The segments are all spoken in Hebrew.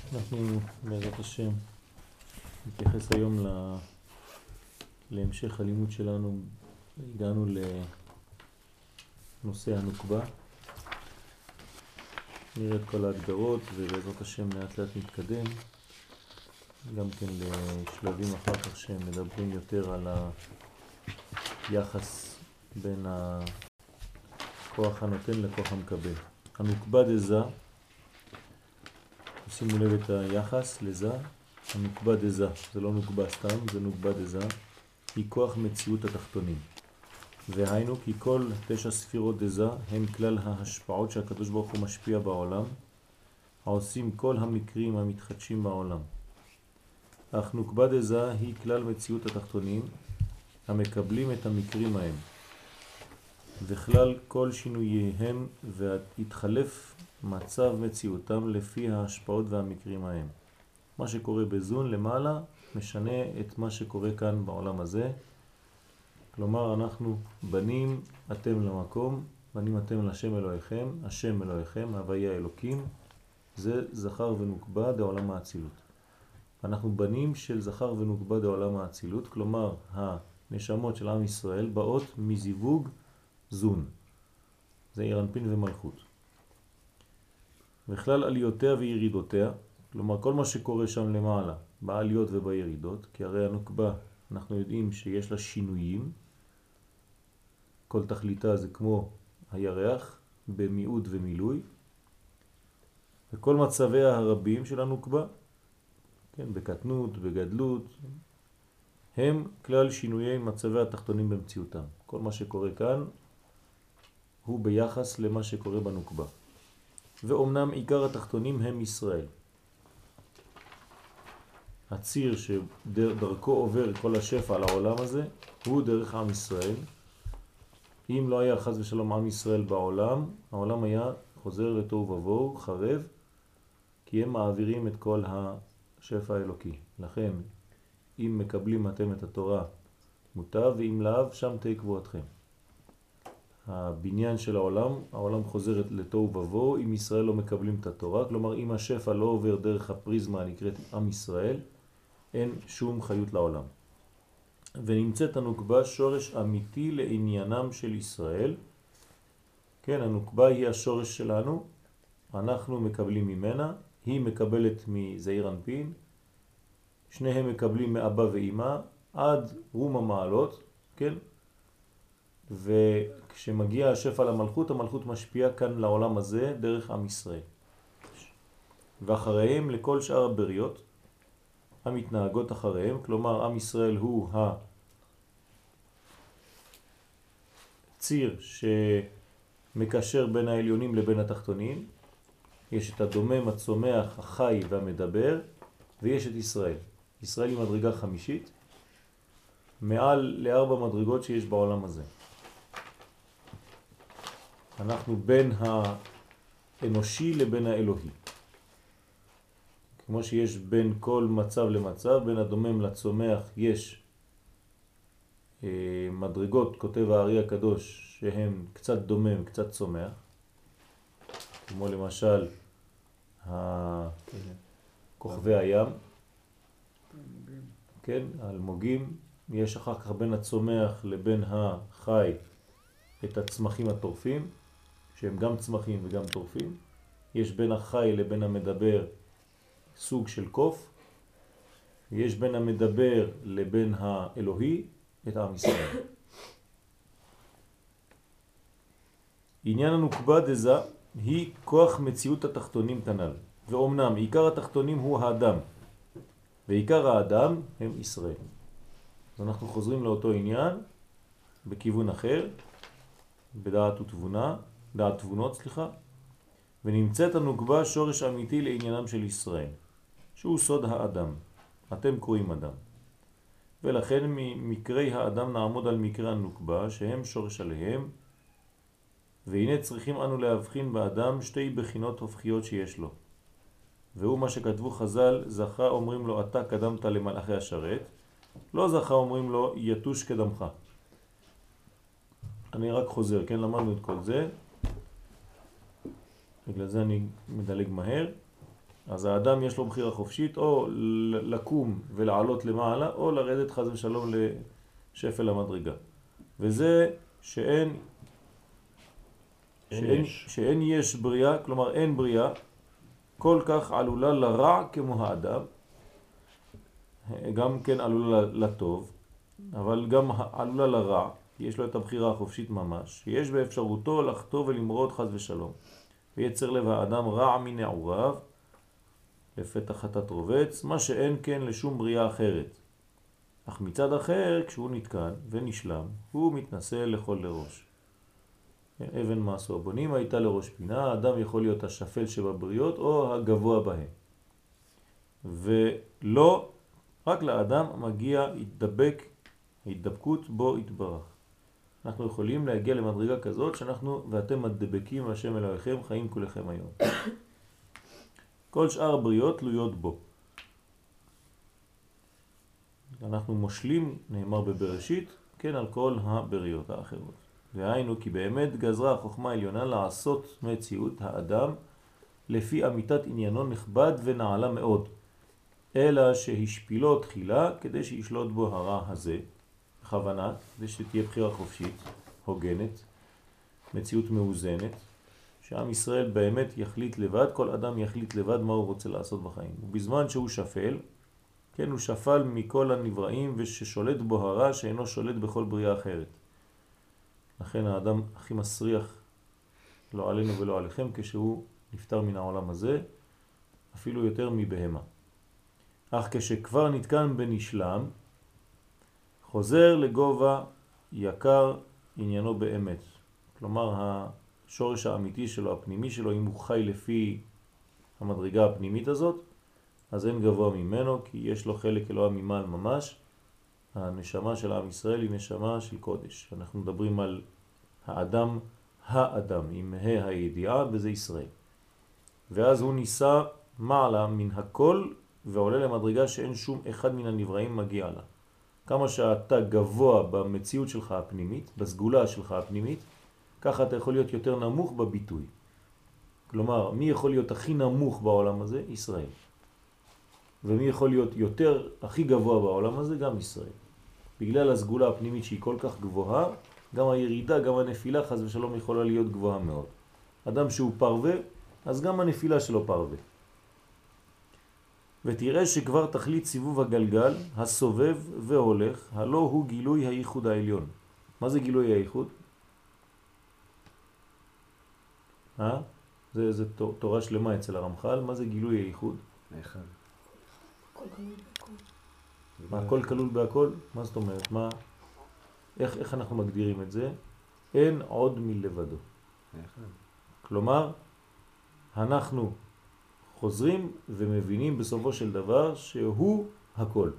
אנחנו בעזרת השם נתייחס היום להמשך הלימוד שלנו. הגענו לנושא הנוקבה, נראה את כל ההגדרות ובעזרת השם לאט לאט נתקדם גם כן לשלבים אחר כך שמדברים יותר על היחס בין הכוח הנותן לכוח המקבל. הנוקבה דזה, שימו לב את היחס לזה, הנוקבה דזה, זה לא נוקבה סתם, זה נוקבה דזה, היא כוח מציאות התחתונים. והיינו כי כל 9 ספירות דזה הן כלל ההשפעות שהקדוש ברוך הוא משפיע בעולם, העושים כל המקרים המתחדשים בעולם. אך נוקבה דזה היא כלל מציאות התחתונים המקבלים את המקרים ההם, וכלל כל שינוייהם והתחלף מצב מציאותם לפי ההשפעות והמקרים ההם. מה שקורה בזון למעלה משנה את מה שקורה כאן בעולם הזה. כלומר אנחנו בנים אתם למקום, בנים אתם לשם אלוהיכם, השם אלוהיכם, הוויה אלוקים, זה זכר ונוקבה דעולם האצילות. אנחנו בנים של זכר ונוקבה דעולם האצילות, כלומר הנשמות של עם ישראל באות מזיווג זון, זה עירנפין ומלכות. וכלל עליותיה וירידותיה, כלומר כל מה שקורה שם למעלה, בעליות ובירידות, כי הרי הנוקבה אנחנו יודעים שיש לה שינויים, כל תכליתה זה כמו הירח במיעוט ומילוי, וכל מצביה הרבים של הנוקבה, כן, בקטנות, בגדלות, הם כלל שינויי מצבי התחתונים במציאותם. כל מה שקורה כאן הוא ביחס למה שקורה בנוקבה. ואומנם עיקר התחתונים הם ישראל. הציר שדרכו עובר כל השפע על העולם הזה הוא דרך עם ישראל. אם לא היה חס ושלום עם ישראל בעולם, העולם היה חוזר לתוהו ובוהו, חרב, כי הם מעבירים את כל השפע האלוקי. לכן, אם מקבלים אתם את התורה מוטב, ואם לאו, שם תהי קבועתכם. הבניין של העולם חוזר לתוהו ובוהו אם ישראל לא מקבלים את התורה, כלומר אם השפע לא עובר דרך הפריזמה הנקראת עם ישראל, אין שום חיות לעולם. ונמצאת הנוקבה שורש אמיתי לעניינם של ישראל. כן, הנוקבה היא השורש שלנו, אנחנו מקבלים ממנה, היא מקבלת מזעיר אנפין, שניהם מקבלים מאבא ואמא עד רום המעלות, כן? וכשמגיע השפע למלכות, המלכות משפיעה כאן לעולם הזה דרך עם ישראל. ואחריהם לכל שאר הבריות המתנהגות אחריהם, כלומר עם ישראל הוא הציר שמקשר בין העליונים לבין התחתונים. יש את הדומם, הצומח, החי והמדבר, ויש את ישראל. ישראל היא מדרגה חמישית, מעל ל4 מדרגות שיש בעולם הזה. אנחנו בין האנושי לבין האלוהי. כמו שיש בין כל מצב למצב, בין הדומם לצומח יש מדרגות, כותב הארי הקדוש, שהם קצת דומם, קצת צומח. כמו למשל כוכבי הים, כן, אלמוגים. יש אחר כך בין הצומח לבין החי את הצמחים הטורפים, שהם גם צמחים וגם טורפים. יש בין החי לבין המדבר סוג של קוף. יש בין המדבר לבין האלוהי את עם ישראל. עניין הנוקבה דזה היא כוח מציאות התחתונים כנ"ל. ואומנם עיקר התחתונים הוא האדם, ועיקר האדם הם ישראל. אז אנחנו חוזרים לאותו עניין בכיוון אחר, בדעת ותבונה, דעת תבונות, ונמצאת הנוקבה שורש אמיתי לעניינם של ישראל, שהוא סוד האדם. אתם קוראים אדם. ולכן ממקרי האדם נעמוד על מקרי הנוקבה שהם שורש עליהם, והנה צריכים אנו להבחין באדם 2 בחינות הופכיות שיש לו. והוא מה שכתבו חז"ל, זכה אומרים לו אתה קדמת למלאכי השרת, לא זכה אומרים לו יתוש קדמך. אני רק חוזר, כן, למדנו את כל זה, בגלל זה אני מדלג מהר. אז האדם יש לו בחירה חופשית או לקום ולעלות למעלה או לרדת חס ושלום לשפל המדרגה. וזה שאין יש בריאה, כלומר אין בריאה כל כך עלולה לרע כמו האדם, גם כן עלולה לטוב, אבל גם עלולה לרע, יש לו את הבחירה החופשית ממש, שיש באפשרותו לחטוא ולמרוד חס ושלום. ויצר לב האדם רע מנעוריו, לפתח חטאת רובץ, מה שאין כן לשום בריאה אחרת. אך מצד אחר, כשהוא נתקן ונשלם, הוא מתנסה לכל לראש. אבן מעשו הבונים הייתה לראש פינה, האדם יכול להיות השפל שבבריות או הגבוה בהם. ולא, רק לאדם מגיע התדבקות בו יתברך. אנחנו יכולים להגיע למדרגה כזאת שאנחנו ואתם מדבקים השם אלוהיכם חיים כולכם היום. כל שאר הבריאות תלויות בו. אנחנו מושלים, נאמר בבראשית, כן על כל הבריות האחרות. והיינו כי באמת גזרה החוכמה העליונה לעשות מציאות האדם לפי אמיתת עניינו נכבד ונעלה מאוד, אלא שהשפילו תחילה כדי שישלוט בו הרע הזה, בכוונה, כדי שתהיה בחירה חופשית, הוגנת, מציאות מאוזנת, שעם ישראל באמת יחליט לבד, כל אדם יחליט לבד מה הוא רוצה לעשות בחיים. ובזמן שהוא שפל, כן, הוא שפל מכל הנבראים וששולט בו הרע שאינו שולט בכל בריאה אחרת. לכן האדם הכי מסריח, לא עלינו ולא עליכם, כשהוא נפטר מן העולם הזה, אפילו יותר מבהמה. אך כשכבר נתקן בנשלם, חוזר לגובה יקר עניינו באמת. כלומר, השורש האמיתי שלו, הפנימי שלו, אם הוא חי לפי המדרגה הפנימית הזאת, אז אין גבוה ממנו, כי יש לו חלק אלוה ממעל ממש. הנשמה של עם ישראל היא נשמה של קודש. אנחנו מדברים על האדם, עם הידיעה, וזה ישראל. ואז הוא ניסה מעלה מן הכל, ועולה למדרגה שאין שום אחד מן הנבראים מגיע לה. כמה שאתה גבוה במציאות שלך הפנימית, בסגולה שלך הפנימית, ככה אתה יכול להיות יותר נמוך בביטוי. כלומר, מי יכול להיות הכי נמוך בעולם הזה? ישראל. ומי יכול להיות יותר, הכי גבוה בעולם הזה? גם ישראל. בגלל הסגולה הפנימית שהיא כל כך גבוהה, גם הירידה, גם הנפילה חס ושלום יכולה להיות גבוהה מאוד. אדם שהוא פרווה, אז גם הנפילה שלו פרווה. ותראה שכבר תכלית סיבוב הגלגל, הסובב והולך, הלא הוא גילוי הייחוד העליון. מה זה גילוי הייחוד? זה תורה שלמה אצל הרמח"ל. מה זה גילוי הייחוד? האחד. הכל כלול בהכל. מה, הכל כלול בהכל? מה זאת אומרת? איך אנחנו מגדירים את זה? אין עוד מלבדו. האחד. כלומר, אנחנו חוזרים ומבינים בסופו של דבר שהוא הכל.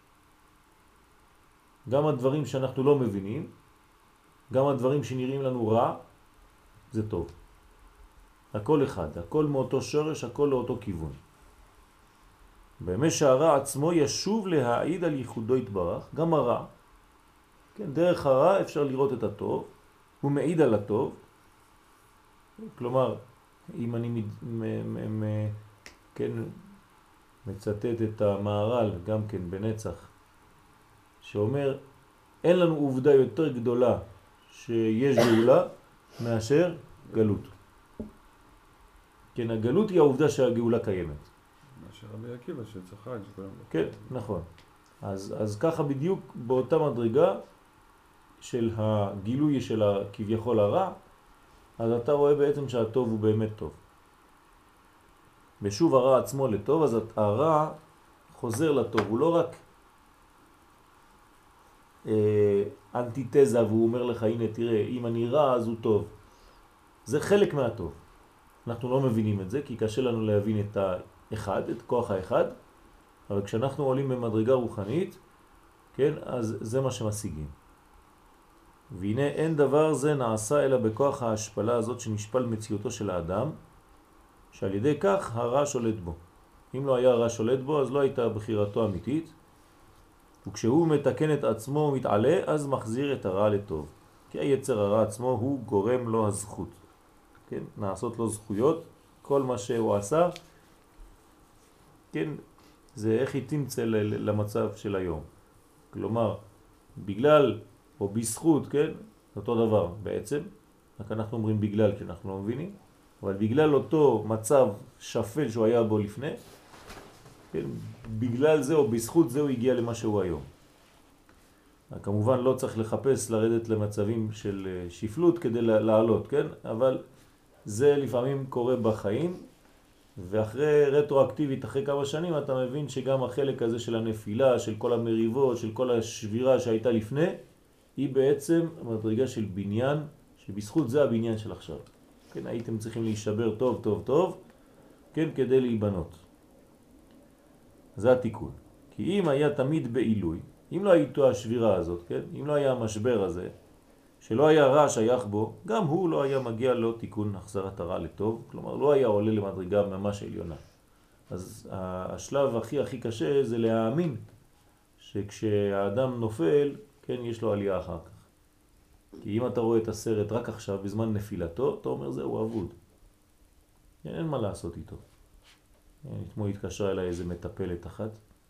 גם הדברים שאנחנו לא מבינים, גם הדברים שנראים לנו רע, זה טוב. הכל אחד, הכל מאותו שורש, הכל לאותו כיוון. באמת שהרע עצמו ישוב להעיד על ייחודו יתברך, גם הרע. כן, דרך הרע אפשר לראות את הטוב, הוא מעיד על הטוב. כלומר, אם אני כן, מצטט את המהר"ל גם כן בנצח, שאומר, אין לנו עובדה יותר גדולה שיש גאולה מאשר גלות. כן, הגלות היא העובדה שהגאולה קיימת. מאשר רבי עקיבא שצחק שכולם... כן, נכון. אז ככה בדיוק באותה מדרגה של הגילוי של כביכול הרע, אז אתה רואה בעצם שהטוב הוא באמת טוב. ושוב הרע עצמו לטוב, אז הרע חוזר לטוב, הוא לא רק אנטיתזה והוא אומר לך, הנה תראה, אם אני רע אז הוא טוב. זה חלק מהטוב. אנחנו לא מבינים את זה, כי קשה לנו להבין את האחד, את כוח האחד, אבל כשאנחנו עולים במדרגה רוחנית, כן, אז זה מה שמשיגים. והנה אין דבר זה נעשה אלא בכוח ההשפלה הזאת שנשפל מציאותו של האדם, שעל ידי כך הרע שולט בו. אם לא היה הרע שולט בו, אז לא הייתה בחירתו אמיתית, וכשהוא מתקן את עצמו ומתעלה, אז מחזיר את הרע לטוב. כי היצר הרע עצמו הוא גורם לו הזכות. כן? נעשות לו זכויות, כל מה שהוא עשה, כן, זה איך היא תמצא למצב של היום. כלומר, בגלל או בזכות, כן, אותו דבר בעצם, רק אנחנו אומרים בגלל כי אנחנו לא מבינים, אבל בגלל אותו מצב שפל שהוא היה בו לפני, כן, בגלל זה או בזכות זה הוא הגיע למה שהוא היום. כמובן לא צריך לחפש לרדת למצבים של שפלות כדי לעלות, כן? אבל זה לפעמים קורה בחיים, ואחרי רטרואקטיבית, אחרי כמה שנים, אתה מבין שגם החלק הזה של הנפילה, של כל המריבות, של כל השבירה שהייתה לפני, היא בעצם מדרגה של בניין, שבזכות זה הבניין של עכשיו. כן, הייתם צריכים להישבר טוב, טוב, טוב, כן, כדי להיבנות. זה התיקון. כי אם היה תמיד בעילוי, אם לא הייתו השבירה הזאת, כן? אם לא היה המשבר הזה, שלא היה רע שייך בו, גם הוא לא היה מגיע לו תיקון החזרת הרע לטוב, כלומר לא היה עולה למדרגה ממש עליונה. אז השלב הכי קשה זה להאמין שכשהאדם נופל, כן, יש לו עלייה אחר כך. כי אם אתה רואה את הסרט רק עכשיו, בזמן נפילתו, אתה אומר זהו אבוד. אין מה לעשות איתו. אתמול התקשרה אליי איזה מטפלת אחת,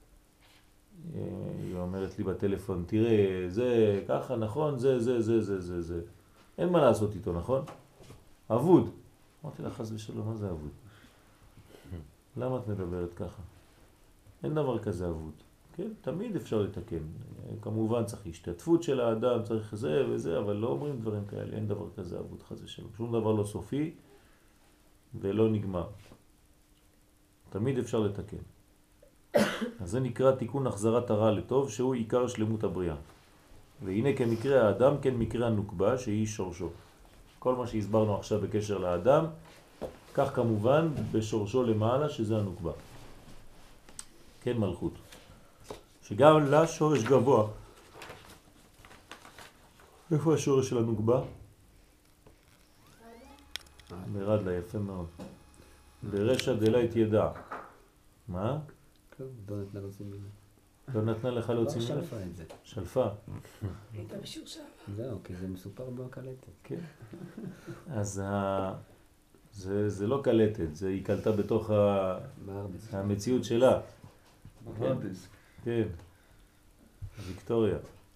היא אומרת לי בטלפון, תראה, זה ככה, נכון, זה. אין מה לעשות איתו, נכון? אבוד. אמרתי לה, חס ושלום, מה זה אבוד? למה את מדברת ככה? אין דבר כזה אבוד. כן, תמיד אפשר לתקן. כמובן צריך השתתפות של האדם, צריך זה וזה, אבל לא אומרים דברים כאלה. אין דבר כזה אבוד, חס ושלום. שום דבר לא סופי ולא נגמר. תמיד אפשר לתקן. אז זה נקרא תיקון החזרת הרע לטוב, שהוא עיקר שלמות הבריאה. והנה כמקרה האדם, כן מקרה הנוקבה, שהיא שורשו. כל מה שהסברנו עכשיו בקשר לאדם, כך כמובן בשורשו למעלה, שזה הנוקבה. כן, מלכות. שגם לה שורש גבוה. איפה השורש של הנוקבה? מרד לה, יפה מאוד. ברשע דלית ידע. מה? לא נתנה להוציא מילה. לא נתנה לך להוציא מילה? שלפה את זה. שלפה. הייתה משורשר. זהו, כי זה מסופר בקלטת. כן. אז זה לא קלטת, היא קלטה בתוך המציאות שלה. בוונדיסק. כן. ויקטוריה.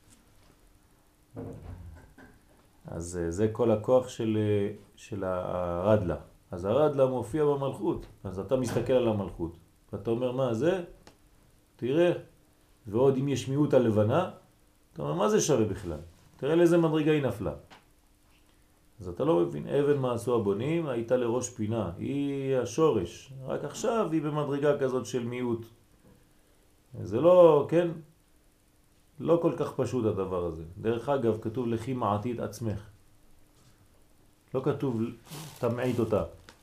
אז זה כל הכוח של הרדלה. אז הרדלה מופיע במלכות. אז אתה מסתכל על המלכות. ואתה אומר, מה זה? תראה. ועוד אם יש מיעוט הלבנה, אתה אומר, מה זה שווה בכלל? תראה לאיזה מדרגה היא נפלה. אז אתה לא מבין, אבן מה עשו הבונים, הייתה לראש פינה. היא השורש. רק עכשיו היא במדרגה כזאת של מיעוט. זה לא, כן? לא כל כך פשוט הדבר הזה. דרך אגב, כתוב לכי מעתיד עצמך. לא כתוב תמעית אותה.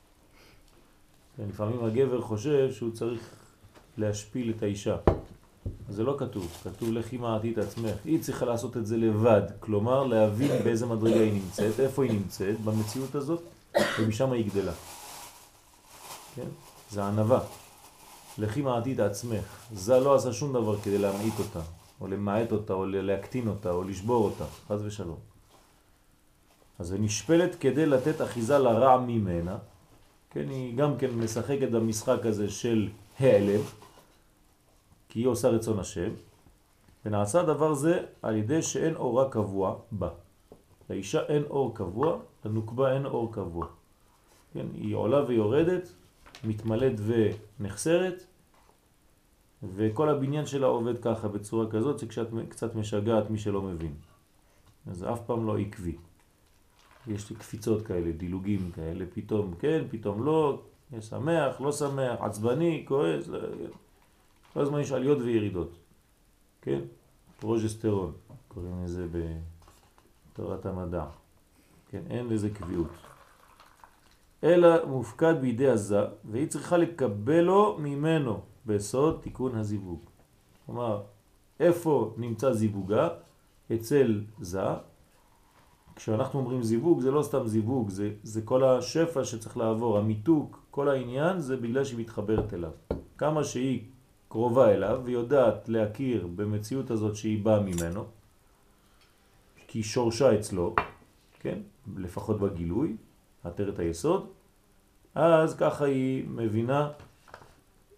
לפעמים הגבר חושב שהוא צריך להשפיל את האישה. זה לא כתוב. כתוב לכי מעתיד עצמך. היא צריכה לעשות את זה לבד. כלומר, להבין באיזה מדרגה היא נמצאת, איפה היא נמצאת, במציאות הזאת, ומשם היא גדלה. כן? זה ענבה. לכי מעתיד עצמך. זה לא עשה שום דבר כדי להמעיט אותה, או למעט אותה, או להקטין אותה, או לשבור אותה. חס ושלום. אז היא נשפלת כדי לתת אחיזה לרע ממנה. כן, היא גם כן משחקת במשחק הזה של העלם, כי היא עושה רצון השם, ונעשה דבר זה על ידי שאין אורה קבוע בה. לאישה אין אור קבוע, לנוקבה אין אור קבוע. כן, היא עולה ויורדת, מתמלאת ונחסרת, וכל הבניין שלה עובד ככה, בצורה כזאת, שכשאת קצת משגעת מי שלא מבין. אז זה אף פעם לא עקבי. יש לי קפיצות כאלה, דילוגים כאלה, פתאום כן, פתאום לא, שמח, לא שמח, עצבני, כועס, כל הזמן יש עליות וירידות, כן? פרוג'סטרון, קוראים לזה בתורת המדע, כן? אין לזה קביעות. אלא מופקד בידי הזה, והיא צריכה לקבלו ממנו בסוד תיקון הזיווג. כלומר, איפה נמצא זיווגה? אצל זה. כשאנחנו אומרים זיווג, זה לא סתם זיווג, זה כל השפע שצריך לעבור, המיתוק, כל העניין זה בגלל שהיא מתחברת אליו. כמה שהיא קרובה אליו ויודעת להכיר במציאות הזאת שהיא באה ממנו, כי היא שורשה אצלו, כן? לפחות בגילוי, עטרת היסוד, אז ככה היא מבינה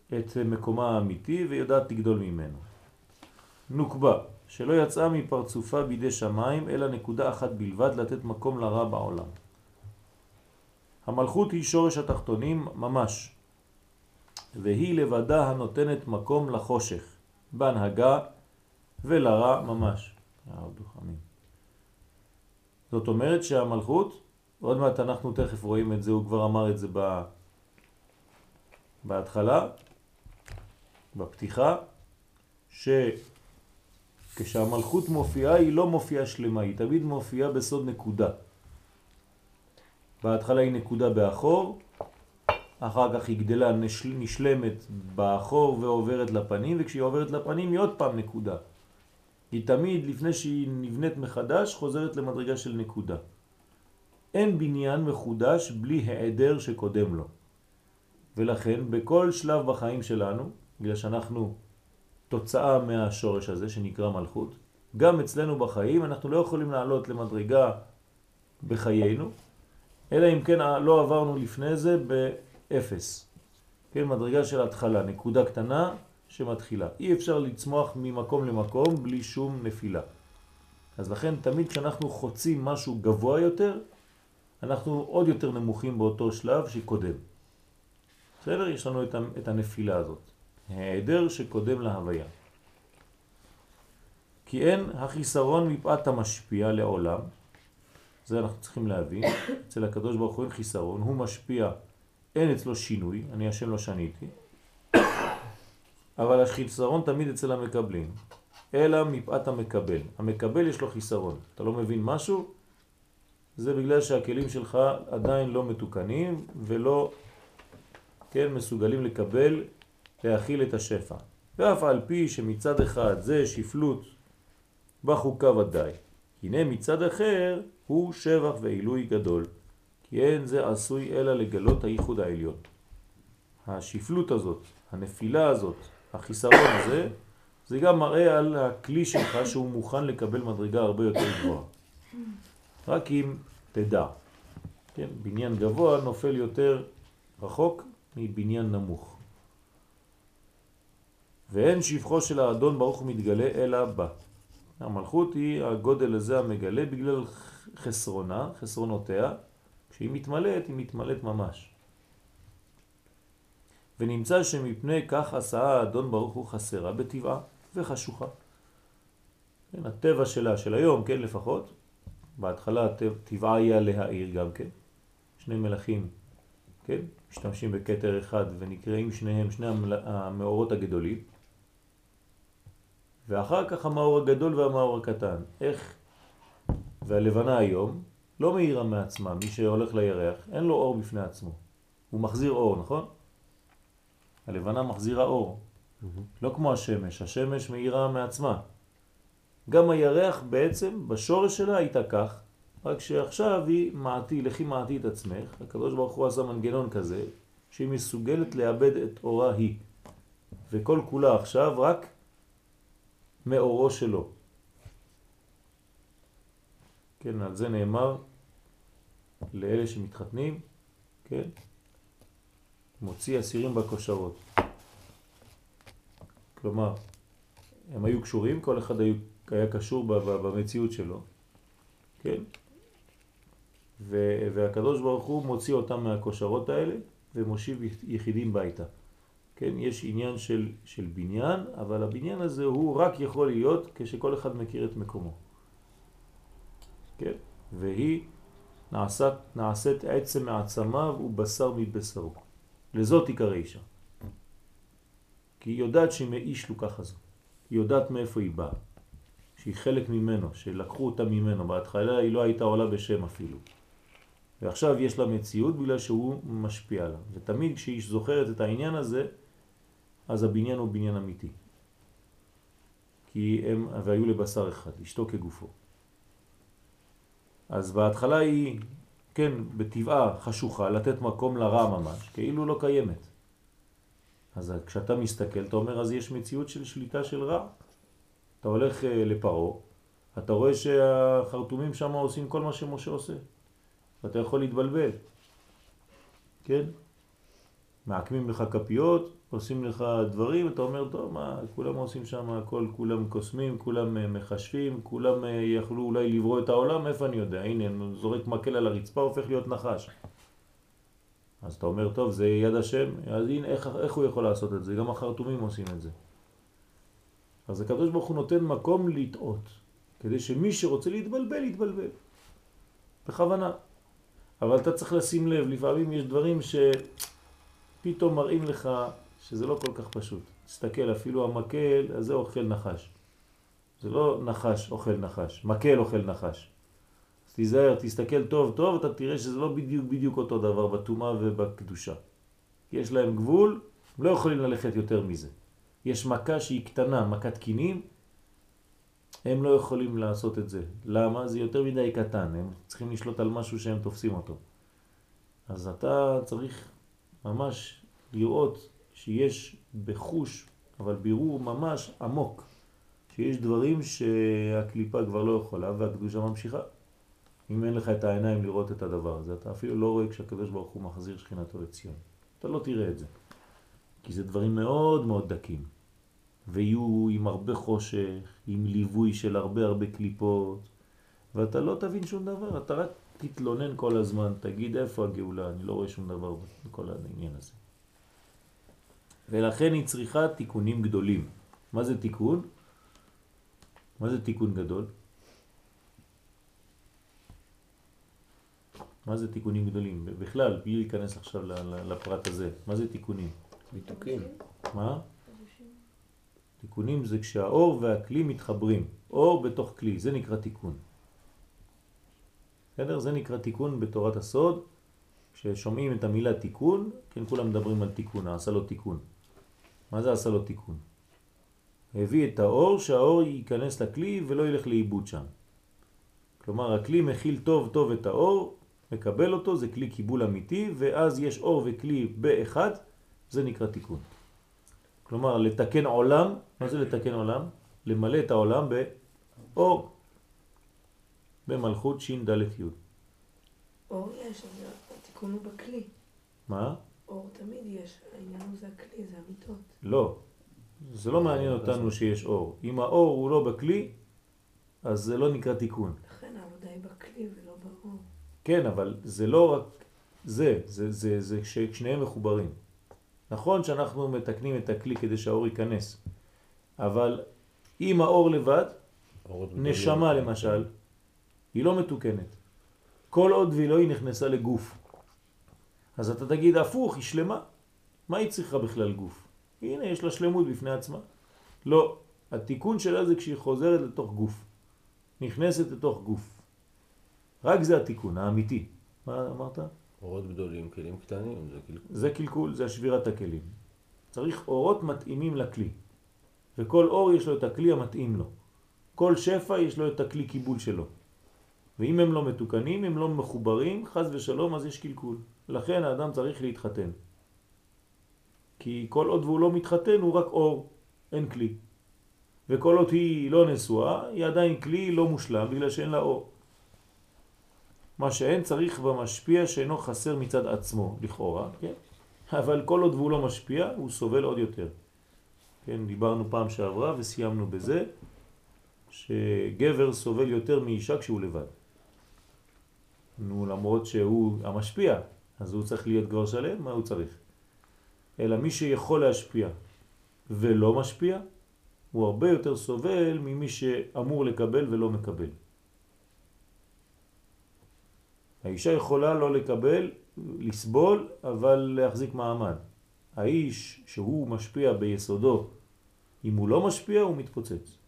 את מקומה האמיתי ויודעת לגדול ממנו. נוקבה, שלא יצאה מפרצופה בידי שמיים, אלא נקודה אחת בלבד, לתת מקום לרע בעולם. המלכות היא שורש התחתונים ממש, והיא לבדה הנותנת מקום לחושך, בהנהגה ולרע ממש. זאת אומרת שהמלכות, עוד מעט אנחנו תכף רואים את זה, הוא כבר אמר את זה בהתחלה, בפתיחה, שכשהמלכות מופיעה היא לא מופיעה שלמה, היא תמיד מופיעה בסוד נקודה. בהתחלה היא נקודה באחור, אחר כך היא גדלה נשלמת באחור ועוברת לפנים, וכשהיא עוברת לפנים היא עוד פעם נקודה. היא תמיד לפני שהיא נבנית מחדש חוזרת למדרגה של נקודה. אין בניין מחודש בלי העדר שקודם לו. ולכן בכל שלב בחיים שלנו, בגלל שאנחנו תוצאה מהשורש הזה שנקרא מלכות, גם אצלנו בחיים אנחנו לא יכולים לעלות למדרגה בחיינו, אלא אם כן לא עברנו לפני זה באפס. כן, מדרגה של התחלה, נקודה קטנה שמתחילה. אי אפשר לצמוח ממקום למקום בלי שום נפילה. אז לכן תמיד כשאנחנו חוצים משהו גבוה יותר, אנחנו עוד יותר נמוכים באותו שלב שקודם. בסדר? יש לנו את הנפילה הזאת. העדר שקודם להוויה. כי אין החיסרון מפאת המשפיע לעולם. זה אנחנו צריכים להבין. אצל הקדוש ברוך הוא אין חיסרון. הוא משפיע, אין אצלו שינוי. אני השם לא שניתי. אבל החיסרון תמיד אצל המקבלים. אלא מפאת המקבל. המקבל יש לו חיסרון. אתה לא מבין משהו? זה בגלל שהכלים שלך עדיין לא מתוקנים ולא מסוגלים לקבל, להכיל את השפע. ואף על פי שמצד אחד זה שפלות בחוקה ודאי. הנה מצד אחר הוא שבח ועילוי גדול. כי אין זה עשוי אלא לגלות הייחוד העליון. השפלות הזאת, הנפילה הזאת, החיסרון הזה, זה גם מראה על הכלי שלך שהוא מוכן לקבל מדרגה הרבה יותר גבוהה. רק אם תדע. כן? בניין גבוה נופל יותר רחוק מבניין נמוך. ואין שפחו של האדון ברוך הוא מתגלה אלא בה. המלכות היא הגודל הזה המגלה בגלל חסרונותיה. כשהיא מתמלאת, היא מתמלאת ממש. ונמצא שמפני כך עשה האדון ברוך הוא חסרה בטבעה וחשוכה. כן, הטבע שלה, של היום, כן, לפחות, בהתחלה טבעה היה להאיר גם כן. שני מלאכים, כן, משתמשים בכתר אחד ונקראים שניהם, שני המאורות הגדולים. ואחר כך המאור הגדול והמאור הקטן. איך? והלבנה היום לא מאירה מעצמה. מי שהולך לירח, אין לו אור בפני עצמו. הוא מחזיר אור, נכון? הלבנה מחזירה אור. לא כמו השמש. השמש מאירה מעצמה. גם הירח בעצם בשורש שלה הייתה כך, רק שעכשיו היא מעטי, לכי מעטי את עצמך. הקדוש ברוך הוא עשה מנגנון כזה, שהיא מסוגלת לאבד את אורה היא. וכל כולה עכשיו רק מאורו שלו. כן, על זה נאמר לאלה שמתחתנים, כן, מוציא אסירים בכושרות. כלומר, הם היו קשורים, כל אחד היה קשור במציאות שלו, כן? והקדוש ברוך הוא מוציא אותם מהכושרות האלה ומושיב יחידים ביתה. כן, יש עניין של בניין, אבל הבניין הזה הוא רק יכול להיות כשכל אחד מכיר את מקומו. כן? והיא נעשית עצם מעצמיו ובשר מבשרו. לזאת עיקר האישה. כי היא יודעת שהיא מאיש לוקח הזו. היא יודעת מאיפה היא באה. שהיא חלק ממנו, שלקחו אותה ממנו. בהתחלה היא לא הייתה עולה בשם אפילו. ועכשיו יש לה מציאות בגלל שהוא משפיע לה. ותמיד כשהיא זוכרת את העניין הזה, אז הבניין הוא בניין אמיתי. כי הם והיו לבשר אחד, אשתו כגופו. אז בהתחלה היא, כן, בטבעה חשוכה, לתת מקום לרע ממש, כאילו לא קיימת. אז כשאתה מסתכל, אתה אומר, אז יש מציאות של שליטה של רע. אתה הולך לפרו, אתה רואה שהחרטומים שם עושים כל מה שמשה עושה. ואתה יכול להתבלבל. כן? מעקמים לך כפיות, עושים לך דברים, אתה אומר, טוב, מה, כולם עושים שם הכל, כולם קוסמים, כולם מחשבים, כולם יכלו אולי לברוא את העולם, איפה אני יודע? הנה, זורק מקל על הרצפה, הופך להיות נחש. אז אתה אומר, טוב, זה יד השם, אז הנה, איך הוא יכול לעשות את זה? גם החרטומים עושים את זה. אז הקדוש ברוך הוא נותן מקום לטעות, כדי שמי שרוצה להתבלבל, יתבלבל. בכוונה. אבל אתה צריך לשים לב, לפעמים יש דברים שפתאום מראים לך שזה לא כל כך פשוט. תסתכל, אפילו המקל, אז זה אוכל נחש. זה לא נחש אוכל נחש, מקל אוכל נחש. אז תיזהר, תסתכל טוב טוב, אתה תראה שזה לא בדיוק אותו דבר בתומה ובקדושה. יש להם גבול, הם לא יכולים ללכת יותר מזה. יש מכה שהיא קטנה, מכת קינים, הם לא יכולים לעשות את זה. למה? זה יותר מדי קטן, הם צריכים לשלוט על משהו שהם תופסים אותו. אז אתה צריך ממש לראות שיש בחוש, אבל בירור ממש עמוק, שיש דברים שהקליפה כבר לא יכולה והקדושה ממשיכה. אם אין לך את העיניים לראות את הדבר הזה, אתה אפילו לא רואה כשהקדוש ברוך הוא מחזיר שכינתו לציון. אתה לא תראה את זה. כי זה דברים מאוד מאוד דקים. ויהיו עם הרבה חושך, עם ליווי של הרבה קליפות, ואתה לא תבין שום דבר, אתה רק תתלונן כל הזמן, תגיד איפה הגאולה, אני לא רואה שום דבר בכל העניין הזה. ולכן היא צריכה תיקונים גדולים. מה זה תיקון? מה זה תיקון גדול? מה זה תיקונים גדולים? בכלל, בלי להיכנס עכשיו לפרט הזה. מה זה תיקונים? ביטוקים. מה? תיקונים זה כשהאור והכלי מתחברים. אור בתוך כלי, זה נקרא תיקון. בסדר? זה נקרא תיקון בתורת הסוד. כששומעים את המילה תיקון, כן, כולם מדברים על תיקון, עשה לו תיקון. מה זה עשה לו תיקון? הביא את האור, שהאור ייכנס לכלי ולא ילך לאיבוד שם. כלומר, הכלי מכיל טוב טוב את האור, מקבל אותו, זה כלי קיבול אמיתי, ואז יש אור וכלי באחד, זה נקרא תיקון. כלומר, לתקן עולם, מה זה לתקן עולם? למלא את העולם באור, במלכות שין דלת יוד. אור יש, אבל התיקון הוא בכלי. מה? אור תמיד יש, העניין הוא זה הכלי, זה המיטות. לא, זה לא מעניין אותנו שיש אור. אם האור הוא לא בכלי, אז זה לא נקרא תיקון. לכן העבודה היא בכלי ולא באור. כן, אבל זה לא רק זה ששניהם מחוברים. נכון שאנחנו מתקנים את הכלי כדי שהאור ייכנס, אבל אם האור לבד, נשמה למשל, היא לא מתוקנת. כל עוד והיא לא היא נכנסה לגוף. אז אתה תגיד הפוך, היא שלמה. מה היא צריכה בכלל גוף? הנה, יש לה שלמות בפני עצמה. לא, התיקון שלה זה כשהיא חוזרת לתוך גוף. נכנסת לתוך גוף. רק זה התיקון האמיתי. מה אמרת? אורות גדולים, כלים קטנים, זה קלקול. זה קלקול, זה שבירת הכלים. צריך אורות מתאימים לכלי. וכל אור יש לו את הכלי המתאים לו. כל שפע יש לו את הכלי קיבול שלו. ואם הם לא מתוקנים, הם לא מחוברים, חז ושלום, אז יש קלקול. לכן האדם צריך להתחתן. כי כל עוד והוא לא מתחתן הוא רק אור, אין כלי. וכל עוד היא לא נשואה, היא עדיין כלי לא מושלם בגלל שאין לה אור. מה שאין צריך במשפיע שאינו חסר מצד עצמו, לכאורה, כן? אבל כל עוד והוא לא משפיע, הוא סובל עוד יותר. כן, דיברנו פעם שעברה וסיימנו בזה, שגבר סובל יותר מאישה כשהוא לבד. נו, למרות שהוא המשפיע, אז הוא צריך להיות גבר שלם, מה הוא צריך? אלא מי שיכול להשפיע ולא משפיע, הוא הרבה יותר סובל ממי שאמור לקבל ולא מקבל. האישה יכולה לא לקבל, לסבול, אבל להחזיק מעמד. האיש שהוא משפיע ביסודו, אם הוא לא משפיע הוא מתפוצץ.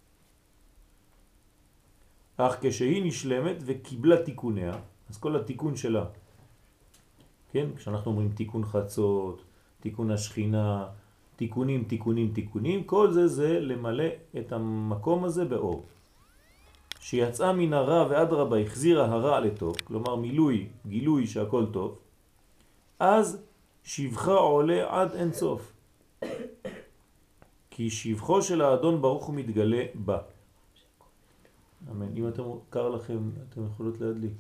אך כשהיא נשלמת וקיבלה תיקוניה, אז כל התיקון שלה, כן? כשאנחנו אומרים תיקון חצות, תיקון השכינה, תיקונים, כל זה למלא את המקום הזה באור. שיצאה מן הרע ועד רבה החזירה הרע לטוב, כלומר מילוי, גילוי שהכל טוב, אז שבחה עולה עד אין סוף. כי שבחו של האדון ברוך הוא מתגלה בה. אמן. אם אתם קר לכם, אתם יכולות להדליק.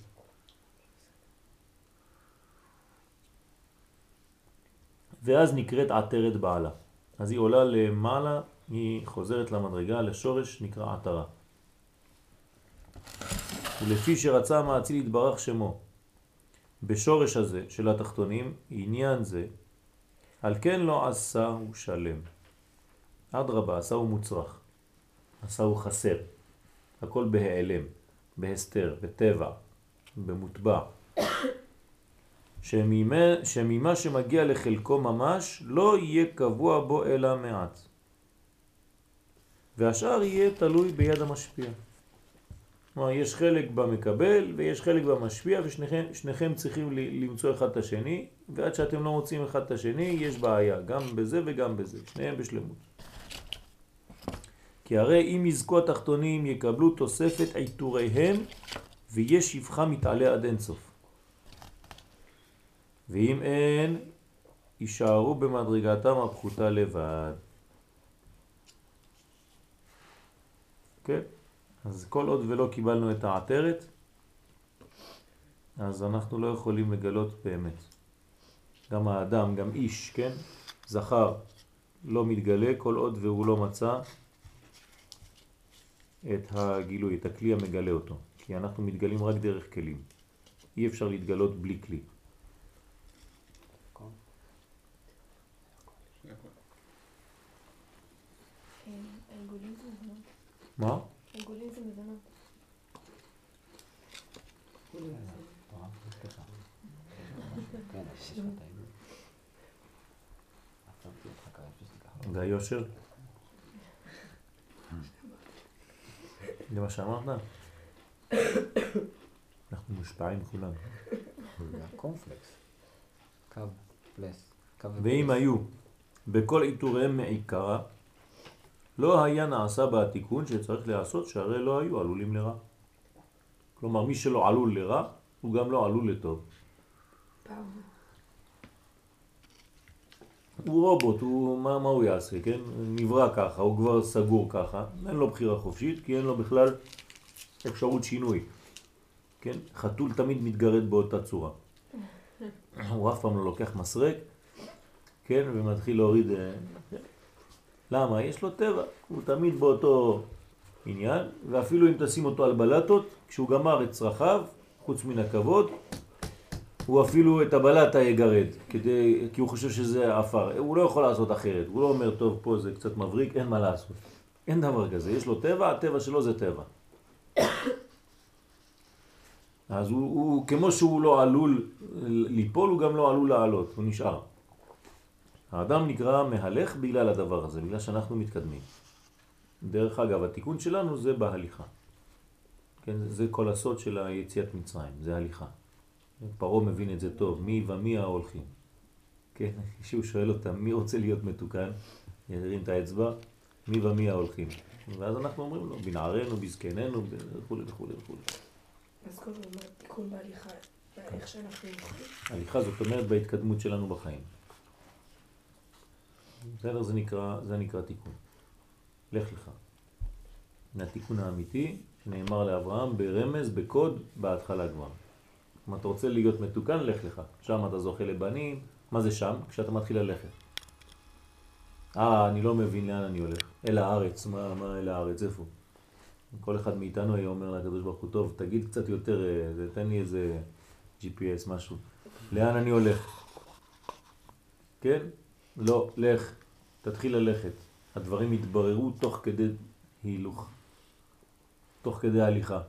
ואז נקראת עטרת בעלה. אז היא עולה למעלה, היא חוזרת למדרגה, לשורש נקרא עטרה. ולפי שרצה המאציל יתברך שמו, בשורש הזה של התחתונים, עניין זה, על כן לא עשה הוא שלם. אדרבה, עשה הוא מוצרח, עשה הוא חסר. הכל בהיעלם, בהסתר, בטבע, במוטבע. שממה שמגיע לחלקו ממש לא יהיה קבוע בו אלא מעט. והשאר יהיה תלוי ביד המשפיע. כלומר, יש חלק במקבל ויש חלק במשפיע, ושניכם צריכים למצוא אחד את השני, ועד שאתם לא מוצאים אחד את השני יש בעיה, גם בזה וגם בזה, שניהם בשלמות. כי הרי אם יזכו התחתונים יקבלו תוספת עיטוריהם, ויש שפחה מתעלה עד אין סוף. ואם אין, יישארו במדרגתם הפחותה לבד. כן? אז כל עוד ולא קיבלנו את העטרת, אז אנחנו לא יכולים לגלות באמת. גם האדם, גם איש, כן? זכר לא מתגלה כל עוד והוא לא מצא את הגילוי, את הכלי המגלה אותו. כי אנחנו מתגלים רק דרך כלים. אי אפשר להתגלות בלי כלי. העיגולים זה מזונות. מה? העיגולים זה מזונות. זה היושר? זה מה שאמרת? אנחנו מושפעים כולם. זה הקורנפלקס. קו פלס. ואם היו בכל עיטוריהם מעיקרה, לא היה נעשה בתיקון שצריך לעשות, שהרי לא היו עלולים לרע. כלומר, מי שלא עלול לרע, הוא גם לא עלול לטוב. הוא רובוט, מה הוא יעשה, כן? נברא ככה, הוא כבר סגור ככה, אין לו בחירה חופשית, כי אין לו בכלל אפשרות שינוי. כן? חתול תמיד מתגרד באותה צורה. הוא אף פעם לא לוקח מסרק, כן? ומתחיל להוריד... למה? יש לו טבע, הוא תמיד באותו עניין, ואפילו אם תשים אותו על בלטות, כשהוא גמר את צרכיו, חוץ מן הכבוד, הוא אפילו את הבלטה יגרד, כי הוא חושב שזה אפר. הוא לא יכול לעשות אחרת, הוא לא אומר, טוב, פה זה קצת מבריק, אין מה לעשות. אין דבר כזה, יש לו טבע, הטבע שלו זה טבע. אז הוא כמו שהוא לא עלול ליפול, הוא גם לא עלול לעלות, הוא נשאר. האדם נקרא מהלך בגלל הדבר הזה, בגלל שאנחנו מתקדמים. דרך אגב, התיקון שלנו זה בהליכה. כן, זה כל הסוד של היציאת מצרים, זה הליכה. פרעה מבין את זה טוב, מי ומי ההולכים. כן, כשהוא שואל אותם, מי רוצה להיות מתוקן? ירים את האצבע, מי ומי ההולכים. ואז אנחנו אומרים לו, בנערנו, בזקננו, וכו' וכו' וכו'. אז כל הזמן תיקון בהליכה, איך שאנחנו הולכים. הליכה זאת אומרת בהתקדמות שלנו בחיים. בסדר, זה נקרא תיקון. לך לך. התיקון האמיתי שנאמר לאברהם ברמז, בקוד, בהתחלה כבר. אם אתה רוצה להיות מתוקן, לך לך. שם אתה זוכה לבנים. מה זה שם? כשאתה מתחיל ללכת. אני לא מבין לאן אני הולך. אל הארץ. מה אל הארץ? איפה? כל אחד מאיתנו היה אומר לקדוש ברוך הוא, טוב, תגיד קצת יותר, תן לי איזה GPS, משהו. לאן אני הולך? כן? לא, לך. תתחיל ללכת. הדברים יתבררו תוך כדי הילוך. תוך כדי הליכה.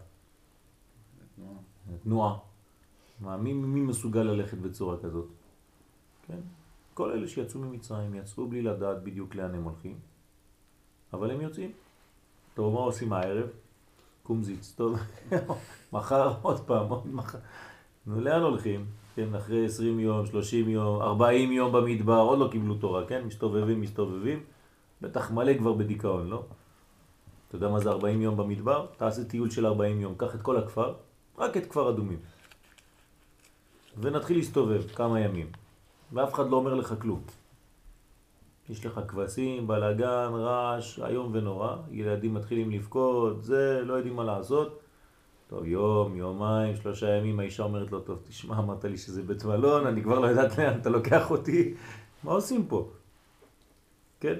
תנועה. מי מסוגל ללכת בצורה כזאת? כן? כל אלה שיצאו ממצרים יצאו בלי לדעת בדיוק לאן הם הולכים. אבל הם יוצאים. טוב, מה עושים הערב? קומזיץ, טוב. מחר עוד פעם, עוד מחר. לאן הולכים? כן, אחרי 20 יום, 30 יום, 40 יום במדבר, עוד לא קיבלו תורה, כן? מסתובבים. בטח מלא כבר בדיכאון, לא? אתה יודע מה זה 40 יום במדבר? תעשה טיול של 40 יום, קח את כל הכפר, רק את כפר אדומים. ונתחיל להסתובב כמה ימים. ואף אחד לא אומר לך כלום. יש לך כבשים, בלגן, רעש, היום ונורא. ילדים מתחילים לבכות, זה, לא יודעים מה לעשות. טוב, יום, יומיים, 3 ימים, האישה אומרת לו, טוב, תשמע, אמרת לי שזה בית מלון, אני כבר לא יודעת לאן אתה לוקח אותי. מה עושים פה? כן?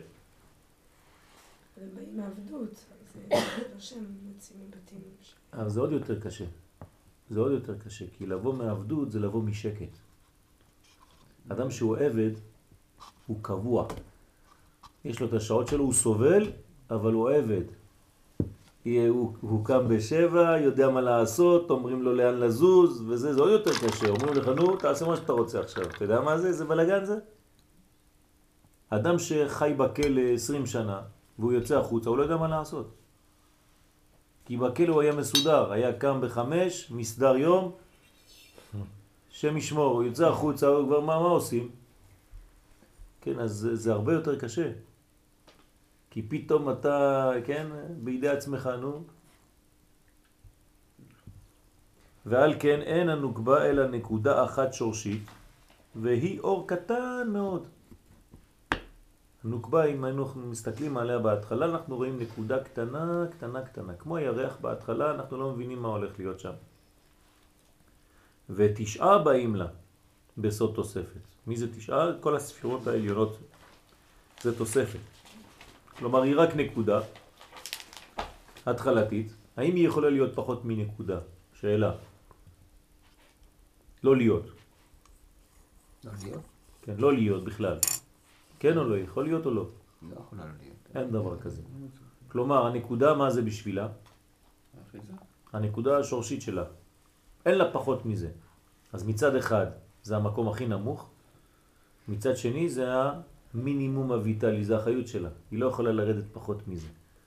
הם באים מעבדות, זה לא שהם יוצאים מבתים. אבל זה עוד יותר קשה. זה עוד יותר קשה, כי לבוא מעבדות זה לבוא משקט. אדם שהוא עבד, הוא קבוע. יש לו את השעות שלו, הוא סובל, אבל הוא עבד. הוא קם בשבע, יודע מה לעשות, אומרים לו לאן לזוז, וזה עוד יותר קשה. אומרים לך, נו, תעשה מה שאתה רוצה עכשיו. אתה יודע מה זה? זה בלגן זה? אדם שחי בכלא 20 שנה, והוא יוצא החוצה, הוא לא יודע מה לעשות. כי בכלא הוא היה מסודר, היה קם ב5, מסדר יום, שם ישמור, הוא יוצא החוצה, הוא כבר מה עושים? כן, אז זה הרבה יותר קשה. כי פתאום אתה, כן, בידי עצמך, נו. ועל כן אין הנוקבה אלא נקודה אחת שורשית, והיא אור קטן מאוד. הנוקבה, אם אנחנו מסתכלים עליה בהתחלה, אנחנו רואים נקודה קטנה, קטנה, קטנה. כמו הירח בהתחלה, אנחנו לא מבינים מה הולך להיות שם. ותשעה באים לה בסוד תוספת. מי זה תשעה? כל הספירות העליונות זה תוספת. כלומר, היא רק נקודה התחלתית. האם היא יכולה להיות פחות מנקודה? שאלה. לא להיות. לא להיות? כן, לא להיות בכלל. כן או לא? יכול להיות או לא? לא יכולה לא להיות. אין דבר כזה. כלומר, הנקודה, מה זה בשבילה? הנקודה השורשית שלה. אין לה פחות מזה. אז מצד אחד זה המקום הכי נמוך, מצד שני זה המינימום הויטלי, זה החיות שלה. היא לא יכולה לרדת פחות מזה.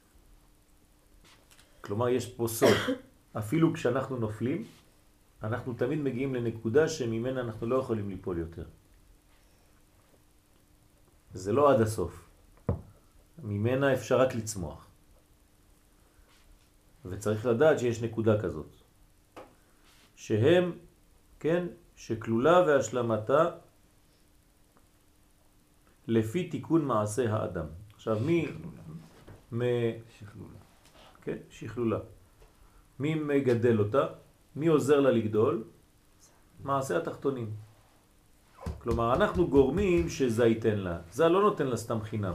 כלומר, יש פה סוד. אפילו כשאנחנו נופלים, אנחנו תמיד מגיעים לנקודה שממנה אנחנו לא יכולים ליפול יותר. זה לא עד הסוף. ממנה אפשר רק לצמוח. וצריך לדעת שיש נקודה כזאת. שהם, כן, שכלולה והשלמתה לפי תיקון מעשה האדם. עכשיו מי שכלולה. כן, שכלולה. מי מגדל אותה? מי עוזר לה לגדול? מעשה התחתונים. כלומר, אנחנו גורמים שזה ייתן לה. זה לא נותן לה סתם חינם.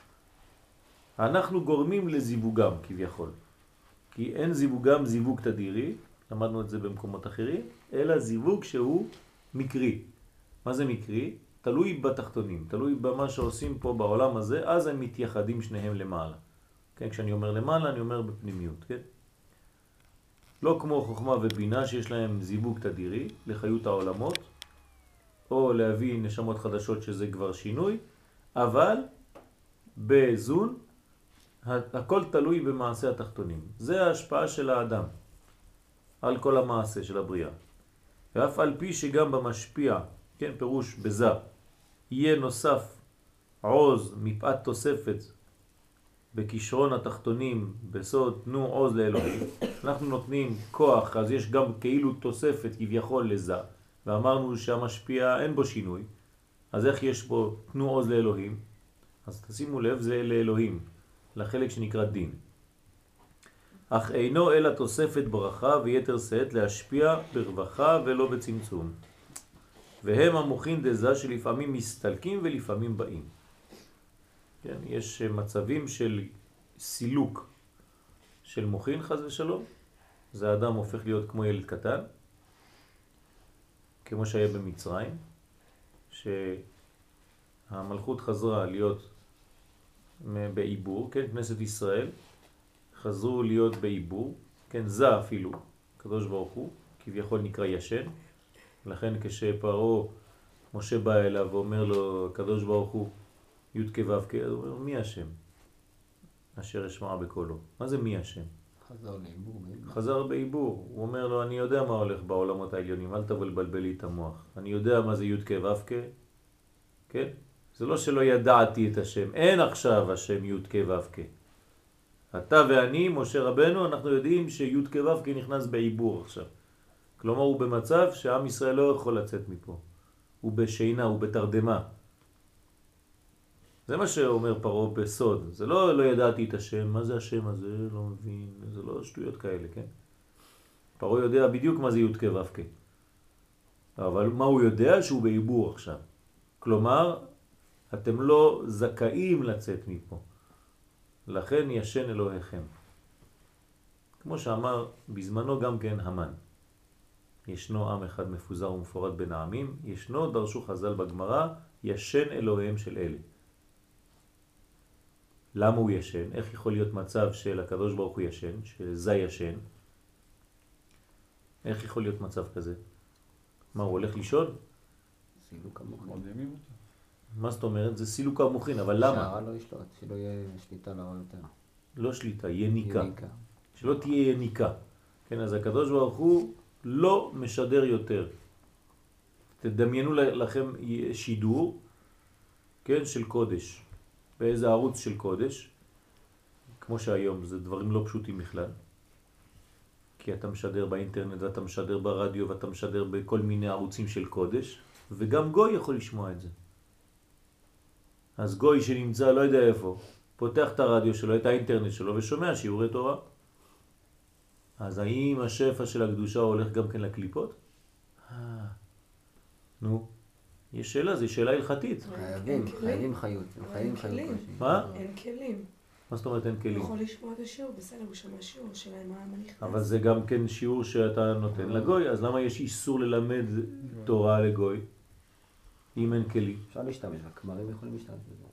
אנחנו גורמים לזיווגם כביכול. כי אין זיווגם זיווג תדירי, למדנו את זה במקומות אחרים, אלא זיווג שהוא מקרי. מה זה מקרי? תלוי בתחתונים, תלוי במה שעושים פה בעולם הזה, אז הם מתייחדים שניהם למעלה. כן, כשאני אומר למעלה, אני אומר בפנימיות, כן? לא כמו חוכמה ובינה שיש להם זיווג תדירי לחיות העולמות, או להביא נשמות חדשות שזה כבר שינוי, אבל בזון הכל תלוי במעשה התחתונים. זה ההשפעה של האדם על כל המעשה של הבריאה. ואף על פי שגם במשפיע, כן, פירוש בזה, יהיה נוסף עוז מפאת תוספת בכישרון התחתונים, בסוד תנו עוז לאלוהים. אנחנו נותנים כוח, אז יש גם כאילו תוספת כביכול לזה. ואמרנו שהמשפיע אין בו שינוי. אז איך יש בו תנו עוז לאלוהים? אז תשימו לב, זה לאלוהים, לחלק שנקרא דין. אך אינו אלא תוספת ברכה ויתר שאת להשפיע ברווחה ולא בצמצום. והם המוחין דזה שלפעמים מסתלקים ולפעמים באים. כן, יש מצבים של סילוק של מוחין חס ושלום. זה אדם הופך להיות כמו ילד קטן, כמו שהיה במצרים, שהמלכות חזרה להיות בעיבור, כן, כנסת ישראל חזרו להיות בעיבור, כן, זה אפילו, הקדוש ברוך הוא, כביכול נקרא ישן, לכן כשפרעה משה בא אליו ואומר לו, הקדוש ברוך הוא, י' כו' כ', הוא אומר, מי השם? אשר אשמע בקולו. מה זה מי השם? חזר לעיבור. חזר בעיבור. הוא אומר לו, אני יודע מה הולך בעולמות העליונים, אל תבלבל לי את המוח. אני יודע מה זה י' כ' ו' כ', כן? זה לא שלא ידעתי את השם, אין עכשיו השם י' כ' ו' כ'. אתה ואני, משה רבנו, אנחנו יודעים שי' כ' ו' כ' נכנס בעיבור עכשיו. כלומר הוא במצב שעם ישראל לא יכול לצאת מפה. הוא בשינה, הוא בתרדמה. זה מה שאומר פרעה בסוד. זה לא ידעתי את השם, מה זה השם הזה, לא מבין, זה לא שטויות כאלה, כן? פרעה יודע בדיוק מה זה י' כ' ו' כ'. אבל מה הוא יודע? שהוא בעיבור עכשיו. כלומר, אתם לא זכאים לצאת מפה. לכן ישן אלוהיכם. כמו שאמר בזמנו גם כן המן. ישנו עם אחד מפוזר ומפורד בין העמים, ישנו, דרשו חז"ל בגמרא, ישן אלוהיהם של אלה. למה הוא ישן? איך יכול להיות מצב של הקדוש ברוך הוא ישן, שזה ישן? איך יכול להיות מצב כזה? מה, הוא הולך לישון? סילוק המוחין. מרדימים אותו. מה זאת אומרת? זה סילוק המוחין, אבל למה? שהרע לא ישלוט, שלא יהיה שליטה לרע יותר. לא שליטה, יניקה. יניקה. שלא תהיה יניקה. כן, אז הקדוש ברוך הוא לא משדר יותר. תדמיינו לכם שידור, כן, של קודש. באיזה ערוץ של קודש, כמו שהיום, זה דברים לא פשוטים בכלל. כי אתה משדר באינטרנט, ואתה משדר ברדיו, ואתה משדר בכל מיני ערוצים של קודש, וגם גוי יכול לשמוע את זה. אז גוי שנמצא לא יודע איפה, פותח את הרדיו שלו, את האינטרנט שלו, ושומע שיעורי תורה. אז האם השפע של הקדושה הולך גם כן לקליפות? נו, יש שאלה, זו שאלה הלכתית. חייבים חיות. הם חייבים חיות. מה? אין כלים. מה זאת אומרת אין כלים? הוא יכול לשמוע את השיעור, בסדר, הוא שמע שיעור, השאלה היא מה נכנס. אבל זה גם כן שיעור שאתה נותן לגוי, אז למה יש איסור ללמד תורה לגוי, אם אין כלים? אפשר להשתמש, הכמרים יכולים להשתמש בזה.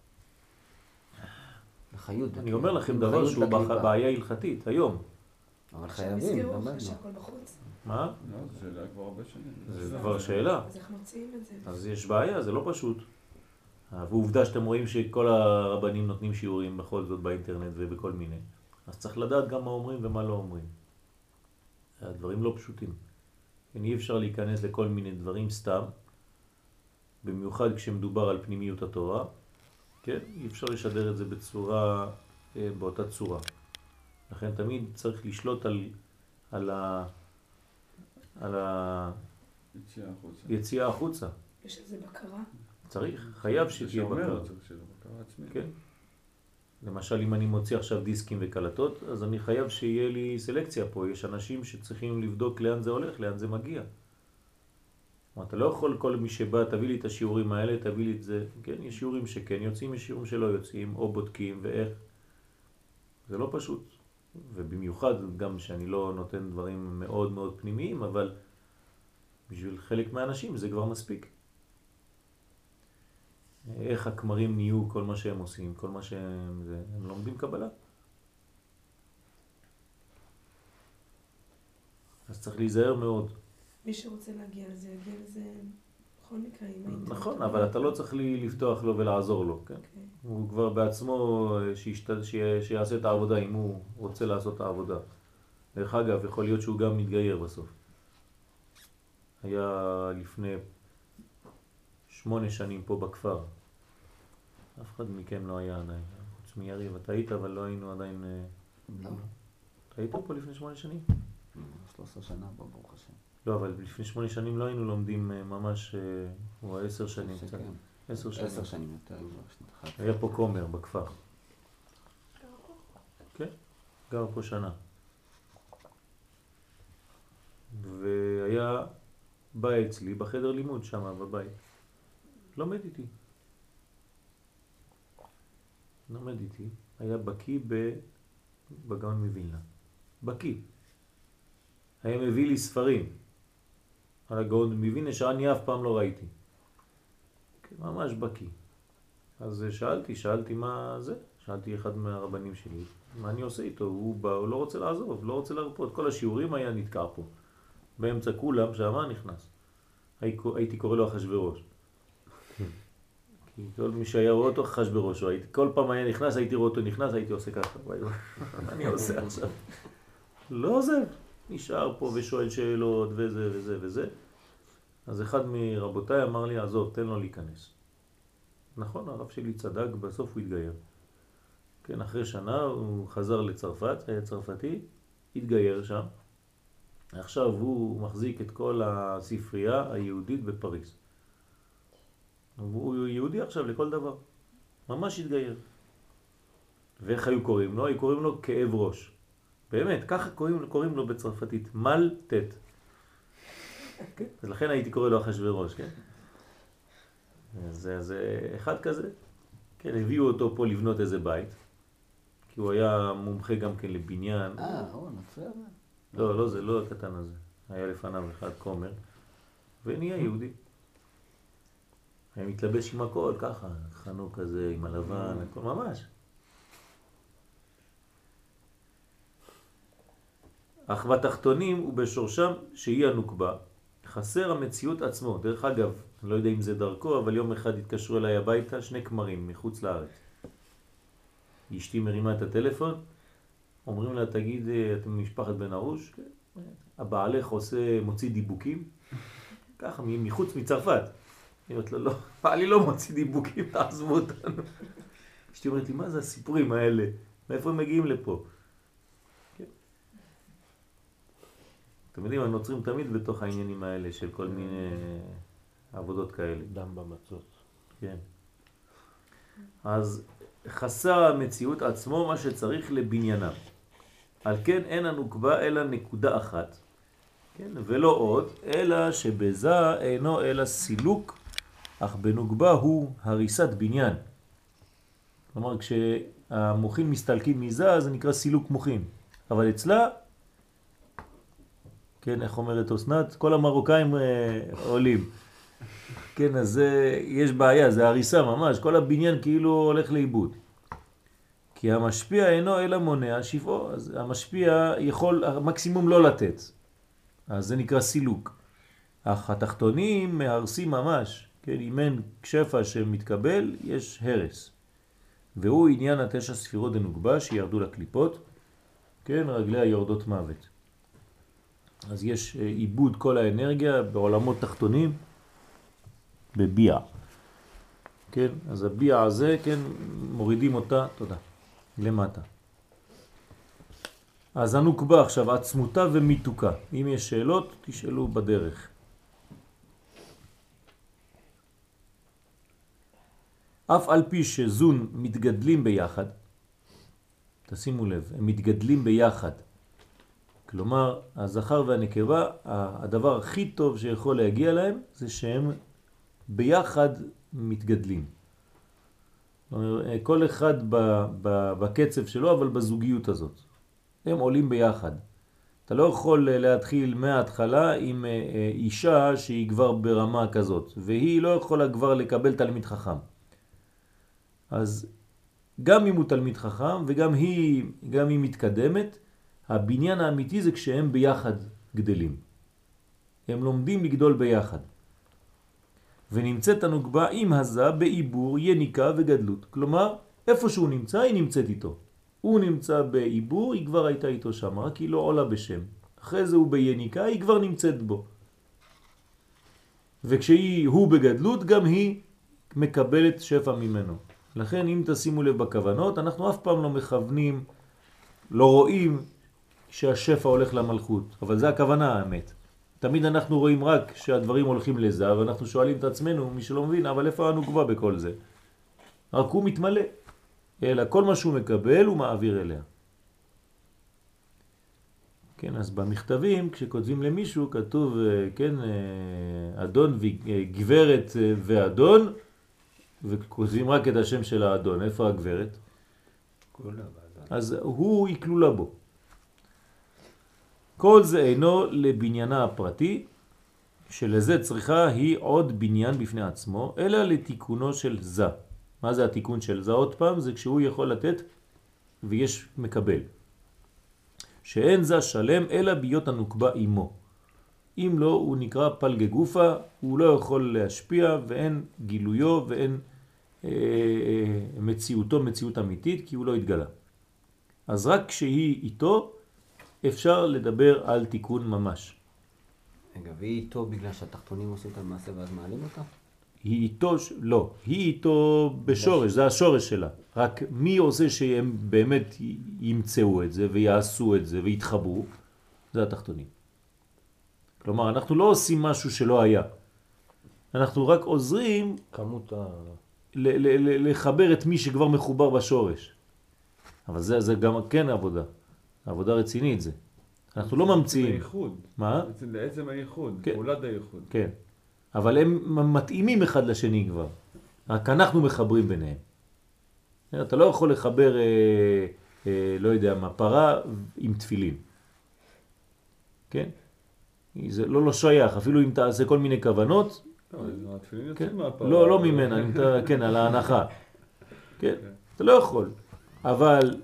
החיות. אני אומר לכם דבר שהוא בעיה הלכתית, היום. אבל עכשיו חייבים, נסגרו, למדנו. אחרי שהכל בחוץ. מה? לא, זו שאלה כבר הרבה שנים. זה כבר שאלה. אז איך מוציאים את זה? אז יש בעיה, זה לא פשוט. ועובדה שאתם רואים שכל הרבנים נותנים שיעורים בכל זאת באינטרנט ובכל מיני. אז צריך לדעת גם מה אומרים ומה לא אומרים. הדברים לא פשוטים. אי אפשר להיכנס לכל מיני דברים סתם, במיוחד כשמדובר על פנימיות התורה. כן? אי אפשר לשדר את זה בצורה, באותה צורה. לכן תמיד צריך לשלוט על היציאה החוצה. יש על זה בקרה? צריך, חייב שתהיה בקרה. בקרה עצמית. כן. למשל, אם אני מוציא עכשיו דיסקים וקלטות, אז אני חייב שיהיה לי סלקציה פה. יש אנשים שצריכים לבדוק לאן זה הולך, לאן זה מגיע. אתה לא יכול כל מי שבא, תביא לי את השיעורים האלה, תביא לי את זה. כן, יש שיעורים שכן יוצאים, יש שיעורים שלא יוצאים, או בודקים ואיך. זה לא פשוט. ובמיוחד גם שאני לא נותן דברים מאוד מאוד פנימיים, אבל בשביל חלק מהאנשים זה כבר מספיק. איך הכמרים נהיו כל מה שהם עושים, כל מה שהם... הם לומדים קבלה. אז צריך להיזהר מאוד. מי שרוצה להגיע לזה, יגיע לזה בכל מקרה עם האינטרנט. נכון, אבל אתה לא צריך לפתוח לו ולעזור לו, כן? הוא כבר בעצמו שיעשה את העבודה אם הוא רוצה לעשות את העבודה. דרך אגב, יכול להיות שהוא גם מתגייר בסוף. היה לפני 8 שנים פה בכפר. אף אחד מכם לא היה עדיין. חוץ מיריב, אתה היית, אבל לא היינו עדיין... לא. אתה היית פה לפני 8 שנים? 13 שנה פה, ברוך השם. לא, אבל לפני 8 שנים לא היינו לומדים ממש... הוא 10 שנים. 10 שנים. 10 שנים יותר. היה פה קומר בכפר. כן, גר פה שנה. והיה בא אצלי בחדר לימוד שם בבית. לומד איתי. לומד איתי. היה בקי בגאון מווילנה. בקי. היה מביא לי ספרים על הגאון מווילנה שאני אף פעם לא ראיתי. ממש בקי. אז שאלתי מה זה? שאלתי אחד מהרבנים שלי, מה אני עושה איתו? הוא בא, הוא לא רוצה לעזוב, לא רוצה להרפות. כל השיעורים היה נתקע פה. באמצע כולם, שמה נכנס. הייתי קורא לו אחשוורוש. כי כל מי שהיה רואה אותו אחשוורוש, כל פעם היה נכנס, הייתי רואה אותו נכנס, הייתי עושה ככה. מה אני עושה עכשיו? לא עוזב. נשאר פה ושואל שאלות וזה וזה וזה. אז אחד מרבותיי אמר לי, עזוב, תן לו להיכנס. נכון, הרב שלי צדק, בסוף הוא התגייר. כן, אחרי שנה הוא חזר לצרפת, היה צרפתי, התגייר שם. עכשיו הוא מחזיק את כל הספרייה היהודית בפריז. הוא יהודי עכשיו לכל דבר. ממש התגייר. ואיך היו קוראים לו? היו קוראים לו כאב ראש. באמת, ככה קוראים לו בצרפתית, מל-טט. אז לכן הייתי קורא לו אחשוורוש, כן? זה אחד כזה. כן, הביאו אותו פה לבנות איזה בית, כי הוא היה מומחה גם כן לבניין. הוא נוצר? לא, זה לא הקטן הזה. היה לפניו אחד כומר, ונהיה יהודי. היה מתלבש עם הכל, ככה, חנוק כזה, עם הלבן, הכל ממש. אך בתחתונים ובשורשם שהיא הנוקבה, חסר המציאות עצמו. דרך אגב, אני לא יודע אם זה דרכו, אבל יום אחד התקשרו אליי הביתה 2 כמרים מחוץ לארץ. אשתי מרימה את הטלפון, אומרים לה, תגיד, אתם משפחת בן ארוש? הבעלך מוציא דיבוקים, ככה, מחוץ מצרפת. היא אומרת לו, לא, בעלי לא מוציא דיבוקים, תעזבו אותנו. אשתי אומרת לי, מה זה הסיפורים האלה? מאיפה הם מגיעים לפה? כן. אתם יודעים, הנוצרים תמיד בתוך העניינים האלה של כל מיני עבודות כאלה. דם במצות. כן. אז חסר המציאות עצמו מה שצריך לבניינה. על כן אין הנוקבה אלא נקודה אחת, כן? ולא עוד, אלא שבזה אינו אלא סילוק, אך בנוקבה הוא הריסת בניין. כלומר, כשהמוחין מסתלקים מזה, זה נקרא סילוק מוחין. אבל אצלה, כן, איך אומרת אסנת? כל המרוקאים עולים. כן, אז יש בעיה, זה הריסה ממש, כל הבניין כאילו הולך לאיבוד. כי המשפיע אינו אלא מונע שפעו, אז המשפיע יכול המקסימום לא לתת. אז זה נקרא סילוק. אך התחתונים מהרסים ממש, כן, אם אין שפע שמתקבל, יש הרס. והוא עניין 9 ספירות דנוקבה שירדו לקליפות, כן, רגליה יורדות מוות. אז יש איבוד כל האנרגיה בעולמות תחתונים, בביע. כן, אז הביע הזה, כן, מורידים אותה, תודה, למטה. אז הנוקבה עכשיו, עצמותה ומיתוקה. אם יש שאלות, תשאלו בדרך. אף על פי שזון מתגדלים ביחד, תשימו לב, הם מתגדלים ביחד. כלומר, הזכר והנקבה, הדבר הכי טוב שיכול להגיע להם, זה שהם ביחד מתגדלים. כל אחד בקצב שלו, אבל בזוגיות הזאת. הם עולים ביחד. אתה לא יכול להתחיל מההתחלה עם אישה שהיא כבר ברמה כזאת, והיא לא יכולה כבר לקבל תלמיד חכם. אז גם אם הוא תלמיד חכם וגם היא מתקדמת, הבניין האמיתי זה כשהם ביחד גדלים. הם לומדים לגדול ביחד. ונמצאת הנוקבה עם הזה בעיבור, יניקה וגדלות. כלומר, איפה שהוא נמצא, היא נמצאת איתו. הוא נמצא בעיבור, היא כבר הייתה איתו שם, רק היא לא עולה בשם. אחרי זה הוא ביניקה, היא כבר נמצאת בו. וכשהוא בגדלות, גם היא מקבלת שפע ממנו. לכן, אם תשימו לב בכוונות, אנחנו אף פעם לא מכוונים, לא רואים שהשפע הולך למלכות. אבל זה הכוונה האמת. תמיד אנחנו רואים רק שהדברים הולכים לזה, ואנחנו שואלים את עצמנו, מי שלא מבין, אבל איפה הנוקבה בכל זה? רק הוא מתמלא. אלא כל מה שהוא מקבל הוא מעביר אליה. כן, אז במכתבים, כשכותבים למישהו, כתוב, כן, אדון וגברת ואדון, וכותבים רק את השם של האדון. איפה הגברת? אז הוא יקלולה בו. כל זה אינו לבניינה הפרטי, שלזה צריכה היא עוד בניין בפני עצמו, אלא לתיקונו של זה. מה זה התיקון של זה? עוד פעם, זה כשהוא יכול לתת ויש מקבל. שאין זה שלם אלא ביות הנוקבה עמו. אם לא, הוא נקרא פלגי גופה, הוא לא יכול להשפיע ואין גילויו ואין מציאותו מציאות אמיתית, כי הוא לא התגלה. אז רק כשהיא איתו אפשר לדבר על תיקון ממש. רגע, והיא איתו בגלל שהתחתונים עושים את המעשה ואז מעלים אותה? היא איתו, לא, היא איתו בשורש, זה השורש שלה. רק מי עושה שהם באמת ימצאו את זה ויעשו את זה ויתחברו? זה התחתונים. כלומר, אנחנו לא עושים משהו שלא היה. אנחנו רק עוזרים כמות לחבר את מי שכבר מחובר בשורש. אבל זה גם כן עבודה רצינית זה. אנחנו לא ממציאים. הייחוד. מה? לעצם הייחוד, כן. פעולת הייחוד. כן. אבל הם מתאימים אחד לשני כבר. רק אנחנו מחברים ביניהם. אתה לא יכול לחבר, לא יודע מה, פרה עם תפילין. כן? זה לא שייך, אפילו אם תעשה כל מיני כוונות. לא, התפילין כן? יוצאים מהפרה. לא ממנה, כן, על ההנחה. כן? אתה לא יכול. אבל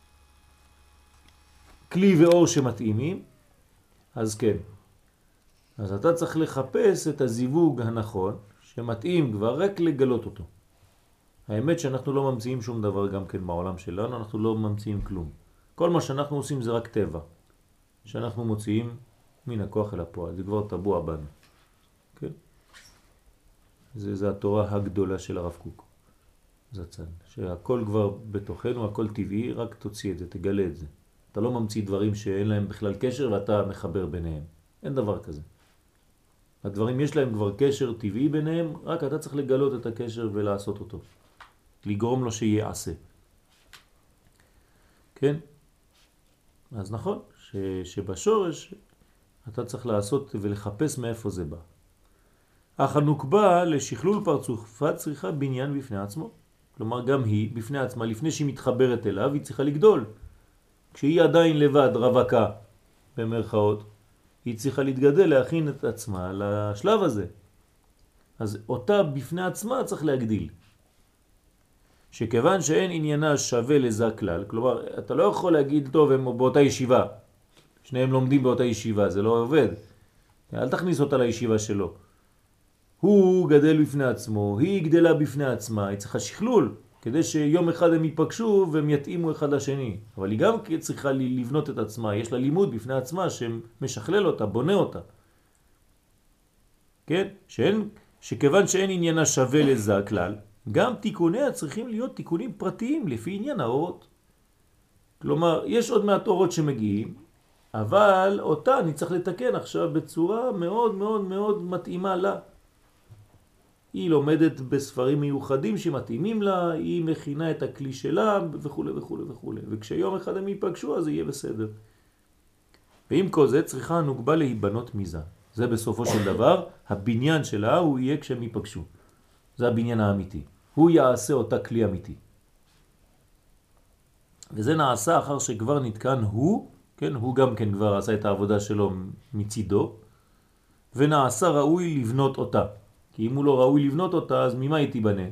כלי ואור שמתאימים, אז כן. אז אתה צריך לחפש את הזיווג הנכון, שמתאים כבר רק לגלות אותו. האמת שאנחנו לא ממציאים שום דבר גם כן בעולם שלנו, אנחנו לא ממציאים כלום. כל מה שאנחנו עושים זה רק טבע, שאנחנו מוציאים מן הכוח אל הפועל, זה כבר טבוע בנו. כן? זה התורה הגדולה של הרב קוק. זצ"ל, שהכל כבר בתוכנו, הכל טבעי, רק תוציא את זה, תגלה את זה. אתה לא ממציא דברים שאין להם בכלל קשר ואתה מחבר ביניהם. אין דבר כזה. הדברים יש להם כבר קשר טבעי ביניהם, רק אתה צריך לגלות את הקשר ולעשות אותו. לגרום לו שיעשה. כן? אז נכון, שבשורש אתה צריך לעשות ולחפש מאיפה זה בא. אך הנוקבה לשכלול פרצופה צריכה בניין בפני עצמו. כלומר גם היא בפני עצמה, לפני שהיא מתחברת אליו, היא צריכה לגדול. כשהיא עדיין לבד, רווקה, במרכאות, היא צריכה להתגדל, להכין את עצמה לשלב הזה. אז אותה בפני עצמה צריך להגדיל. שכיוון שאין עניינה שווה לזה כלל, כלומר, אתה לא יכול להגיד, טוב, הם באותה ישיבה. שניהם לומדים באותה ישיבה, זה לא עובד. אל תכניס אותה לישיבה שלו. הוא גדל בפני עצמו, היא גדלה בפני עצמה, היא צריכה שכלול, כדי שיום אחד הם ייפגשו והם יתאימו אחד לשני. אבל היא גם צריכה לבנות את עצמה, יש לה לימוד בפני עצמה שמשכלל אותה, בונה אותה. כן? שכיוון שאין עניינה שווה לזה הכלל, גם תיקוניה צריכים להיות תיקונים פרטיים לפי עניין האורות. כלומר, יש עוד מעט אורות שמגיעים, אבל אותה אני צריך לתקן עכשיו בצורה מאוד מאוד מאוד מתאימה לה. היא לומדת בספרים מיוחדים שמתאימים לה, היא מכינה את הכלי שלה וכו' וכו' וכו'. וכשיום אחד הם ייפגשו אז זה יהיה בסדר. ועם כל זה צריכה הנוגבה להיבנות מזה. זה בסופו של דבר, הבניין שלה הוא יהיה כשהם ייפגשו. זה הבניין האמיתי. הוא יעשה אותה כלי אמיתי. וזה נעשה אחר שכבר נתקן הוא, כן, הוא גם כן כבר עשה את העבודה שלו מצידו, ונעשה ראוי לבנות אותה. כי אם הוא לא ראוי לבנות אותה, אז ממה היא תיבנה?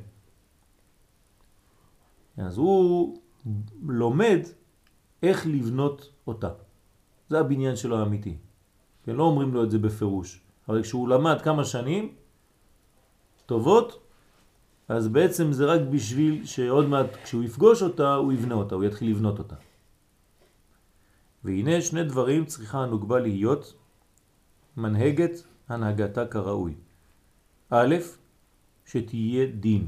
אז הוא לומד איך לבנות אותה. זה הבניין שלו האמיתי. כן, לא אומרים לו את זה בפירוש. אבל כשהוא למד כמה שנים טובות, אז בעצם זה רק בשביל שעוד מעט כשהוא יפגוש אותה, הוא יבנה אותה, הוא יתחיל לבנות אותה. והנה שני דברים צריכה הנוגבה להיות מנהגת הנהגתה כראוי. א', שתהיה דין.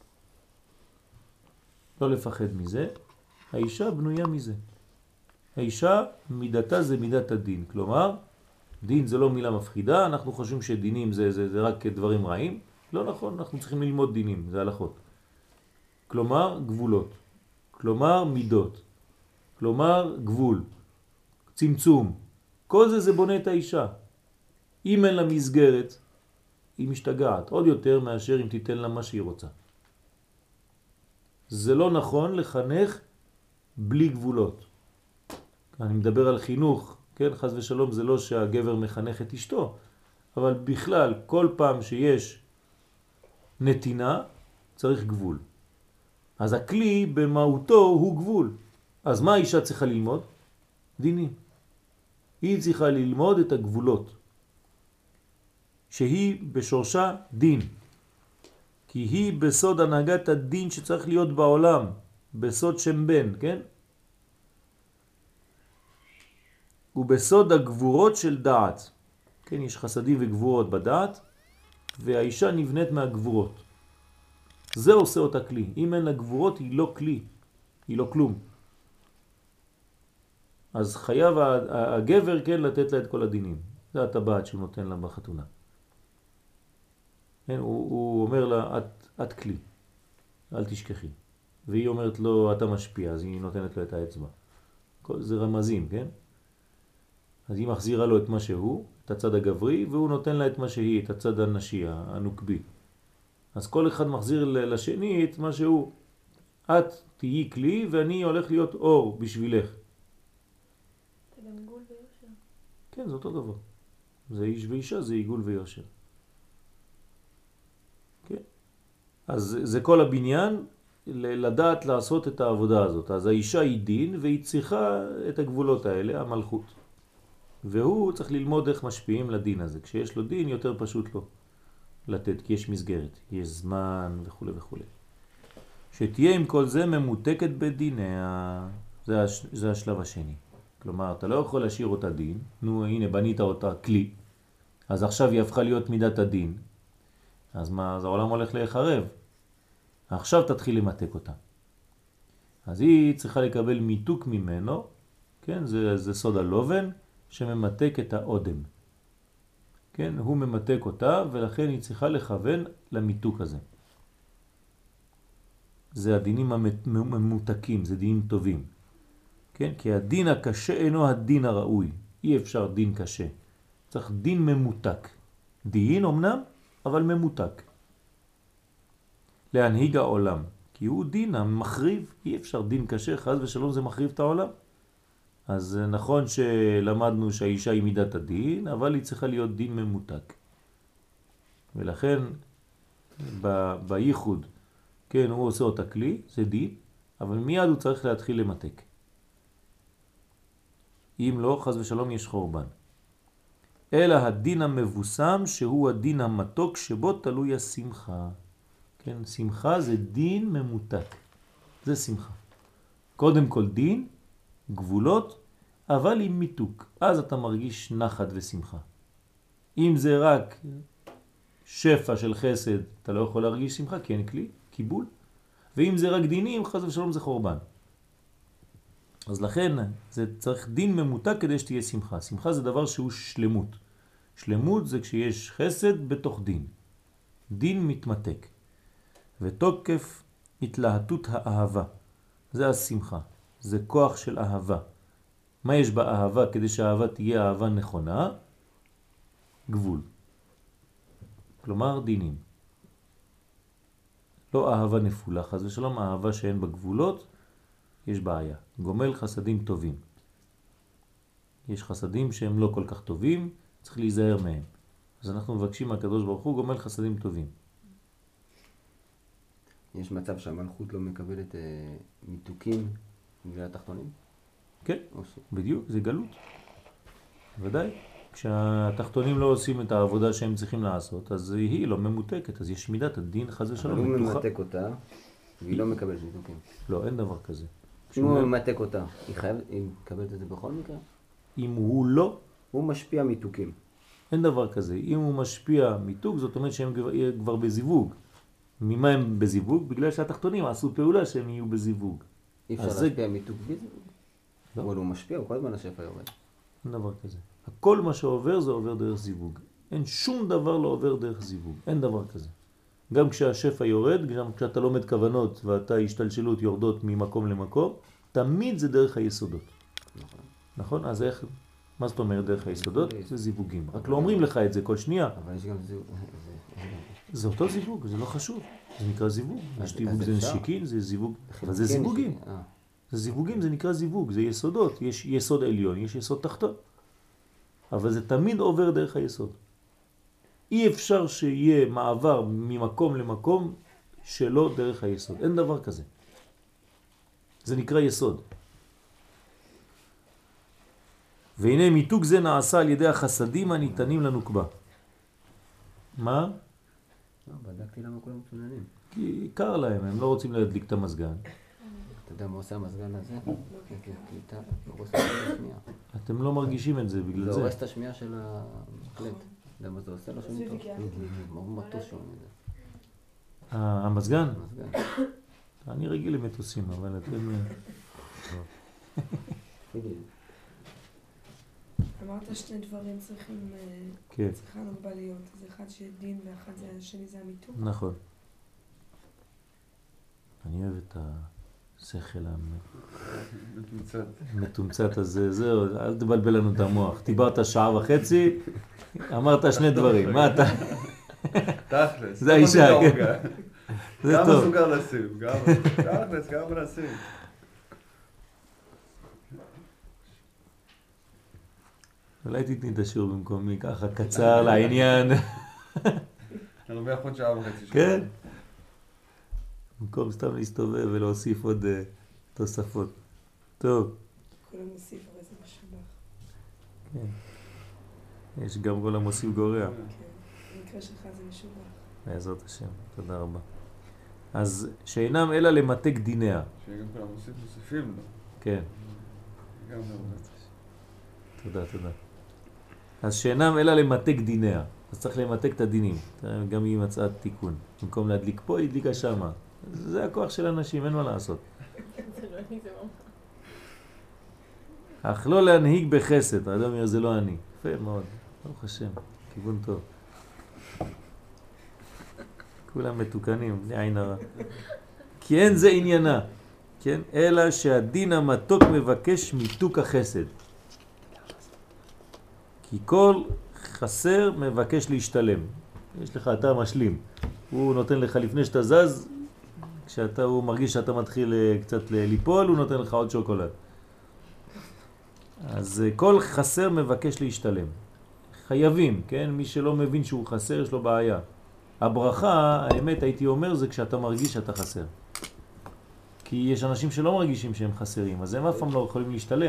לא לפחד מזה, האישה בנויה מזה. האישה מידתה זה מידת הדין, כלומר, דין זה לא מילה מפחידה, אנחנו חושבים שדינים זה רק דברים רעים. לא נכון, אנחנו צריכים ללמוד דינים, זה הלכות. כלומר, גבולות. כלומר, מידות. כלומר, גבול. צמצום. כל זה בונה את האישה. אם אין לה מסגרת, היא משתגעת עוד יותר מאשר אם תיתן לה מה שהיא רוצה. זה לא נכון לחנך בלי גבולות. אני מדבר על חינוך, כן? חס ושלום זה לא שהגבר מחנך את אשתו, אבל בכלל כל פעם שיש נתינה צריך גבול. אז הכלי במהותו הוא גבול. אז מה האישה צריכה ללמוד? דינים. היא צריכה ללמוד את הגבולות. שהיא בשורשה דין. כי היא בסוד הנהגת הדין שצריך להיות בעולם. בסוד שם בן, כן? ובסוד הגבורות של דעת. כן, יש חסדים וגבורות בדעת, והאישה נבנית מהגבורות. זה עושה אותה כלי. אם אין לה גבורות היא לא כלי. היא לא כלום. אז חייב הגבר כן לתת לה את כל הדינים. זה הטבעת שהוא נותן לה בחתונה. כן, הוא אומר לה, את כלי, אל תשכחי. והיא אומרת לו, אתה משפיע, אז היא נותנת לו את האצבע. זה רמזים, כן? אז היא מחזירה לו את מה שהוא, את הצד הגברי, והוא נותן לה את מה שהיא, את הצד הנשי, הנוקבי. אז כל אחד מחזיר לשני את מה שהוא. את תהיי כלי ואני הולך להיות אור בשבילך. זה גם עיגול ויושר. כן, זה אותו דבר. זה איש ואישה, זה עיגול ויושר. כן. אז זה כל הבניין לדעת לעשות את העבודה הזאת. אז האישה היא דין והיא צריכה את הגבולות האלה, המלכות. והוא צריך ללמוד איך משפיעים לדין הזה. כשיש לו דין יותר פשוט לו לתת, כי יש מסגרת, יש זמן וכו' וכו'. שתהיה עם כל זה ממותקת בדיניה. זה השלב השני. כלומר, אתה לא יכול להשאיר אותה דין. נו, הנה, בנית אותה כלי. אז עכשיו היא הפכה להיות מידת הדין. אז מה? אז העולם הולך להיחרב. עכשיו תתחיל למתק אותה. אז היא צריכה לקבל מיתוק ממנו. כן, זה סוד הלובן שממתק את האודם. כן, הוא ממתק אותה ולכן היא צריכה לכוון למיתוק הזה. זה הדינים הממותקים, זה דינים טובים. כן, כי הדין הקשה אינו הדין הראוי. אי אפשר דין קשה. צריך דין ממותק. דין אמנם, אבל ממותק. להנהיג העולם. כי הוא דין המחריב. אי אפשר דין קשה, חס ושלום זה מחריב את העולם. אז נכון שלמדנו שהאישה היא מידת הדין, אבל היא צריכה להיות דין ממותק. ולכן בייחוד, כן, הוא עושה אותה כלי, זה דין, אבל מיד הוא צריך להתחיל למתק. אם לא, חס ושלום יש חורבן. אלא הדין המבוסם שהוא הדין המתוק שבו תלוי השמחה. כן, שמחה זה דין ממותק. זה שמחה. קודם כל דין, גבולות, אבל עם מיתוק. אז אתה מרגיש נחת ושמחה. אם זה רק שפע של חסד, אתה לא יכול להרגיש שמחה, כי אין כלי, קיבול. ואם זה רק דינים, חס ושלום זה חורבן. אז לכן זה צריך דין ממותק כדי שתהיה שמחה. שמחה זה דבר שהוא שלמות. שלמות זה כשיש חסד בתוך דין. דין מתמתק. ותוקף התלהטות האהבה. זה השמחה. זה כוח של אהבה. מה יש באהבה כדי שהאהבה תהיה אהבה נכונה? גבול. כלומר דינים. לא אהבה נפולה, חס ושלום, אהבה שאין בה גבולות, יש בעיה. גומל חסדים טובים. יש חסדים שהם לא כל כך טובים, צריך להיזהר מהם. אז אנחנו מבקשים מהקדוש ברוך הוא גומל חסדים טובים. יש מצב שהמלכות לא מקבלת מיתוקים בגלל התחתונים? כן, בדיוק, זה גלות. ודאי. כשהתחתונים לא עושים את העבודה שהם צריכים לעשות, אז היא לא ממותקת, אז יש מידת הדין חס ושלום. אבל הוא ממתק אותה, והיא לא מקבלת מיתוקים. לא, אין דבר כזה. אם הוא ממתק אותה, היא מקבלת את זה בכל מקרה? אם הוא לא, הוא משפיע מיתוקים. אין דבר כזה. אם הוא משפיע מיתוק, זאת אומרת שהם כבר בזיווג. ממה הם בזיווג? בגלל שהתחתונים עשו פעולה שהם יהיו בזיווג. אי אפשר להשפיע מיתוק בזיווג? לא. אבל הוא משפיע, הוא כל הזמן השפע יורד. אין דבר כזה. הכל מה שעובר זה עובר דרך זיווג. אין שום דבר לא עובר דרך זיווג. אין דבר כזה. גם כשהשפע יורד, גם כשאתה לומד כוונות ואתה השתלשלות יורדות ממקום למקום, תמיד זה דרך היסודות. נכון. נכון? אז איך? מה זאת אומרת דרך היסודות? זה זיווגים. רק לא אומרים לך את זה כל שנייה. אבל יש גם זיווג. זה אותו זיווג, זה לא חשוב. זה נקרא זיווג. זיווג זה נשיקין, זה זיווג. אבל זה זיווגים. זה זיווגים, זה נקרא זיווג, זה יסודות. יש יסוד עליון, יש יסוד תחתון. אבל זה תמיד עובר דרך היסוד. אי אפשר שיהיה מעבר ממקום למקום שלא דרך היסוד. אין דבר כזה. זה נקרא יסוד. והנה מיתוק זה נעשה על ידי החסדים הניתנים לנוקבה. מה? בדקתי למה כולם מצוננים. כי קר להם, הם לא רוצים להדליק את המסגן. אתה יודע מה עושה המסגן הזה? קליטה, הורס את השמיעה. אתם לא מרגישים את זה בגלל זה זה. הורס את השמיעה של המקלט. אתה יודע מה זה עושה? לא שומעים טוב. מאוד מטוס שומעים את זה. המסגן? המסגן. אני רגיל למטוסים, אבל אתם... אמרת שני דברים צריכים, כן. צריכה נוגבה להיות. אז אחד שדין ואחד זה השני זה המיתוק. נכון. אני אוהב את השכל המתומצת הזה, זהו, אל תבלבל לנו את המוח. דיברת שעה וחצי, אמרת שני דברים, מה אתה? תכלס. זה האישה, כן. זה גם טוב. מסוגל לשים, גם תכלס, גם מנסים. אולי תתני את השיעור במקומי, ככה קצר לעניין. אני לומח עוד שעה וחצי. כן. במקום סתם להסתובב ולהוסיף עוד תוספות. טוב. כולם מוסיף, אבל זה משובח. כן. יש גם כל המוסיף גורע. כן, במקרה שלך זה משובח. בעזרת השם, תודה רבה. אז שאינם אלא למתק דיניה. שיהיה גם כולם מוסיפים לו. כן. גם נעוד. תודה, תודה. אז שאינם אלא למתק דיניה. אז צריך למתק את הדינים. גם היא מצאה תיקון. במקום להדליק פה, היא הדליקה שמה. זה הכוח של אנשים, אין מה לעשות. זה לא אני, זה ממש. אך לא להנהיג בחסד. האדם אומר, זה לא אני. יפה מאוד. ברוך השם. כיוון טוב. כולם מתוקנים, בלי עין הרע. כי אין זה עניינה. כן? אלא שהדין המתוק מבקש מיתוק החסד. כי כל חסר מבקש להשתלם. יש לך, אתה משלים. הוא נותן לך לפני שאתה זז, הוא מרגיש שאתה מתחיל קצת ליפול, הוא נותן לך עוד שוקולד. אז כל חסר מבקש להשתלם. חייבים, כן? מי שלא מבין שהוא חסר, יש לו בעיה. הברכה, האמת הייתי אומר, זה כשאתה מרגיש שאתה חסר. כי יש אנשים שלא מרגישים שהם חסרים, אז הם אף פעם לא יכולים להשתלם.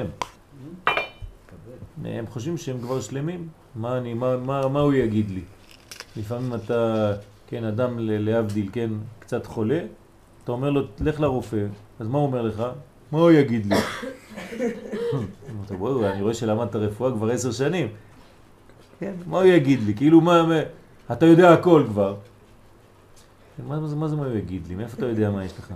הם חושבים שהם כבר שלמים. מה הוא יגיד לי? לפעמים אתה, כן, אדם להבדיל, כן, קצת חולה, אתה אומר לו, לך לרופא, אז מה הוא אומר לך? מה הוא יגיד לי? בואו, אני רואה שלמדת רפואה כבר 10 שנים. כן, מה הוא יגיד לי? כאילו, אתה יודע הכל כבר. מה זה מה הוא יגיד לי? מאיפה אתה יודע מה יש לך?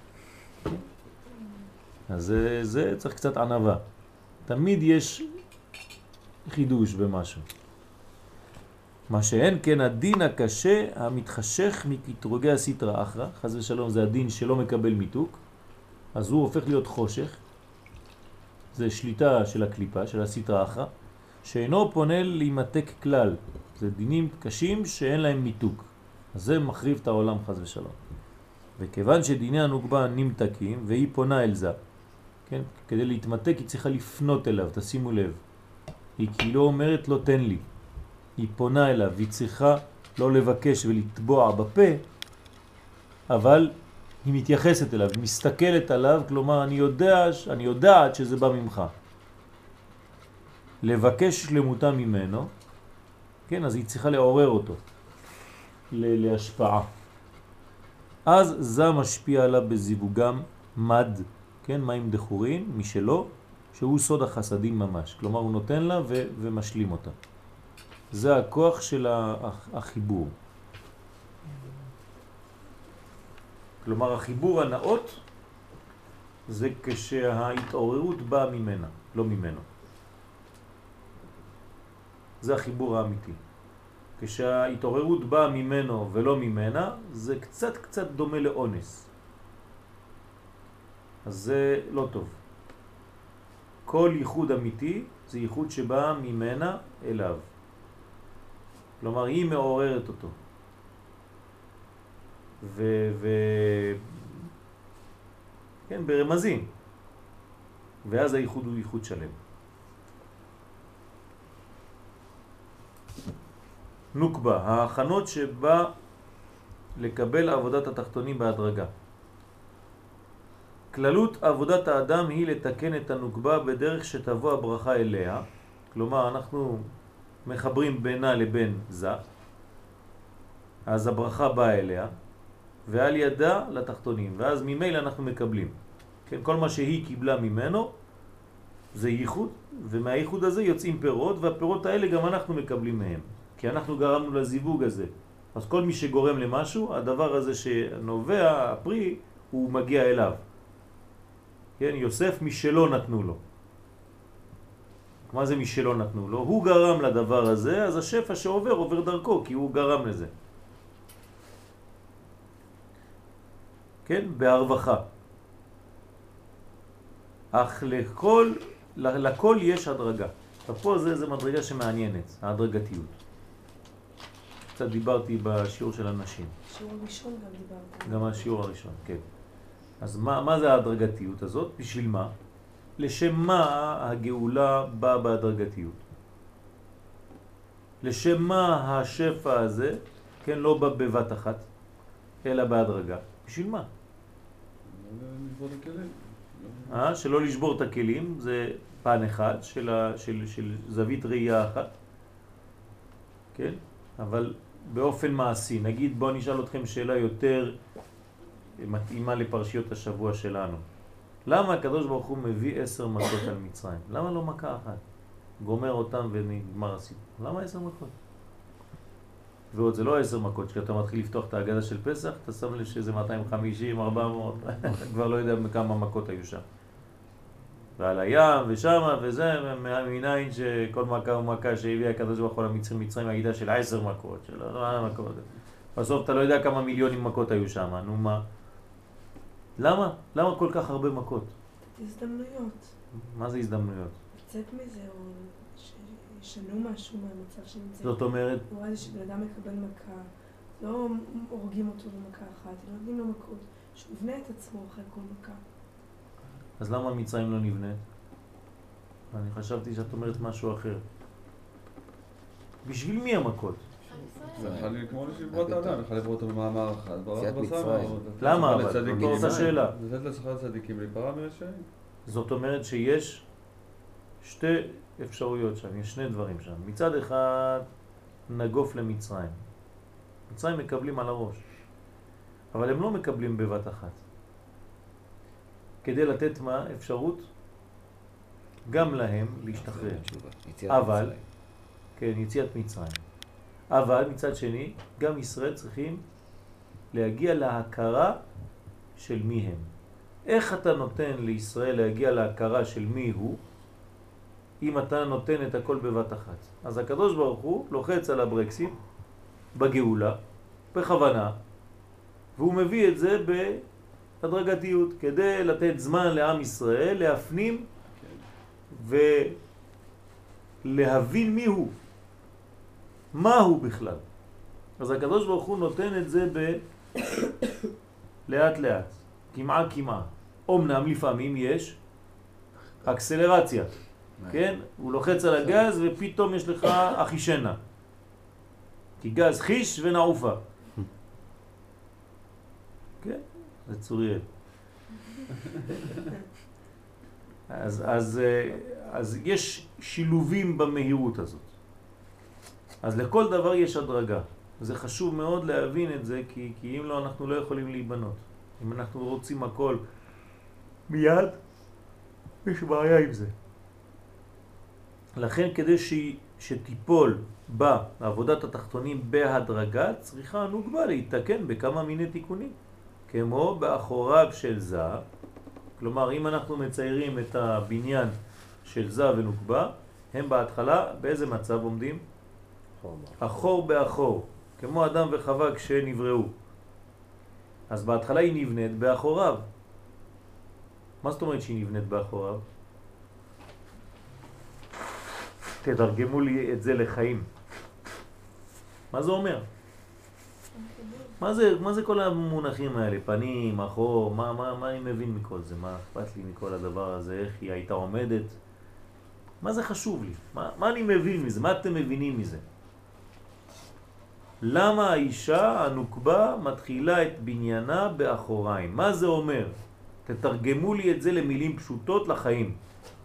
אז זה צריך קצת ענווה. תמיד יש חידוש במשהו. מה שאין כן הדין הקשה המתחשך מקטרוגי הסתרא אחרא, חס ושלום זה הדין שלא מקבל מיתוק, אז הוא הופך להיות חושך, זה שליטה של הקליפה, של הסתרא אחרא, שאינו פונה להימתק כלל, זה דינים קשים שאין להם מיתוק, אז זה מחריב את העולם חס ושלום. וכיוון שדיני הנוגבה נמתקים והיא פונה אל זה, כן? כדי להתמתק היא צריכה לפנות אליו, תשימו לב, היא כאילו אומרת לא תן לי, היא פונה אליו, היא צריכה לא לבקש ולטבוע בפה, אבל היא מתייחסת אליו, היא מסתכלת עליו, כלומר אני יודעת שזה בא ממך. לבקש שלמותה ממנו, כן, אז היא צריכה לעורר אותו, להשפעה. אז זה משפיע עליו בזיווגם מד, כן, מים דחורין, משלו, שהוא סוד החסדים ממש. כלומר הוא נותן לה ומשלים אותה. זה הכוח של החיבור. כלומר החיבור הנאות זה כשההתעוררות באה ממנה, לא ממנו. זה החיבור האמיתי. כשההתעוררות באה ממנו ולא ממנה, זה קצת דומה לאונס. אז זה לא טוב. כל ייחוד אמיתי זה ייחוד שבא ממנה אליו. כלומר היא מעוררת אותו. כן, ברמזים. ואז הייחוד הוא ייחוד שלם. נוקבה, ההכנות שבא לקבל עבודת התחתונים בהדרגה. כללות עבודת האדם היא לתקן את הנוקבה בדרך שתבוא הברכה אליה, כלומר אנחנו מחברים בינה לבין זה, אז הברכה באה אליה, ועל ידה לתחתונים, ואז ממילא אנחנו מקבלים. כן, כל מה שהיא קיבלה ממנו זה ייחוד, ומהייחוד הזה יוצאים פירות, והפירות האלה גם אנחנו מקבלים מהם, כי אנחנו גרמנו לזיווג הזה. אז כל מי שגורם למשהו, הדבר הזה שנובע, הפרי, הוא מגיע אליו. כן, יוסף משלו נתנו לו. מה זה משלו נתנו לו? הוא גרם לדבר הזה, אז השפע שעובר עובר דרכו, כי הוא גרם לזה. כן, בהרווחה. אך לכל יש הדרגה. ופה זה מדרגה שמעניינת, ההדרגתיות. קצת דיברתי בשיעור של הנשים. שיעור ראשון גם דיברתי. גם השיעור הראשון, כן. אז מה זה ההדרגתיות הזאת? בשביל מה? לשם מה הגאולה באה בהדרגתיות? לשם מה השפע הזה, כן, לא בא בבת אחת, אלא בהדרגה? בשביל מה? לשבור את הכלים. שלא לשבור את הכלים, זה פן אחד של זווית ראייה אחת, כן? אבל באופן מעשי, נגיד בואו נשאל אתכם שאלה יותר מתאימה לפרשיות השבוע שלנו. למה הקדוש ברוך הוא מביא 10 מכות על מצרים? למה לא מכה אחת? גומר אותם ונגמר הסיפור. למה 10 מכות? ועוד זה לא 10 מכות, כשאתה מתחיל לפתוח את ההגדה של פסח, אתה שם לב שזה 250, 400, כבר לא יודע כמה מכות היו שם. ועל הים ושמה וזה, מניין שכל מכה ומכה שהביא הקדוש ברוך הוא למצרים הגידה של 10 מכות, של 4 מכות. בסוף אתה לא יודע כמה מיליונים מכות היו שם, נו מה? למה? למה כל כך הרבה מכות? הזדמנויות. מה זה הזדמנויות? לצאת מזה, או שישנו משהו מהמצב שנמצא. זאת אומרת? הוא רואה שבן אדם מקבל מכה, לא הורגים אותו במכה אחת, לא נותנים לו מכות, שהוא יבנה את עצמו אחרי כל מכה. אז למה מצרים לא נבנית? אני חשבתי שאת אומרת משהו אחר. בשביל מי המכות? זה יכול לקרוא לשברות האדם, יכול לברוא אותו במאמר אחד, ברח בסמר. למה אבל? זאת אותה שאלה. לתת לשכר צדיקים להיפרע מרשעים. זאת אומרת שיש שתי אפשרויות שם, יש שני דברים שם. מצד אחד נגוף למצרים. מצרים מקבלים על הראש, אבל הם לא מקבלים בבת אחת. כדי לתת מה? אפשרות גם להם להשתחרר. אבל, כן, יציאת מצרים. אבל מצד שני, גם ישראל צריכים להגיע להכרה של מי הם. איך אתה נותן לישראל להגיע להכרה של מי הוא, אם אתה נותן את הכל בבת אחת? אז הקדוש ברוך הוא לוחץ על הברקסים בגאולה, בכוונה, והוא מביא את זה בהדרגתיות, כדי לתת זמן לעם ישראל להפנים ולהבין מי הוא, מה הוא בכלל. אז הקדוש ברוך הוא נותן את זה לאט לאט, כמעה כמעה. אומנם לפעמים יש אקסלרציה, כן? הוא לוחץ על הגז ופתאום יש לך אחישנה, כי גז חיש ונעופה. כן, זה צוריאל. אז יש שילובים במהירות הזאת. אז לכל דבר יש הדרגה. זה חשוב מאוד להבין את זה, כי אם לא, אנחנו לא יכולים להיבנות. אם אנחנו רוצים הכל מיד, יש בעיה עם זה. לכן כדי שתיפול בעבודת התחתונים בהדרגה, צריכה הנוגבה להתקן בכמה מיני תיקונים. כמו באחוריו של זה, כלומר אם אנחנו מציירים את הבניין של זה ונוגבה, הם בהתחלה באיזה מצב עומדים? אחור באחור, כמו אדם וחווה כשנבראו. אז בהתחלה היא נבנית באחוריו. מה זאת אומרת שהיא נבנית באחוריו? תתרגמו לי את זה לחיים. מה זה אומר? מה זה כל המונחים האלה? פנים, אחור, מה אני מבין מכל זה? מה אכפת לי מכל הדבר הזה? איך היא הייתה עומדת? מה זה חשוב לי? מה אני מבין מזה? מה אתם מבינים מזה? למה האישה הנוקבה מתחילה את בניינה באחוריים? מה זה אומר? תתרגמו לי את זה למילים פשוטות לחיים.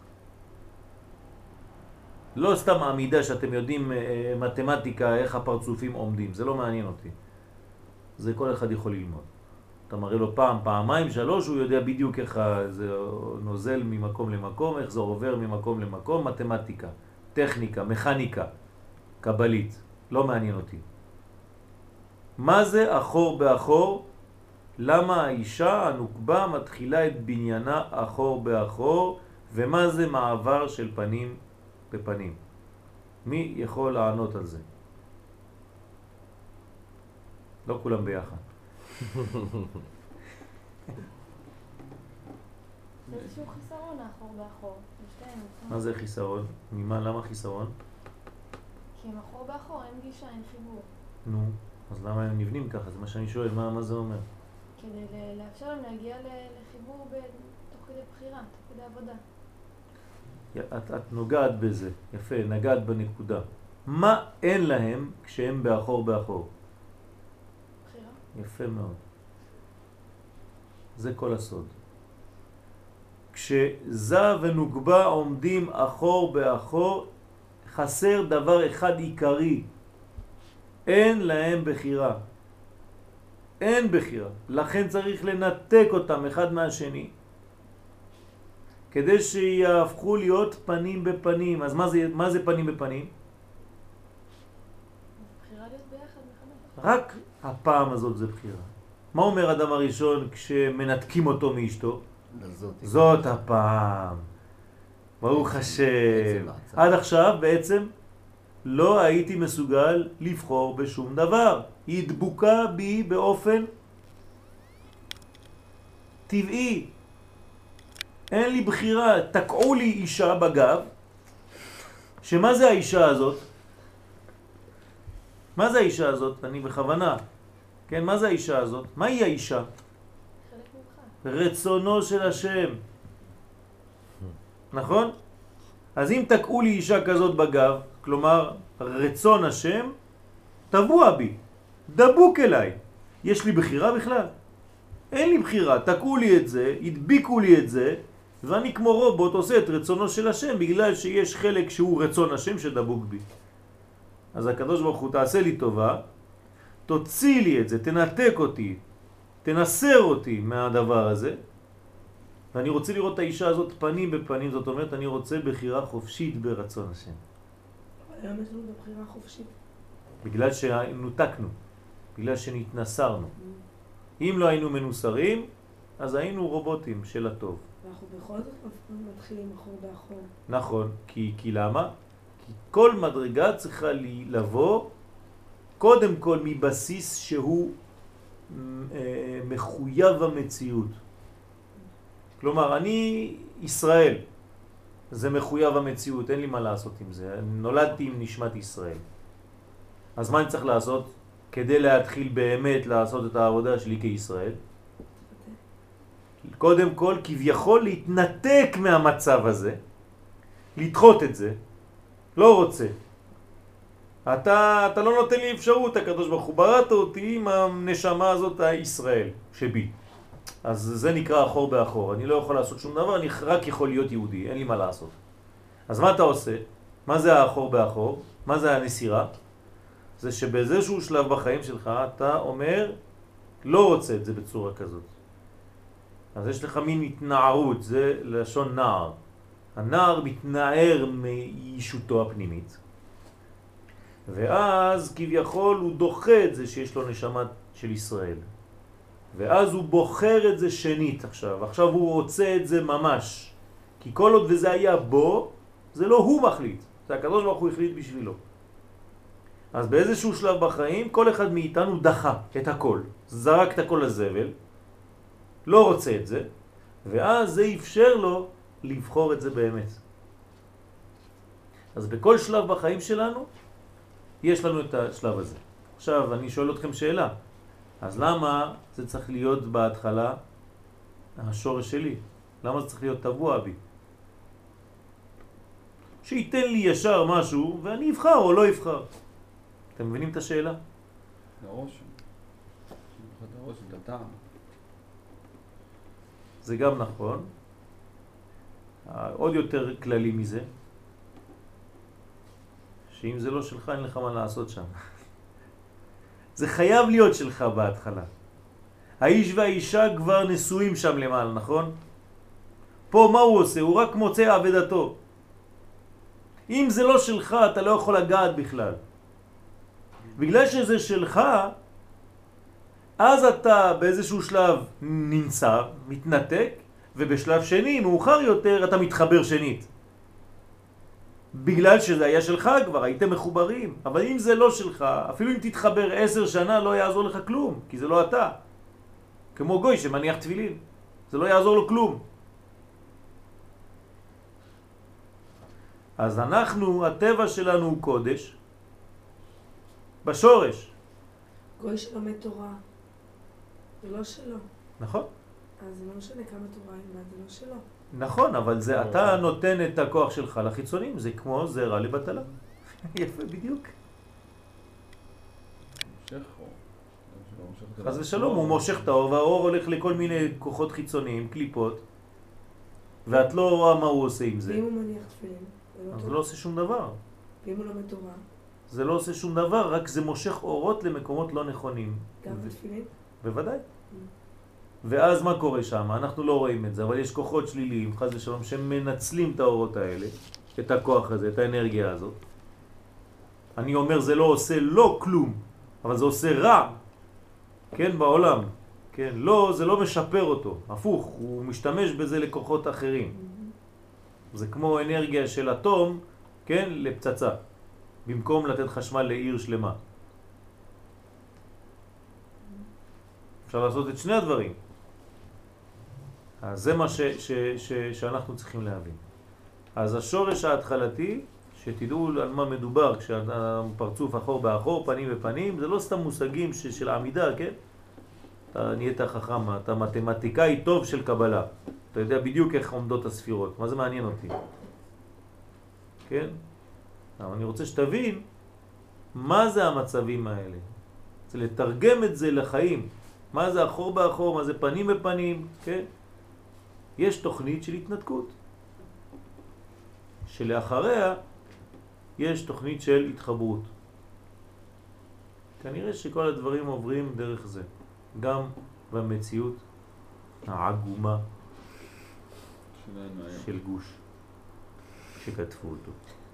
לא סתם עמידה שאתם יודעים מתמטיקה, איך הפרצופים עומדים. זה לא מעניין אותי. זה כל אחד יכול ללמוד. אתה מראה לו פעם, פעמיים, 3, הוא יודע בדיוק איך זה נוזל ממקום למקום, איך זה עובר ממקום למקום, מתמטיקה, טכניקה, מכניקה, קבלית. לא מעניין אותי. מה זה אחור באחור? למה האישה הנוקבה מתחילה את בניינה אחור באחור? ומה זה מעבר של פנים בפנים? מי יכול לענות על זה? לא כולם ביחד. זה איזשהו חיסרון האחור באחור. מה זה חיסרון? ממה? למה חיסרון? כי עם אחור באחור אין גישה, אין חיבור. נו, אז למה הם נבנים ככה? זה מה שאני שואל, מה זה אומר? כדי לאפשר להם להגיע לחיבור תוך כדי בחירה, תוך כדי עבודה. את נוגעת בזה, יפה, נגעת בנקודה. מה אין להם כשהם באחור? בחירה. יפה מאוד. זה כל הסוד. כשזה ונוגבה עומדים אחור באחור, חסר דבר אחד עיקרי. אין להם בחירה. אין בחירה. לכן צריך לנתק אותם אחד מהשני, כדי שיהפכו להיות פנים בפנים. אז מה זה פנים בפנים? בחירה להיות ביחד מחדש. רק הפעם הזאת זה בחירה. מה אומר אדם הראשון כשמנתקים אותו מאשתו? זאת הפעם. ברוך השם. עד עכשיו בעצם לא הייתי מסוגל לבחור בשום דבר. היא דבוקה בי באופן טבעי. אין לי בחירה. תקעו לי אישה בגב. שמה זה האישה הזאת? מה זה האישה הזאת? אני בכוונה. כן, מה זה האישה הזאת? מה היא האישה? חלק ממך. רצונו של השם. נכון? אז אם תקעו לי אישה כזאת בגב, כלומר רצון השם, טבוע בי, דבוק אליי. יש לי בחירה בכלל? אין לי בחירה. תקעו לי את זה, הדביקו לי את זה, ואני כמו רובוט עושה את רצונו של השם, בגלל שיש חלק שהוא רצון השם שדבוק בי. אז הקדוש ברוך הוא תעשה לי טובה, תוציא לי את זה, תנתק אותי, תנסר אותי מהדבר הזה, ואני רוצה לראות את האישה הזאת פנים בפנים. זאת אומרת, אני רוצה בחירה חופשית ברצון השם. היום יש לנו בחירה חופשית. בגלל שנותקנו, בגלל שנתנסרנו. אם לא היינו מנוסרים, אז היינו רובוטים של הטוב. ואנחנו בכל זאת מתחילים אחור באחור. נכון, כי למה? כי כל מדרגה צריכה לבוא קודם כל מבסיס שהוא מחויב המציאות. כלומר, אני ישראל, זה מחויב המציאות, אין לי מה לעשות עם זה. נולדתי עם נשמת ישראל. אז מה אני צריך לעשות כדי להתחיל באמת לעשות את העבודה שלי כישראל? קודם כל, כביכול להתנתק מהמצב הזה, לדחות את זה, לא רוצה. אתה לא נותן לי אפשרות, הקדוש ברוך הוא בראת אותי עם הנשמה הזאת הישראל שבי. אז זה נקרא אחור באחור. אני לא יכול לעשות שום דבר, אני רק יכול להיות יהודי, אין לי מה לעשות. אז מה אתה עושה? מה זה האחור באחור? מה זה הנסירה? זה שבאיזשהו שלב בחיים שלך אתה אומר, לא רוצה את זה בצורה כזאת. אז יש לך מין התנערות, זה לשון נער. הנער מתנער מישותו הפנימית. ואז כביכול הוא דוחה את זה שיש לו נשמה של ישראל. ואז הוא בוחר את זה שנית עכשיו. עכשיו הוא רוצה את זה ממש. כי כל עוד וזה היה בו, זה לא הוא מחליט. זה הקדוש ברוך הוא החליט בשבילו. אז באיזשהו שלב בחיים, כל אחד מאיתנו דחה את הכל. זרק את הכל לזבל, לא רוצה את זה, ואז זה אפשר לו לבחור את זה באמת. אז בכל שלב בחיים שלנו, יש לנו את השלב הזה. עכשיו, אני שואל אתכם שאלה. אז למה זה צריך להיות בהתחלה השורש שלי? למה זה צריך להיות טבוע בי? שייתן לי ישר משהו ואני אבחר או לא אבחר. אתם מבינים את השאלה? לראש. לראש, את הטעם. זה גם נכון. עוד יותר כללי מזה, שאם זה לא שלך אין לך מה לעשות שם. זה חייב להיות שלך בהתחלה. האיש והאישה כבר נשואים שם למעלה, נכון? פה מה הוא עושה? הוא רק מוצא עבדתו. אם זה לא שלך אתה לא יכול לגעת בכלל. בגלל שזה שלך, אז אתה באיזשהו שלב נמצא, מתנתק, ובשלב שני, מאוחר יותר, אתה מתחבר שנית. בגלל שזה היה שלך כבר, הייתם מחוברים. אבל אם זה לא שלך, אפילו אם תתחבר 10 שנה, לא יעזור לך כלום, כי זה לא אתה. כמו גוי שמניח תפילין, זה לא יעזור לו כלום. אז אנחנו, הטבע שלנו הוא קודש, בשורש. גוי שלומד תורה, זה לא שלו. נכון? אז זה לא משנה כמה תורה ילמד, זה לא שלו. נכון, אבל זה אתה נותן את הכוח שלך לחיצונים, זה כמו זרע לבטלה. יפה, בדיוק. אז ושלום, הוא מושך את האור, והאור הולך לכל מיני כוחות חיצוניים, קליפות, ואת לא רואה מה הוא עושה עם זה. ואם הוא מניח תפילין, אז זה לא עושה שום דבר. ואם הוא לומד תורה, זה לא עושה שום דבר, רק זה מושך אורות למקומות לא נכונים. גם בתפילין? בוודאי. ואז מה קורה שם? אנחנו לא רואים את זה, אבל יש כוחות שליליים, חס ושלום, שמנצלים את האורות האלה, את הכוח הזה, את האנרגיה הזאת. אני אומר, זה לא עושה לא כלום, אבל זה עושה רע, כן, בעולם. כן, לא, זה לא משפר אותו, הפוך, הוא משתמש בזה לכוחות אחרים. זה כמו אנרגיה של אטום, כן, לפצצה, במקום לתת חשמל לעיר שלמה. אפשר לעשות את שני הדברים. אז זה מה שאנחנו צריכים להבין. אז השורש ההתחלתי, שתדעו על מה מדובר, כשהפרצוף אחור באחור, פנים בפנים, זה לא סתם מושגים של העמידה, כן? אתה נהיית חכם, אתה מתמטיקאי טוב של קבלה. אתה יודע בדיוק איך עומדות הספירות. מה זה מעניין אותי? כן? אבל אני רוצה שתבין מה זה המצבים האלה. זה לתרגם את זה לחיים. מה זה אחור באחור, מה זה פנים בפנים, כן? יש תוכנית של התנתקות. שלאחריה יש תוכנית של התחברות. כנראה שכל הדברים עוברים דרך זה. גם במציאות העגומה של גוש שכתבו אותו.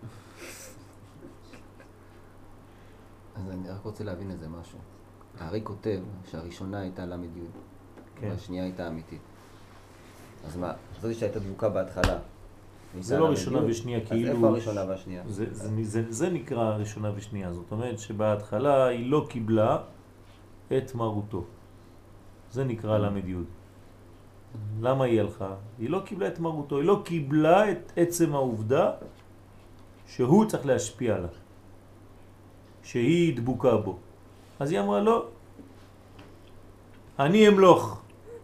אז אני רק רוצה להבין איזה משהו. הארי כותב שהראשונה הייתה למד י' והשנייה הייתה אמיתית. אז מה? זאת שהייתה דבוקה בהתחלה. זה לא ראשונה ושנייה, כאילו... אז איפה הראשונה והשנייה? זה נקרא ראשונה ושנייה. זאת אומרת שבהתחלה היא לא קיבלה את מרותו. זה נקרא למד י'. למה היא הלכה? היא לא קיבלה את מרותו, היא לא קיבלה את עצם העובדה שהוא צריך להשפיע עליו. שהיא דבוקה בו. אז היא אמרה לא, אני אמלוך.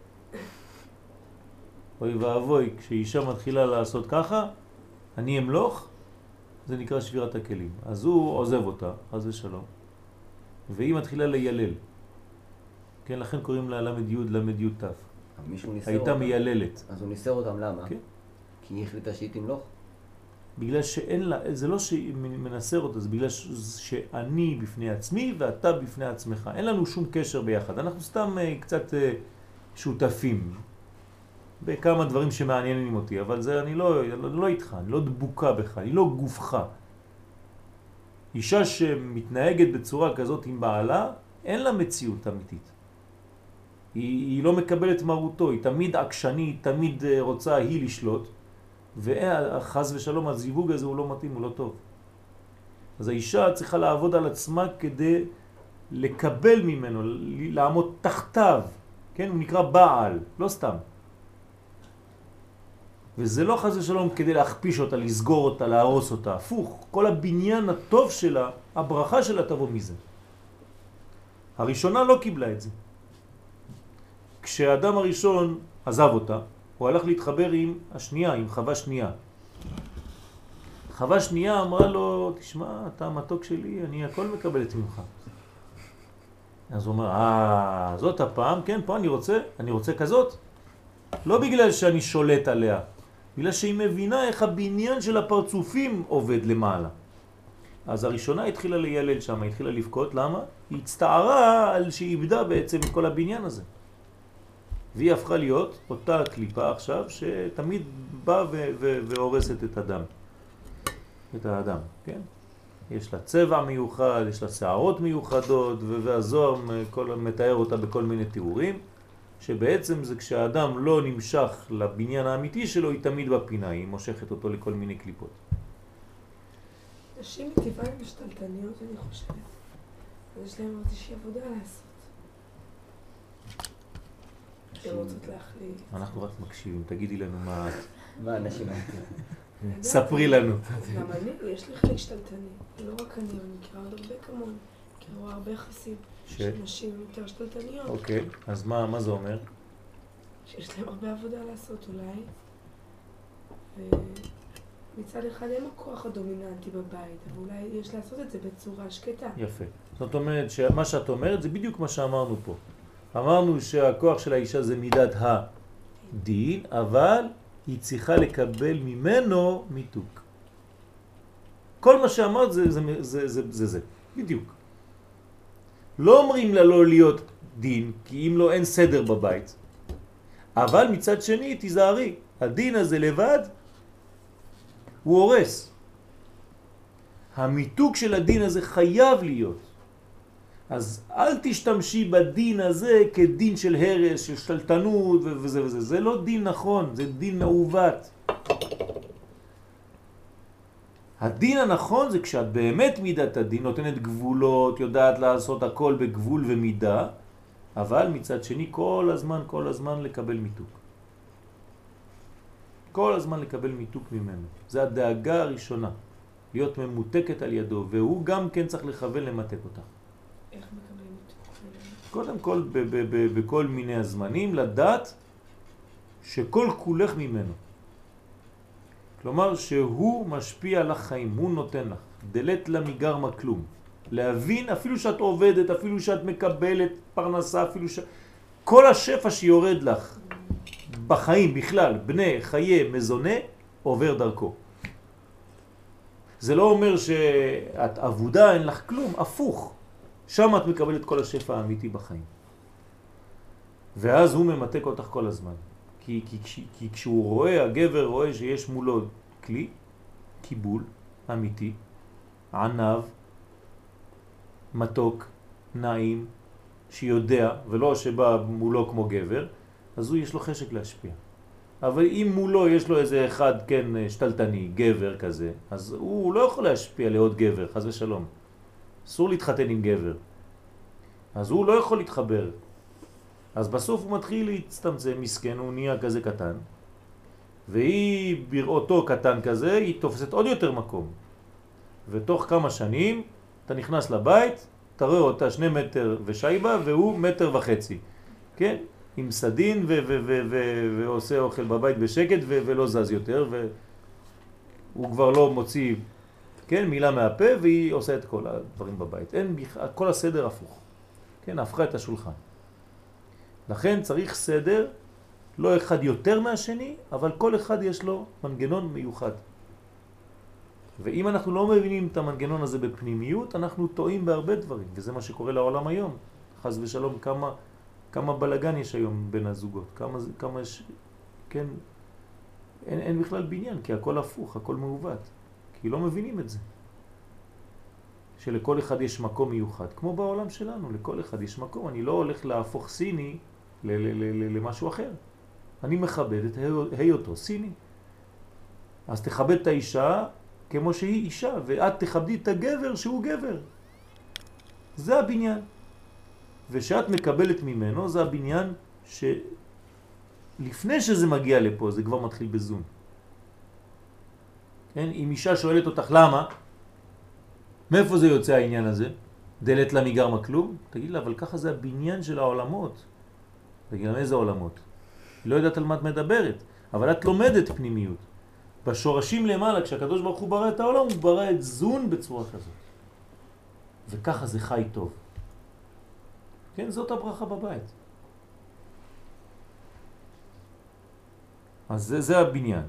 אוי ואבוי, כשאישה מתחילה לעשות ככה, אני אמלוך, זה נקרא שבירת הכלים. אז הוא עוזב אותה, חס ושלום, והיא מתחילה לילל. כן, לכן קוראים לה למד י' למד י' ת'. הייתה מייללת. אז הוא ניסר אותם, למה? כן. כי היא החליטה שהיא תמלוך? בגלל שאין לה, זה לא שהיא מנסר אותה, זה בגלל שאני בפני עצמי ואתה בפני עצמך. אין לנו שום קשר ביחד. אנחנו סתם קצת שותפים בכמה דברים שמעניינים אותי, אבל זה אני לא איתך, אני לא דבוקה בך, אני לא גופך. אישה שמתנהגת בצורה כזאת עם בעלה, אין לה מציאות אמיתית. היא לא מקבלת מרותו, היא תמיד עקשני, היא תמיד רוצה היא לשלוט, וחז ושלום הזיווג הזה הוא לא מתאים, הוא לא טוב. אז האישה צריכה לעבוד על עצמה כדי לקבל ממנו, לעמוד תחתיו, כן? הוא נקרא בעל, לא סתם. וזה לא חז ושלום כדי להכפיש אותה, לסגור אותה, להרוס אותה, הפוך. כל הבניין הטוב שלה, הברכה שלה תבוא מזה. הראשונה לא קיבלה את זה. כשהאדם הראשון עזב אותה, הוא הלך להתחבר עם השנייה, עם חווה שנייה. חווה שנייה אמרה לו, תשמע, אתה המתוק שלי, אני הכל מקבלת ממך. אז הוא אומר, זאת הפעם, כן, פה אני רוצה כזאת. לא בגלל שאני שולט עליה, בגלל שהיא מבינה איך הבניין של הפרצופים עובד למעלה. אז הראשונה התחילה לילל שם, התחילה לבכות, למה? היא הצטערה על שהיא איבדה בעצם את כל הבניין הזה. והיא הפכה להיות אותה קליפה עכשיו שתמיד באה והורסת את האדם, כן? יש לה צבע מיוחד, יש לה שערות מיוחדות, והזוהר מתאר אותה בכל מיני תיאורים, שבעצם זה כשהאדם לא נמשך לבניין האמיתי שלו, היא תמיד בפינה, היא מושכת אותו לכל מיני קליפות. נשים מטבען משתלטניות, אני חושבת. יש להם עוד איזושהי עבודה לעשות. הן רוצות להחליט. אנחנו רק מקשיבים, תגידי לנו מה את. מה הנשים האלה? ספרי לנו. גם אני, יש לי חלק שתלטני. לא רק אני מכירה עוד הרבה כמוני. כי הוא הרבה יחסים. ש? שנשים יותר שתלטניות. אוקיי, אז מה זה אומר? שיש להם הרבה עבודה לעשות אולי. ומצד אחד הם הכוח הדומיננטי בבית, אבל אולי יש לעשות את זה בצורה שקטה. יפה. זאת אומרת שמה שאת אומרת זה בדיוק מה שאמרנו פה. אמרנו שהכוח של האישה זה מידת הדין, אבל היא צריכה לקבל ממנו מיתוק. כל מה שאמרת זה. בדיוק. לא אומרים לה לא להיות דין, כי אם לא אין סדר בבית. אבל מצד שני, תיזהרי, הדין הזה לבד, הוא הורס. המיתוק של הדין הזה חייב להיות. אז אל תשתמשי בדין הזה כדין של הרס, של שתלטנות וזה וזה. זה לא דין נכון, זה דין מעוות. הדין הנכון זה כשאת באמת מידת הדין, נותנת גבולות, יודעת לעשות הכל בגבול ומידה, אבל מצד שני כל הזמן לקבל מיתוק. כל הזמן לקבל מיתוק ממנו. זה הדאגה הראשונה, להיות ממותקת על ידו, והוא גם כן צריך לכוון למתק אותך. איך מקבלים מיתוק? קודם כל, בכל מיני הזמנים, לדעת שכל כולך ממנו. כלומר שהוא משפיע על החיים, הוא נותן לך. דלת לה מגרמה כלום. להבין אפילו שאת עובדת, אפילו שאת מקבלת פרנסה, אפילו כל השפע שיורד לך בחיים בכלל, בני חיי מזונה, עובר דרכו. זה לא אומר שאת עבודה, אין לך כלום, הפוך. שם את מקבלת כל השפע האמיתי בחיים. ואז הוא ממתק אותך כל הזמן. כי כשהוא רואה, הגבר רואה שיש מולו כלי, קיבול, אמיתי, ענב, מתוק, נעים, שיודע, ולא שבא מולו כמו גבר, אז הוא יש לו חשק להשפיע. אבל אם מולו יש לו איזה אחד, כן, שתלטני, גבר כזה, אז הוא לא יכול להשפיע לעוד גבר, חס ושלום. אסור להתחתן עם גבר. אז הוא לא יכול להתחבר. אז בסוף הוא מתחיל להצטמצם, מסכן, הוא נהיה כזה קטן, והיא בראותו קטן כזה, היא תופסת עוד יותר מקום. ותוך כמה שנים אתה נכנס לבית, אתה רואה אותה 2 מטר ושייבה, והוא 1.5 מטר, כן? עם סדין ועושה אוכל בבית בשקט ולא זז יותר, והוא כבר לא מוציא, כן, מילה מהפה, והיא עושה את כל הדברים בבית. אין, כל הסדר הפוך. כן, הפכה את השולחן. לכן צריך סדר, לא אחד יותר מהשני, אבל כל אחד יש לו מנגנון מיוחד. ואם אנחנו לא מבינים את המנגנון הזה בפנימיות, אנחנו טועים בהרבה דברים, וזה מה שקורה לעולם היום. חס ושלום, כמה בלגן יש היום בין הזוגות, כמה יש, כן, אין בכלל בניין, כי הכל הפוך, הכל מעוות, כי לא מבינים את זה. שלכל אחד יש מקום מיוחד, כמו בעולם שלנו, לכל אחד יש מקום. אני לא הולך להפוך סיני למשהו אחר. אני מכבד את היותו סיני. אז תכבד את האישה כמו שהיא אישה, ואת תכבדי את הגבר שהוא גבר. זה הבניין. ושאת מקבלת ממנו, זה הבניין שלפני שזה מגיע לפה, זה כבר מתחיל בזון. כן? אם אישה שואלת אותך למה, מאיפה זה יוצא העניין הזה? דלת לה מגרמה כלום? תגיד לה, אבל ככה זה הבניין של העולמות. תגיד לה, איזה עולמות? היא לא יודעת על מה את מדברת, אבל את לומדת פנימיות. בשורשים למעלה, כשהקדוש ברוך הוא ברא את העולם, הוא ברא את זון בצורה כזאת. וככה זה חי טוב. כן, זאת הברכה בבית. אז זה הבניין.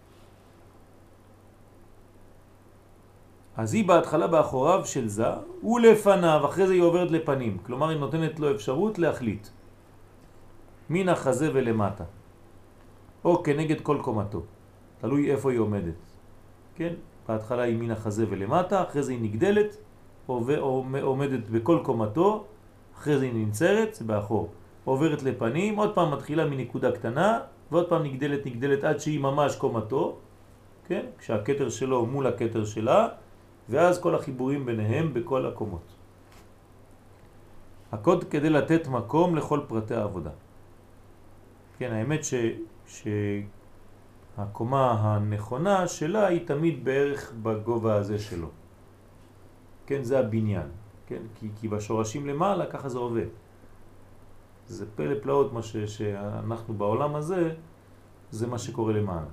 אז היא בהתחלה באחוריו של זה, ולפניו, אחרי זה היא עוברת לפנים. כלומר, היא נותנת לו אפשרות להחליט. מן החזה ולמטה. או כנגד כל קומתו. תלוי איפה היא עומדת. כן? בהתחלה היא מן החזה ולמטה, אחרי זה היא נגדלת, עומדת בכל קומתו, אחרי זה היא ננצרת, זה באחור. עוברת לפנים, עוד פעם מתחילה מנקודה קטנה, ועוד פעם נגדלת עד שהיא ממש קומתו, כן? כשהכתר שלו מול הכתר שלה, ואז כל החיבורים ביניהם בכל הקומות. הקוד כדי לתת מקום לכל פרטי העבודה. כן, האמת שהקומה הנכונה שלה היא תמיד בערך בגובה הזה שלו. כן, זה הבניין. כן? כי בשורשים למעלה ככה זה עובד. זה פלא פלאות מה שאנחנו בעולם הזה, זה מה שקורה למעלה.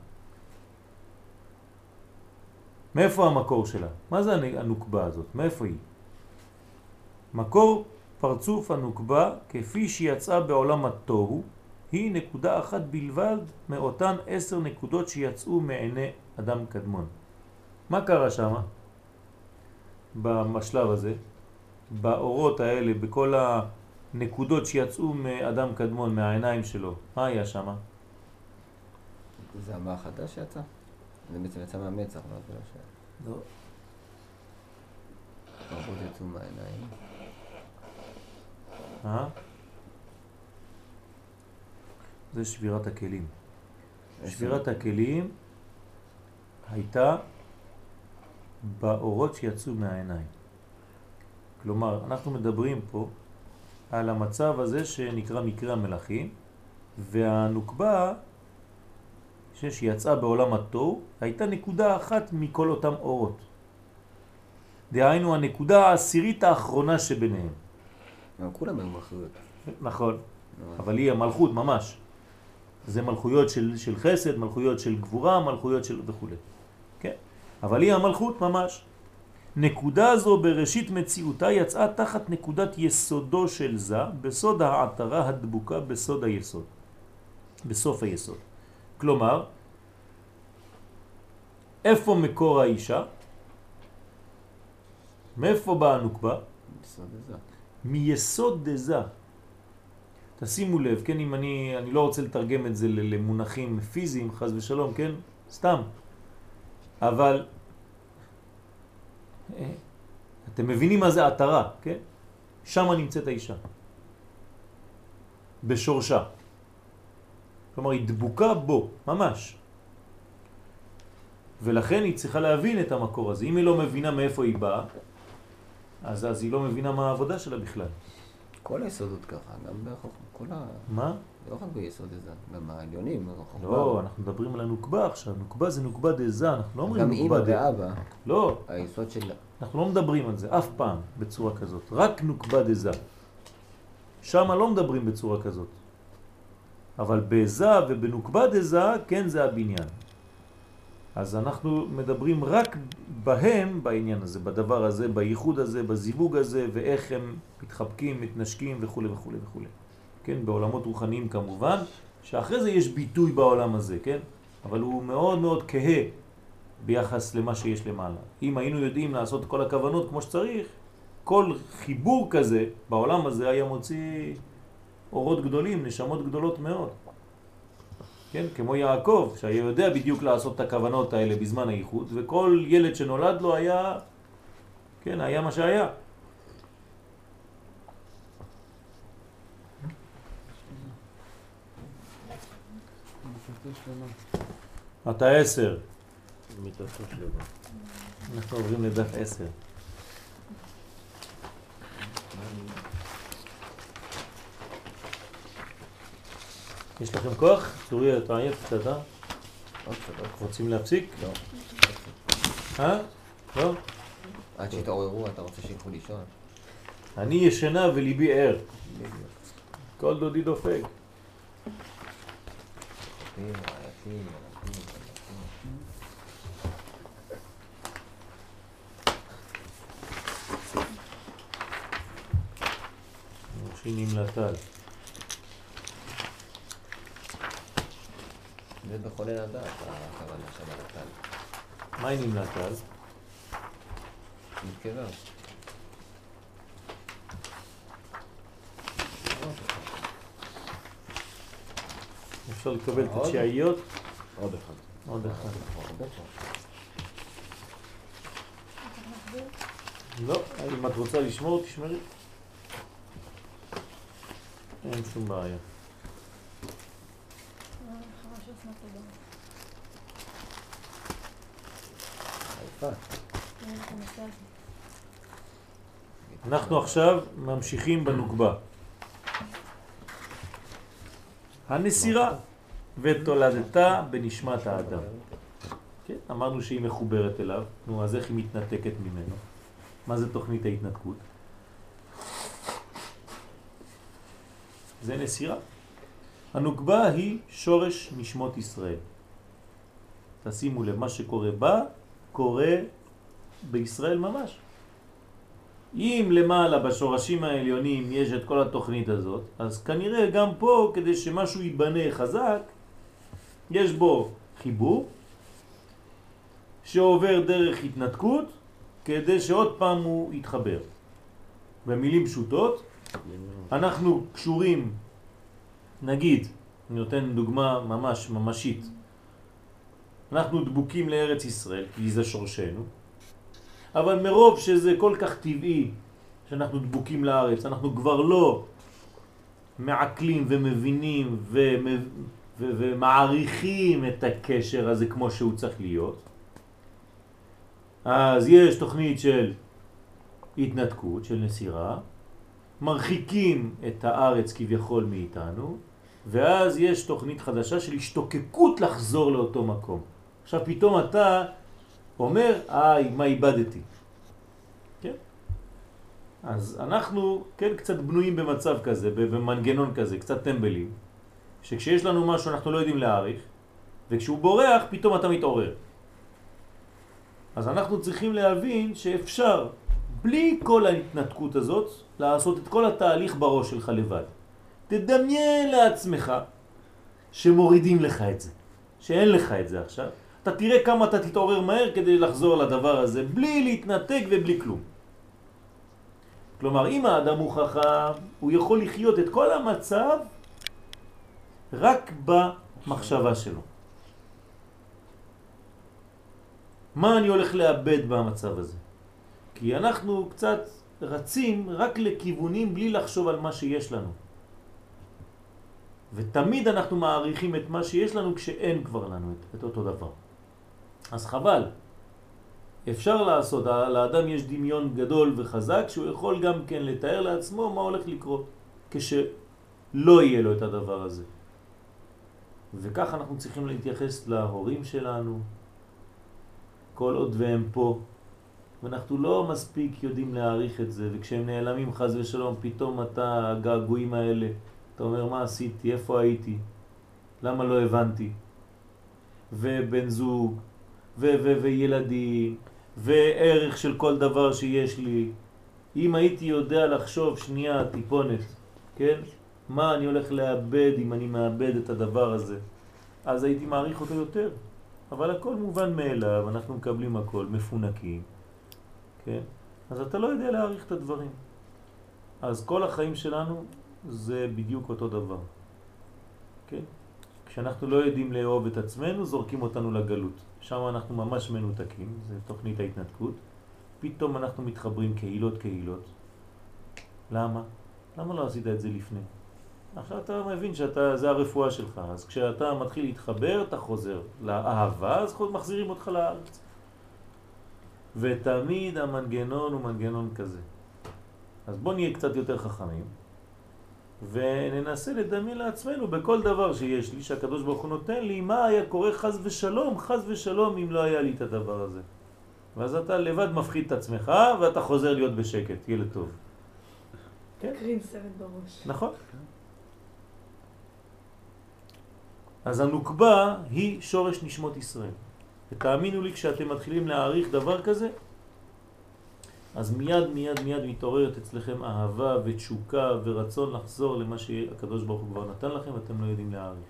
מאיפה המקור שלה? מה זה הנוקבה הזאת? מאיפה היא? מקור פרצוף הנוקבה כפי שיצאה בעולם התוהו היא נקודה אחת בלבד מאותן 10 נקודות שיצאו מעיני אדם קדמון. מה קרה שם? בשלב הזה, באורות האלה, בכל הנקודות שיצאו מאדם קדמון, מהעיניים שלו, מה היה שם? זה המוח החדש שיצא? זה בעצם יצא מהמצח, לא. האורות יצאו מהעיניים. זה שבירת הכלים. שבירת הכלים הייתה באורות שיצאו מהעיניים. כלומר, אנחנו מדברים פה על המצב הזה שנקרא מקרה המלאכים, והנוקבה שיצאה בעולם התוהו הייתה נקודה אחת מכל אותם אורות. דהיינו הנקודה העשירית האחרונה שביניהם. כולם היו מלכויות. נכון, אבל היא המלכות ממש. זה מלכויות של חסד, מלכויות של גבורה, מלכויות של וכו'. כן? אבל היא המלכות ממש. נקודה זו בראשית מציאותה יצאה תחת נקודת יסודו של זה, בסוד העטרה הדבוקה בסוד היסוד. בסוף היסוד. כלומר, איפה מקור האישה? מאיפה באה הנוקבה? בסוד הזה. מיסוד דזה. תשימו לב, כן, אם אני לא רוצה לתרגם את זה למונחים פיזיים, חס ושלום, כן? סתם. אבל אתם מבינים מה זה עטרה, כן? שם נמצאת האישה. בשורשה. כלומר, היא דבוקה בו, ממש. ולכן היא צריכה להבין את המקור הזה. אם היא לא מבינה מאיפה היא באה, אז היא לא מבינה מה העבודה שלה בכלל. כל היסודות ככה, גם בחוכמה. מה? לא רק ביסוד הזה, גם העליונים. לא, אנחנו מדברים על הנוקבה עכשיו. נוקבה זה נוקבה דזה, אנחנו לא אומרים נוקבה דזה. גם אמא ואבא. לא. היסוד של... אנחנו לא מדברים על זה אף פעם בצורה כזאת. רק נוקבה דזה. שם לא מדברים בצורה כזאת. אבל בזה ובנוקבה דזה, כן זה הבניין. אז אנחנו מדברים רק בהם, בעניין הזה, בדבר הזה, בייחוד הזה, בזיווג הזה, ואיך הם מתחבקים, מתנשקים וכו' וכו' וכו'. כן, בעולמות רוחניים כמובן, שאחרי זה יש ביטוי בעולם הזה, כן? אבל הוא מאוד מאוד כהה ביחס למה שיש למעלה. אם היינו יודעים לעשות כל הכוונות כמו שצריך, כל חיבור כזה בעולם הזה היה מוציא אורות גדולים, נשמות גדולות מאוד. כן, כמו יעקב, שהיה יודע בדיוק לעשות את הכוונות האלה בזמן הייחוד, וכל ילד שנולד לו היה, כן, היה מה שהיה. אתה 10. מיטתו שלמה. אנחנו עוברים לדף 10. יש לכם כוח? צורי, אתה עייף קצת, אה? רוצים להפסיק? לא. לא? עד שתעוררו, אתה רוצה שילכו לישון? אני ישנה וליבי ער. כל דודי דופק. שינים לטל. זה בכל אין הדעת, הכוונה שם לטל. מה היא נמלט אז? נתקבר. אפשר לקבל את התשיעיות? עוד אחד. עוד אחד. לא, אם את רוצה לשמור, תשמרי. אין שום בעיה. אנחנו עכשיו ממשיכים בנוקבה. הנסירה ותולדתה בנשמת האדם. כן, אמרנו שהיא מחוברת אליו, נו, אז איך היא מתנתקת ממנו? מה זה תוכנית ההתנתקות? זה נסירה. הנוקבה היא שורש נשמות ישראל. תשימו לב, מה שקורה בה, קורה בישראל ממש. אם למעלה בשורשים העליונים יש את כל התוכנית הזאת, אז כנראה גם פה, כדי שמשהו ייבנה חזק, יש בו חיבור שעובר דרך התנתקות כדי שעוד פעם הוא יתחבר. במילים פשוטות, אנחנו קשורים, נגיד, אני נותן דוגמה ממש ממשית, אנחנו דבוקים לארץ ישראל, כי זה שורשנו, אבל מרוב שזה כל כך טבעי שאנחנו דבוקים לארץ, אנחנו כבר לא מעכלים ומבינים ומעריכים את הקשר הזה כמו שהוא צריך להיות. אז יש תוכנית של התנתקות, של נסירה, מרחיקים את הארץ כביכול מאיתנו, ואז יש תוכנית חדשה של השתוקקות לחזור לאותו מקום. עכשיו פתאום אתה אומר, מה איבדתי? כן? אז אנחנו כן קצת בנויים במצב כזה, במנגנון כזה, קצת טמבלים, שכשיש לנו משהו אנחנו לא יודעים להעריך, וכשהוא בורח פתאום אתה מתעורר. אז אנחנו צריכים להבין שאפשר, בלי כל ההתנתקות הזאת, לעשות את כל התהליך בראש שלך לבד. תדמיין לעצמך שמורידים לך את זה, שאין לך את זה עכשיו. אתה תראה כמה אתה תתעורר מהר כדי לחזור לדבר הזה, בלי להתנתק ובלי כלום. כלומר, אם האדם הוא חכם, הוא יכול לחיות את כל המצב רק במחשבה שלו. מה אני הולך לאבד במצב הזה? כי אנחנו קצת רצים רק לכיוונים בלי לחשוב על מה שיש לנו. ותמיד אנחנו מעריכים את מה שיש לנו כשאין כבר לנו את אותו דבר. אז חבל. אפשר לעשות, לאדם יש דמיון גדול וחזק שהוא יכול גם כן לתאר לעצמו מה הולך לקרות כשלא יהיה לו את הדבר הזה. וכך אנחנו צריכים להתייחס להורים שלנו כל עוד והם פה, ואנחנו לא מספיק יודעים להעריך את זה, וכשהם נעלמים חז ושלום פתאום אתה הגעגועים האלה, אתה אומר מה עשיתי, איפה הייתי, למה לא הבנתי, ובן זוג וילדים וערך של כל דבר שיש לי. אם הייתי יודע לחשוב שנייה טיפונת, כן, מה אני הולך לאבד אם אני מאבד את הדבר הזה, אז הייתי מעריך אותו יותר. אבל הכל מובן מאליו, אנחנו מקבלים הכל, מפונקים, כן? אז אתה לא יודע להעריך את הדברים. אז כל החיים שלנו זה בדיוק אותו דבר, כן? כשאנחנו לא יודעים לאהוב את עצמנו, זורקים אותנו לגלות. שם אנחנו ממש מנותקים, זה תוכנית ההתנתקות. פתאום אנחנו מתחברים קהילות. למה? למה לא עשית את זה לפני? עכשיו אתה מבין שזה הרפואה שלך, אז כשאתה מתחיל להתחבר, אתה חוזר לאהבה, אז מחזירים אותך לארץ. ותמיד המנגנון הוא מנגנון כזה. אז בוא נהיה קצת יותר חכמים, וננסה לדמיין לעצמנו בכל דבר שיש לי, שהקדוש ברוך הוא נותן לי, מה היה קורה חז ושלום, אם לא היה לי את הדבר הזה. ואז אתה לבד מפחיד את עצמך, ואתה חוזר להיות בשקט, ילד טוב. כן? קרין סרט בראש. נכון. אז הנוקבה היא שורש נשמות ישראל. ותאמינו לי, כשאתם מתחילים להעריך דבר כזה, אז מיד מתעוררת אצלכם אהבה ותשוקה ורצון לחזור למה שהקדוש ברוך הוא כבר נתן לכם, ואתם לא יודעים להעריך.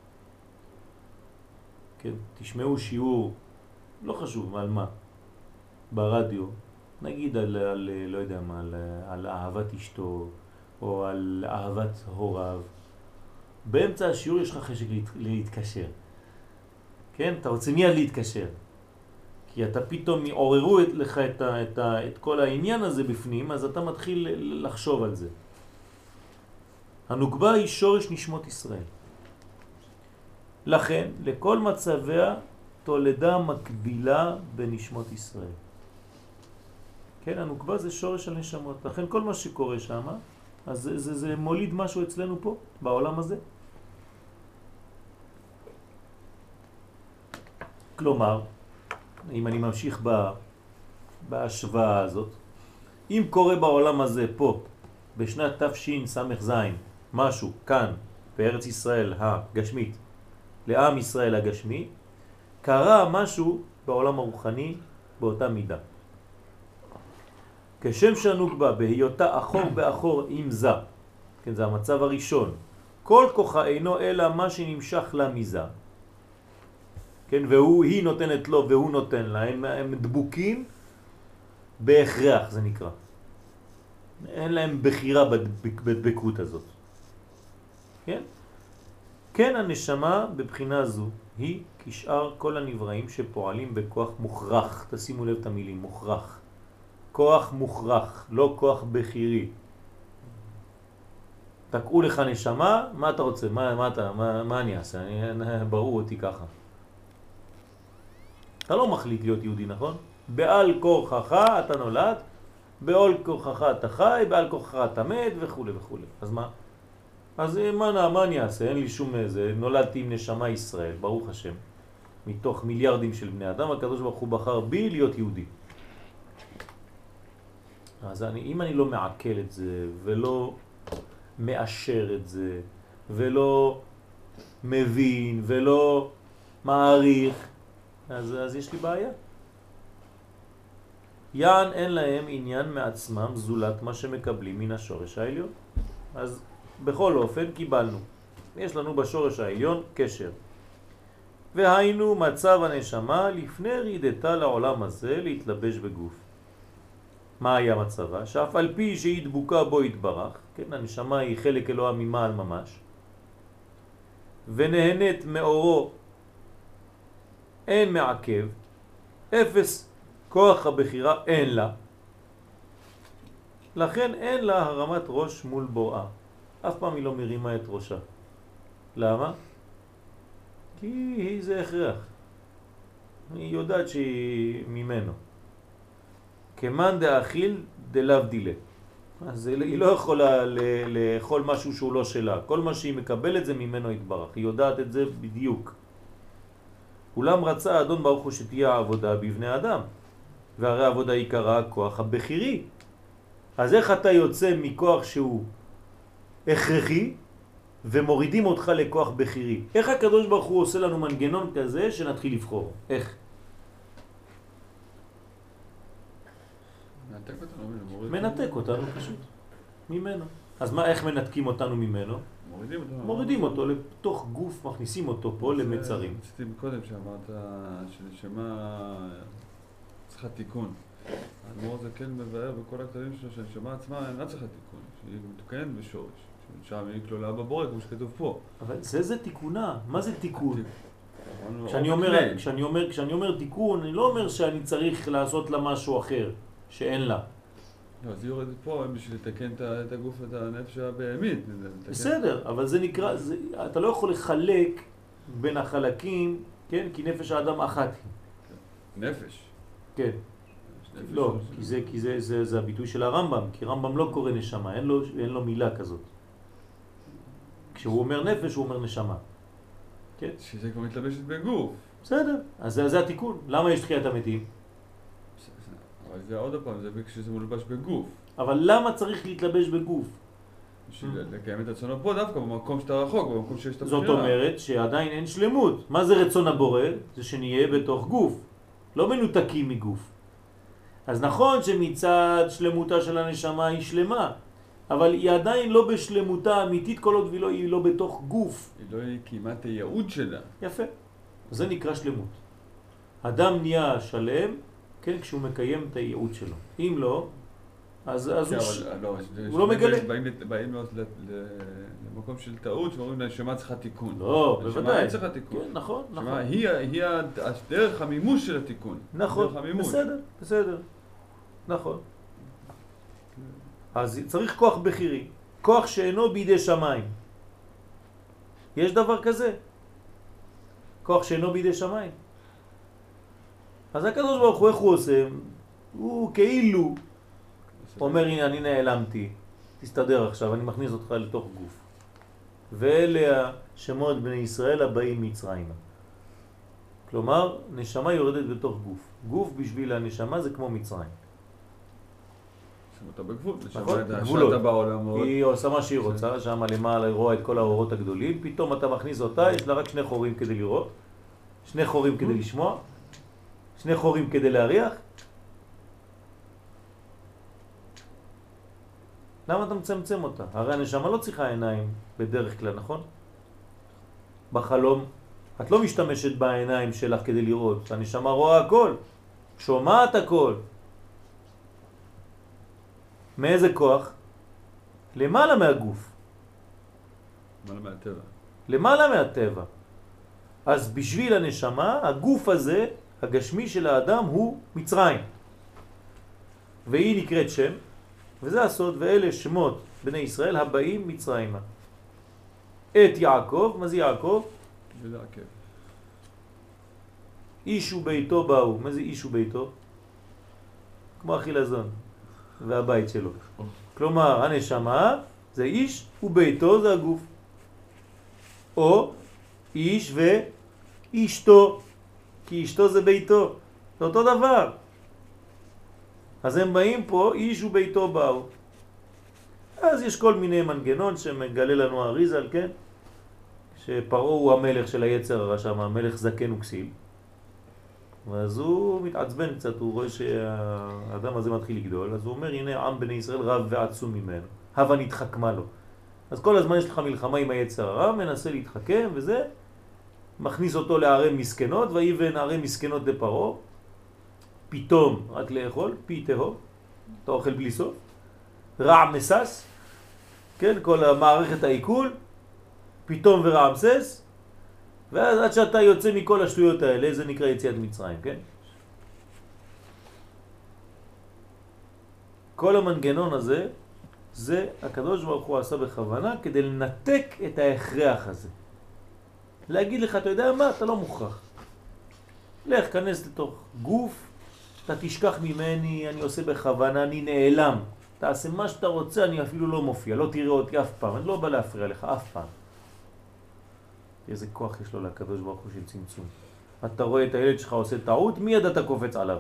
כן, תשמעו שיעור, לא חשוב על מה, ברדיו, נגיד על לא יודע מה, על אהבת אשתו, או על אהבת הוריו. באמצע השיעור יש לך חשק להתקשר. כן? אתה רוצה מיד להתקשר. כי אתה פתאום מעוררו לך את כל העניין הזה בפנים, אז אתה מתחיל לחשוב על זה. הנוקבה היא שורש נשמות ישראל. לכן, לכל מצביה תולדה מקבילה בנשמות ישראל. כן, הנוקבה זה שורש של נשמות. לכן כל מה שקורה שם, אז זה מוליד משהו אצלנו פה, בעולם הזה. כלומר, אם אני ממשיך בהשוואה הזאת, אם קורה בעולם הזה פה, בשנת תש"ס"ז, משהו כאן בארץ ישראל הגשמית לעם ישראל הגשמי, קרה משהו בעולם הרוחני באותה מידה. כשם שהנוגבה בהיותה אחור באחור עם זה, כן, זה המצב הראשון, כל כוחה אינו אלא מה שנמשך לה מזה, כן, היא נותנת לו והוא נותן לה, הם דבוקים בהכרח, זה נקרא. אין להם בחירה בדבקות הזאת. כן? כן, הנשמה בבחינה זו היא כשאר כל הנבראים שפועלים בכוח מוכרח. תשימו לב את המילים, מוכרח. כוח מוכרח, לא כוח בחירי. תקעו לך נשמה, מה אתה רוצה? מה אני אעשה? ברור אותי ככה. אתה לא מחליט להיות יהודי, נכון? בעל כורחך אתה נולד, בעל כורחך אתה חי, בעל כורחך אתה מת וכו' וכו'. אז מה? אז מה אני אעשה? אין לי שום איזה, נולדתי עם נשמה ישראל, ברוך השם. מתוך מיליארדים של בני אדם, הקדוש ברוך הוא בחר בי להיות יהודי. אז אם אני לא מעכל את זה, ולא מאשר את זה, ולא מבין, ולא מעריך, אז יש לי בעיה. יען אין להם עניין מעצמם זולת מה שמקבלים מן השורש העליון. אז בכל אופן קיבלנו. יש לנו בשורש העליון קשר. והיינו מצב הנשמה לפני רידתה לעולם הזה להתלבש בגוף. מה היה מצבה? שאף על פי שהיא דבוקה בו התברך, כן, הנשמה היא חלק אלוה ממעל ממש, ונהנית מאורו, אין מעכב, אפס כוח הבחירה אין לה, לכן אין לה הרמת ראש מול בוראה. אף פעם היא לא מרימה את ראשה. למה? כי זה הכרח. היא יודעת שהיא ממנו. כמן דאכיל דלאו דילה. אז היא לא יכולה לאכול משהו שהוא לא שלה. כל מה שהיא מקבלת זה ממנו יתברך. היא יודעת את זה בדיוק. אולם רצה אדון ברוך הוא שתהיה העבודה בבני אדם. והרי העבודה עיקרה הכוח הבחירי. אז איך אתה יוצא מכוח שהוא הכרחי ומורידים אותך לכוח בחירי? איך הקדוש ברוך הוא עושה לנו מנגנון כזה שנתחיל לבחור? איך? מנתק אותנו פשוט ממנו. אז מה, איך מנתקים אותנו ממנו? מורידים אותו לתוך גוף, מכניסים אותו פה למצרים. רציתי קודם שאמרת שנשמה צריכה תיקון. האדמו"ר זה כן מבאר בכל הכתבים שלו שהנשמה עצמה אינה צריכה תיקון, שהיא מתוקנת בשורש, שם היא כלולה בבורא כמו שכתוב פה. אבל זה תיקונה. מה זה תיקון? כשאני אומר תיקון, אני לא אומר שאני צריך לעשות לה משהו אחר שאין לה. לא, אז היא יורדת פה בשביל לתקן את הגוף ואת הנפש הבהמית. בסדר, אבל זה נקרא, אתה לא יכול לחלק בין החלקים, כן? כי נפש האדם אחת היא. נפש? כן. לא, כי זה הביטוי של הרמב"ם, כי רמב"ם לא קורא נשמה, אין לו מילה כזאת. כשהוא אומר נפש, הוא אומר נשמה. כן? שזה כבר מתלבשת בגוף. בסדר, אז זה התיקון. למה יש תחיית המתים? אבל זה עוד פעם, זה כשזה מולבש בגוף. אבל למה צריך להתלבש בגוף? בשביל לקיים את רצון פה דווקא במקום שאתה רחוק, במקום שיש את הבחירה. זאת אומרת שעדיין אין שלמות. מה זה רצון הבורא? זה שנהיה בתוך גוף, לא מנותקים מגוף. אז נכון שמצד שלמותה של הנשמה היא שלמה, אבל היא עדיין לא בשלמותה אמיתית כל עוד היא לא בתוך גוף. היא לא קיימה את הייעוד שלה. יפה. זה נקרא שלמות. אדם נהיה שלם, כן, כשהוא מקיים את הייעוד שלו. אם לא, אז הוא לא מגלה. באים למקום של טעות שאומרים לנשמה צריכה תיקון. לא, בוודאי. נשמה צריכה תיקון. כן, נכון, נכון. היא דרך המימוש של התיקון. נכון, בסדר. נכון. אז צריך כוח בחירי, כוח שאינו בידי שמיים. יש דבר כזה? כוח שאינו בידי שמיים. אז הקדוש ברוך הוא, איך הוא עושה? הוא כאילו אומר, הנה אני נעלמתי, תסתדר עכשיו, אני מכניס אותך לתוך גוף. ואלה השמות בני ישראל הבאים מצרימה. כלומר, נשמה יורדת בתוך גוף. גוף בשביל הנשמה זה כמו מצרים. אתה בגבול, נכון, נשמה גבולות. שאתה בעולמות. היא עושה מה שהיא רוצה, שם למעלה היא רואה את כל האורות הגדולים, פתאום אתה מכניס אותה, יש לה רק 2 חורים כדי לראות, 2 חורים כדי לשמוע, 2 חורים כדי להריח. למה אתה מצמצם אותה? הרי הנשמה לא צריכה עיניים בדרך כלל, נכון? בחלום את לא משתמשת בעיניים שלך כדי לראות, הנשמה רואה הכל, שומעת הכל. מאיזה כוח? למעלה מהגוף. למעלה מהטבע. למעלה מהטבע. אז בשביל הנשמה, הגוף הזה, הגשמי של האדם, הוא מצרים. והיא נקראת שם, וזה הסוד, ואלה שמות בני ישראל הבאים מצרימה. את יעקב, מה זה יעקב? ולעקב. איש וביתו באו. מה זה איש וביתו? כמו החילזון והבית שלו. כלומר, הנשמה זה איש וביתו זה הגוף. או איש ואשתו, כי אשתו זה ביתו. זה אותו דבר. אז הם באים פה, איש וביתו באו. אז יש כל מיני מנגנון שמגלה לנו אריזל, כן? שפרעה הוא המלך של היצר הרע שם, המלך זקן וכסיל. ואז הוא מתעצבן קצת, הוא רואה שהאדם הזה מתחיל לגדול, אז הוא אומר, הנה עם בני ישראל רב ועצום ממנו, הווה נתחכמה לו. אז כל הזמן יש לך מלחמה עם היצר הרע, מנסה להתחכם וזה, מכניס אותו לערי מסכנות, ויבן ערי מסכנות לפרעה, פתאום רק לאכול, פי תהום, אתה אוכל בלי סוף, רע מסס, כן, כל המערכת העיכול, פתאום ורע מסס, ואז עד שאתה יוצא מכל השטויות האלה, זה נקרא יציאת מצרים, כן? כל המנגנון הזה, זה הקדוש ברוך הוא עשה בכוונה כדי לנתק את ההכרח הזה. להגיד לך, אתה יודע מה? אתה לא מוכרח. לך, כנס לתוך גוף, אתה תשכח ממני, אני עושה בכוונה, אני נעלם. תעשה מה שאתה רוצה, אני אפילו לא מופיע, לא תראה אותי אף פעם, אני לא בא להפריע לך אף פעם. איזה כוח יש לו לקדוש ברוך הוא של צמצום. אתה רואה את הילד שלך עושה טעות, מיד אתה קופץ עליו.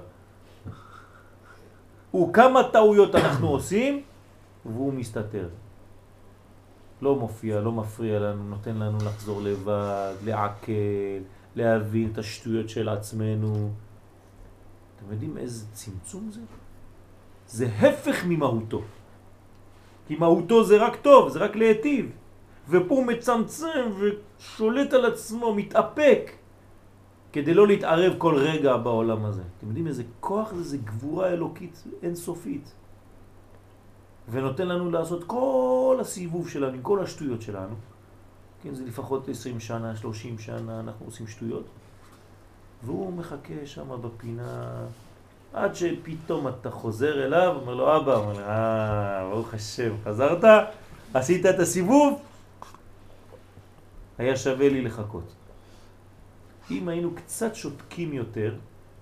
וכמה טעויות אנחנו עושים, והוא מסתתר. לא מופיע, לא מפריע לנו, נותן לנו לחזור לבד, לעכל, להבין את השטויות של עצמנו. אתם יודעים איזה צמצום זה? זה הפך ממהותו. כי מהותו זה רק טוב, זה רק להיטיב. ופה הוא מצמצם ושולט על עצמו, מתאפק, כדי לא להתערב כל רגע בעולם הזה. אתם יודעים איזה כוח זה? זה גבורה אלוקית אינסופית. ונותן לנו לעשות כל הסיבוב שלנו, כל השטויות שלנו. כן, זה לפחות 20 שנה, 30 שנה, אנחנו עושים שטויות. והוא מחכה שם בפינה, עד שפתאום אתה חוזר אליו, אומר לו, אבא, אומר לו, ברוך השם, חזרת, עשית את הסיבוב, היה שווה לי לחכות. אם היינו קצת שותקים יותר,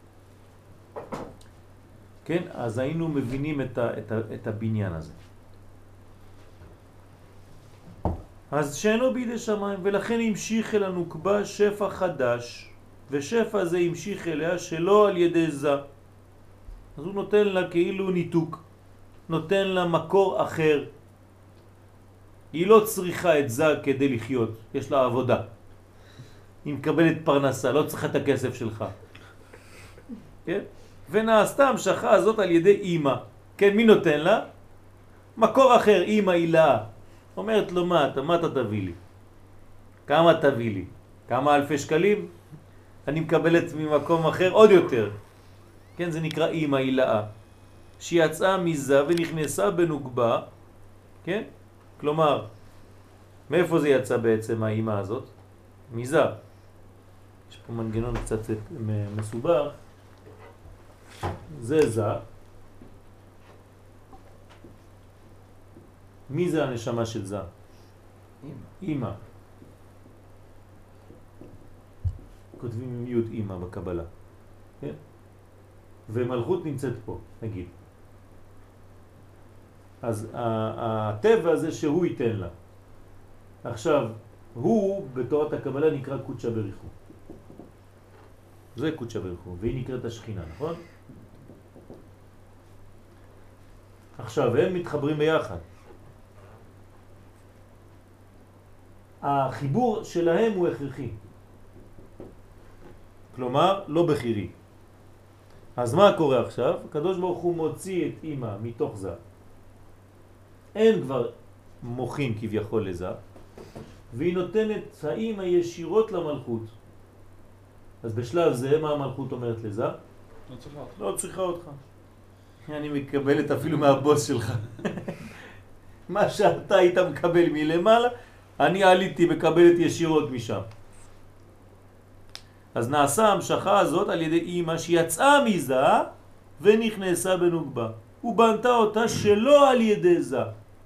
כן, אז היינו מבינים את הבניין הזה. אז שאינו בידי שמיים, ולכן המשיך אל הנוקבה שפע חדש, ושפע זה המשיך אליה שלא על ידי זה. אז הוא נותן לה כאילו ניתוק, נותן לה מקור אחר. היא לא צריכה את זה כדי לחיות, יש לה עבודה. היא מקבלת פרנסה, לא צריכה את הכסף שלך. כן? ונעשתה המשכה הזאת על ידי אמא. כן, מי נותן לה? מקור אחר, אמא הילה. אומרת לו, מה אתה תביא לי? כמה תביא לי? כמה אלפי שקלים? אני מקבלת ממקום אחר עוד יותר. כן, זה נקרא אמא הילה. שיצאה מזה ונכנסה בנוגבה, כן? כלומר, מאיפה זה יצא בעצם האמא הזאת? מזה. יש פה מנגנון קצת מסובך. זה. מי זה הנשמה של זה? אמא. כותבים עם יוד אמא בקבלה. כן? ומלכות נמצאת פה, נגיד. אז הטבע הזה שהוא ייתן לה. עכשיו, הוא בתורת הקבלה נקרא קודשא בריך הוא. זה קודשא בריך הוא, והיא נקראת השכינה, נכון? עכשיו, הם מתחברים ביחד. החיבור שלהם הוא הכרחי. כלומר, לא בחירי. אז מה קורה עכשיו? הקדוש ברוך הוא מוציא את אמא מתוך זה. אין כבר מוחין כביכול לזה, והיא נותנת האמא ישירות למלכות. אז בשלב זה, מה המלכות אומרת לזה? לא צריכה אותך. לא צריכה אותך. אני מקבלת אפילו מהבוס שלך. מה שאתה היית מקבל מלמעלה, אני עליתי מקבלת ישירות משם. אז נעשה המשכה הזאת על ידי אמא שיצאה מזה ונכנסה בנוגבה. ובנתה אותה שלא על ידי זה.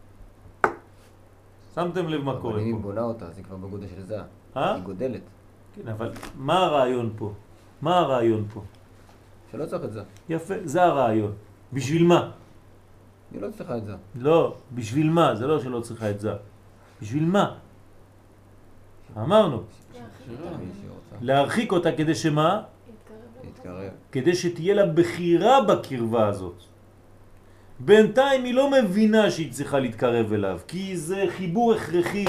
שמתם לב מה קורה אבל אם היא פה? בונה אותה, אז היא כבר בגודל של זה. אה? היא גודלת. כן, אבל מה הרעיון פה? מה הרעיון פה? שלא צריך את זה. יפה, זה הרעיון. בשביל מה? היא לא צריכה את זה. לא, בשביל מה? זה לא שלא צריכה את זה. בשביל מה? אמרנו, מי שהיא רוצה. להרחיק אותה כדי שמה? להתקרב. כדי שתהיה לה בחירה בקרבה הזאת. בינתיים היא לא מבינה שהיא צריכה להתקרב אליו, כי זה חיבור הכרחי.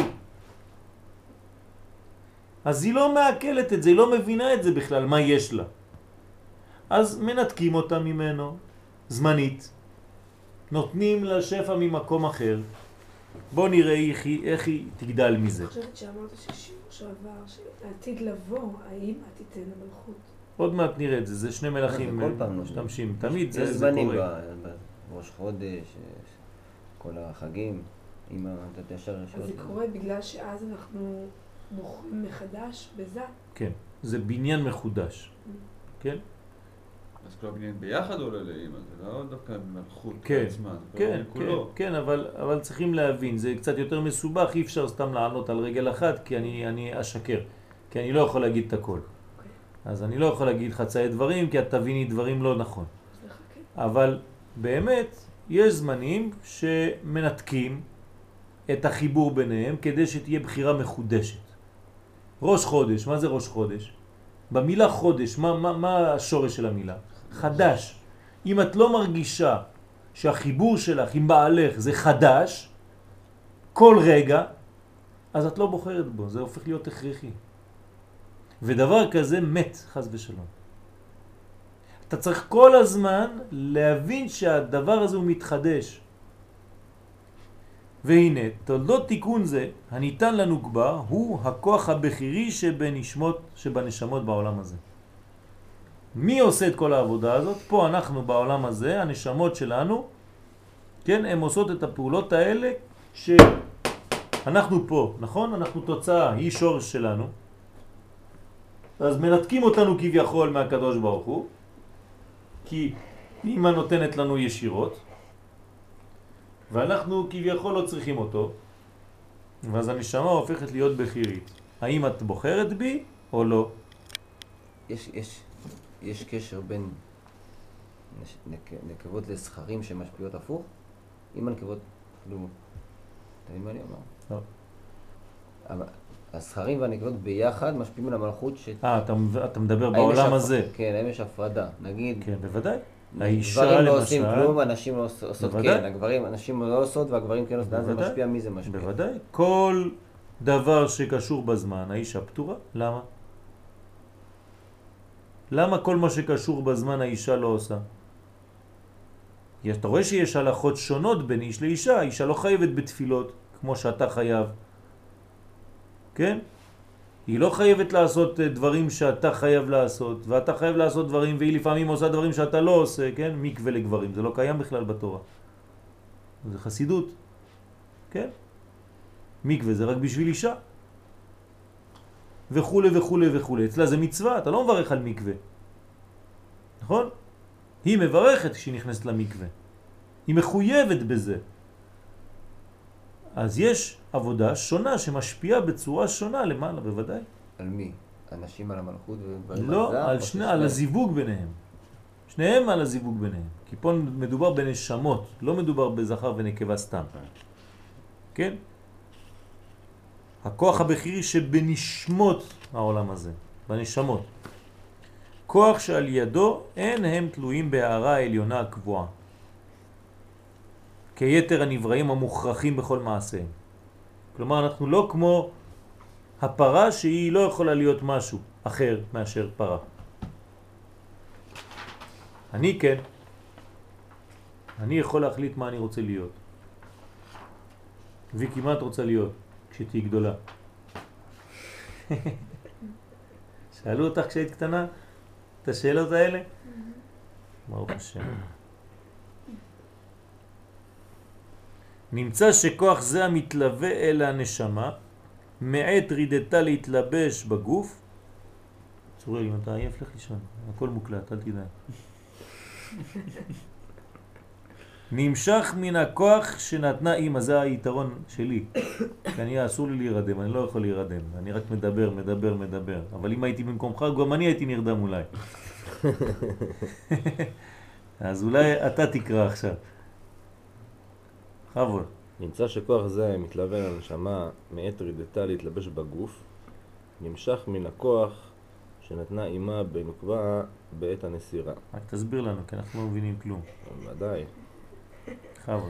אז היא לא מעכלת את זה, היא לא מבינה את זה בכלל, מה יש לה. אז מנתקים אותה ממנו, זמנית, נותנים לה שפע ממקום אחר. בוא נראה איך היא תגדל מזה. אני חושבת שאמרת ששיעור שעבר, שעתיד לבוא, האם תיתן למלכות? עוד מעט נראה את זה, זה שני מלכים כל פעם לא. משתמשים, תמיד יש זה זמנים קורה. בראש חודש, כל החגים, אמא, אתה ישר אז ישר. זה קורה בגלל שאז אנחנו בוחרים מחדש בזה. כן, זה בניין מחודש, כן? אז כל הבניין ביחד עולה לאמא, זה לא דווקא מלכות כן, עצמה, זה כל כן, הבניין כן, כולו. כן, אבל צריכים להבין, זה קצת יותר מסובך, אי אפשר סתם לענות על רגל אחת, כי אני אשקר, כי אני לא יכול להגיד את הכל. אז אני לא יכול להגיד חצאי דברים, כי את תביני דברים לא נכון. אז לחכה. אבל באמת, יש זמנים שמנתקים את החיבור ביניהם, כדי שתהיה בחירה מחודשת. ראש חודש, מה זה ראש חודש? במילה חודש, מה השורש של המילה? חדש. אם את לא מרגישה שהחיבור שלך עם בעלך זה חדש, כל רגע, אז את לא בוחרת בו, זה הופך להיות הכרחי. ודבר כזה מת, חס ושלום. אתה צריך כל הזמן להבין שהדבר הזה הוא מתחדש. והנה, תולדות תיקון זה, הניתן לנוגבה, הוא הכוח הבכירי שבנשמות בעולם הזה. מי עושה את כל העבודה הזאת? פה אנחנו בעולם הזה, הנשמות שלנו, כן, הן עושות את הפעולות האלה שאנחנו פה, נכון? אנחנו תוצאה, היא שורש שלנו. אז מנתקים אותנו כביכול מהקדוש ברוך הוא, כי אמא נותנת לנו ישירות, ואנחנו כביכול לא צריכים אותו, ואז הנשמה הופכת להיות בחירית. האם את בוחרת בי או לא? יש קשר בין נקבות לסחרים שמשפיעות הפוך? אם הנקבות, כאילו, אתה מבין מה אני אומר? לא. אבל הסחרים והנקבות ביחד משפיעים על המלכות אתה מדבר בעולם הזה. כן, האם יש הפרדה, נגיד. כן, בוודאי. האישה גברים לא למשל. עושים כלום, הנשים לא עושות בוודאי. כן, הנשים לא עושות והגברים כן עושים, זה משפיע, מי זה משפיע? בוודאי. כל דבר שקשור בזמן, האישה פתורה. למה? למה כל מה שקשור בזמן האישה לא עושה? אתה רואה שיש הלכות שונות בין איש לאישה, האישה לא חייבת בתפילות כמו שאתה חייב. כן? היא לא חייבת לעשות דברים שאתה חייב לעשות, ואתה חייב לעשות דברים, והיא לפעמים עושה דברים שאתה לא עושה, כן? מקווה לגברים, זה לא קיים בכלל בתורה. זה חסידות, כן? מקווה זה רק בשביל אישה. וכו' וכו' וכו'. אצלה זה מצווה, אתה לא מברך על מקווה. נכון? היא מברכת כשהיא נכנסת למקווה. היא מחויבת בזה. אז יש עבודה שונה שמשפיעה בצורה שונה למעלה, בוודאי. על מי? אנשים על המלכות וגברים לא, על זה? על הזיווג ביניהם. שניהם על הזיווג ביניהם. כי פה מדובר בנשמות, לא מדובר בזכר ונקבה סתם. כן? הכוח הבכירי שבנשמות העולם הזה, בנשמות. כוח שעל ידו אין הם תלויים בהערה העליונה הקבועה. כיתר הנבראים המוכרחים בכל מעשיהם. כלומר, אנחנו לא כמו הפרה שהיא לא יכולה להיות משהו אחר מאשר פרה. אני כן. אני יכול להחליט מה אני רוצה להיות. ויקי, מה את רוצה להיות כשתהי גדולה? שאלו אותך כשהיית קטנה את השאלות האלה? ברוך השם. נמצא שכוח זה המתלווה אל הנשמה, מעת רידתה להתלבש בגוף. צוריאל, אם אתה עייף לך לישון, הכל מוקלט, אל תדע. נמשך מן הכוח שנתנה אמא, זה היתרון שלי. כי אני אסור לי להירדם, אני לא יכול להירדם. אני רק מדבר. אבל אם הייתי במקומך, גם אני הייתי נרדם אולי. אז אולי אתה תקרא עכשיו. חבוד. נמצא שכוח זה מתלווה לנשמה מעת רידתה להתלבש בגוף, נמשך מן הכוח שנתנה אימה בנוקבה בעת הנסירה. רק תסביר לנו, כי אנחנו לא מבינים כלום. ודאי. חבוד.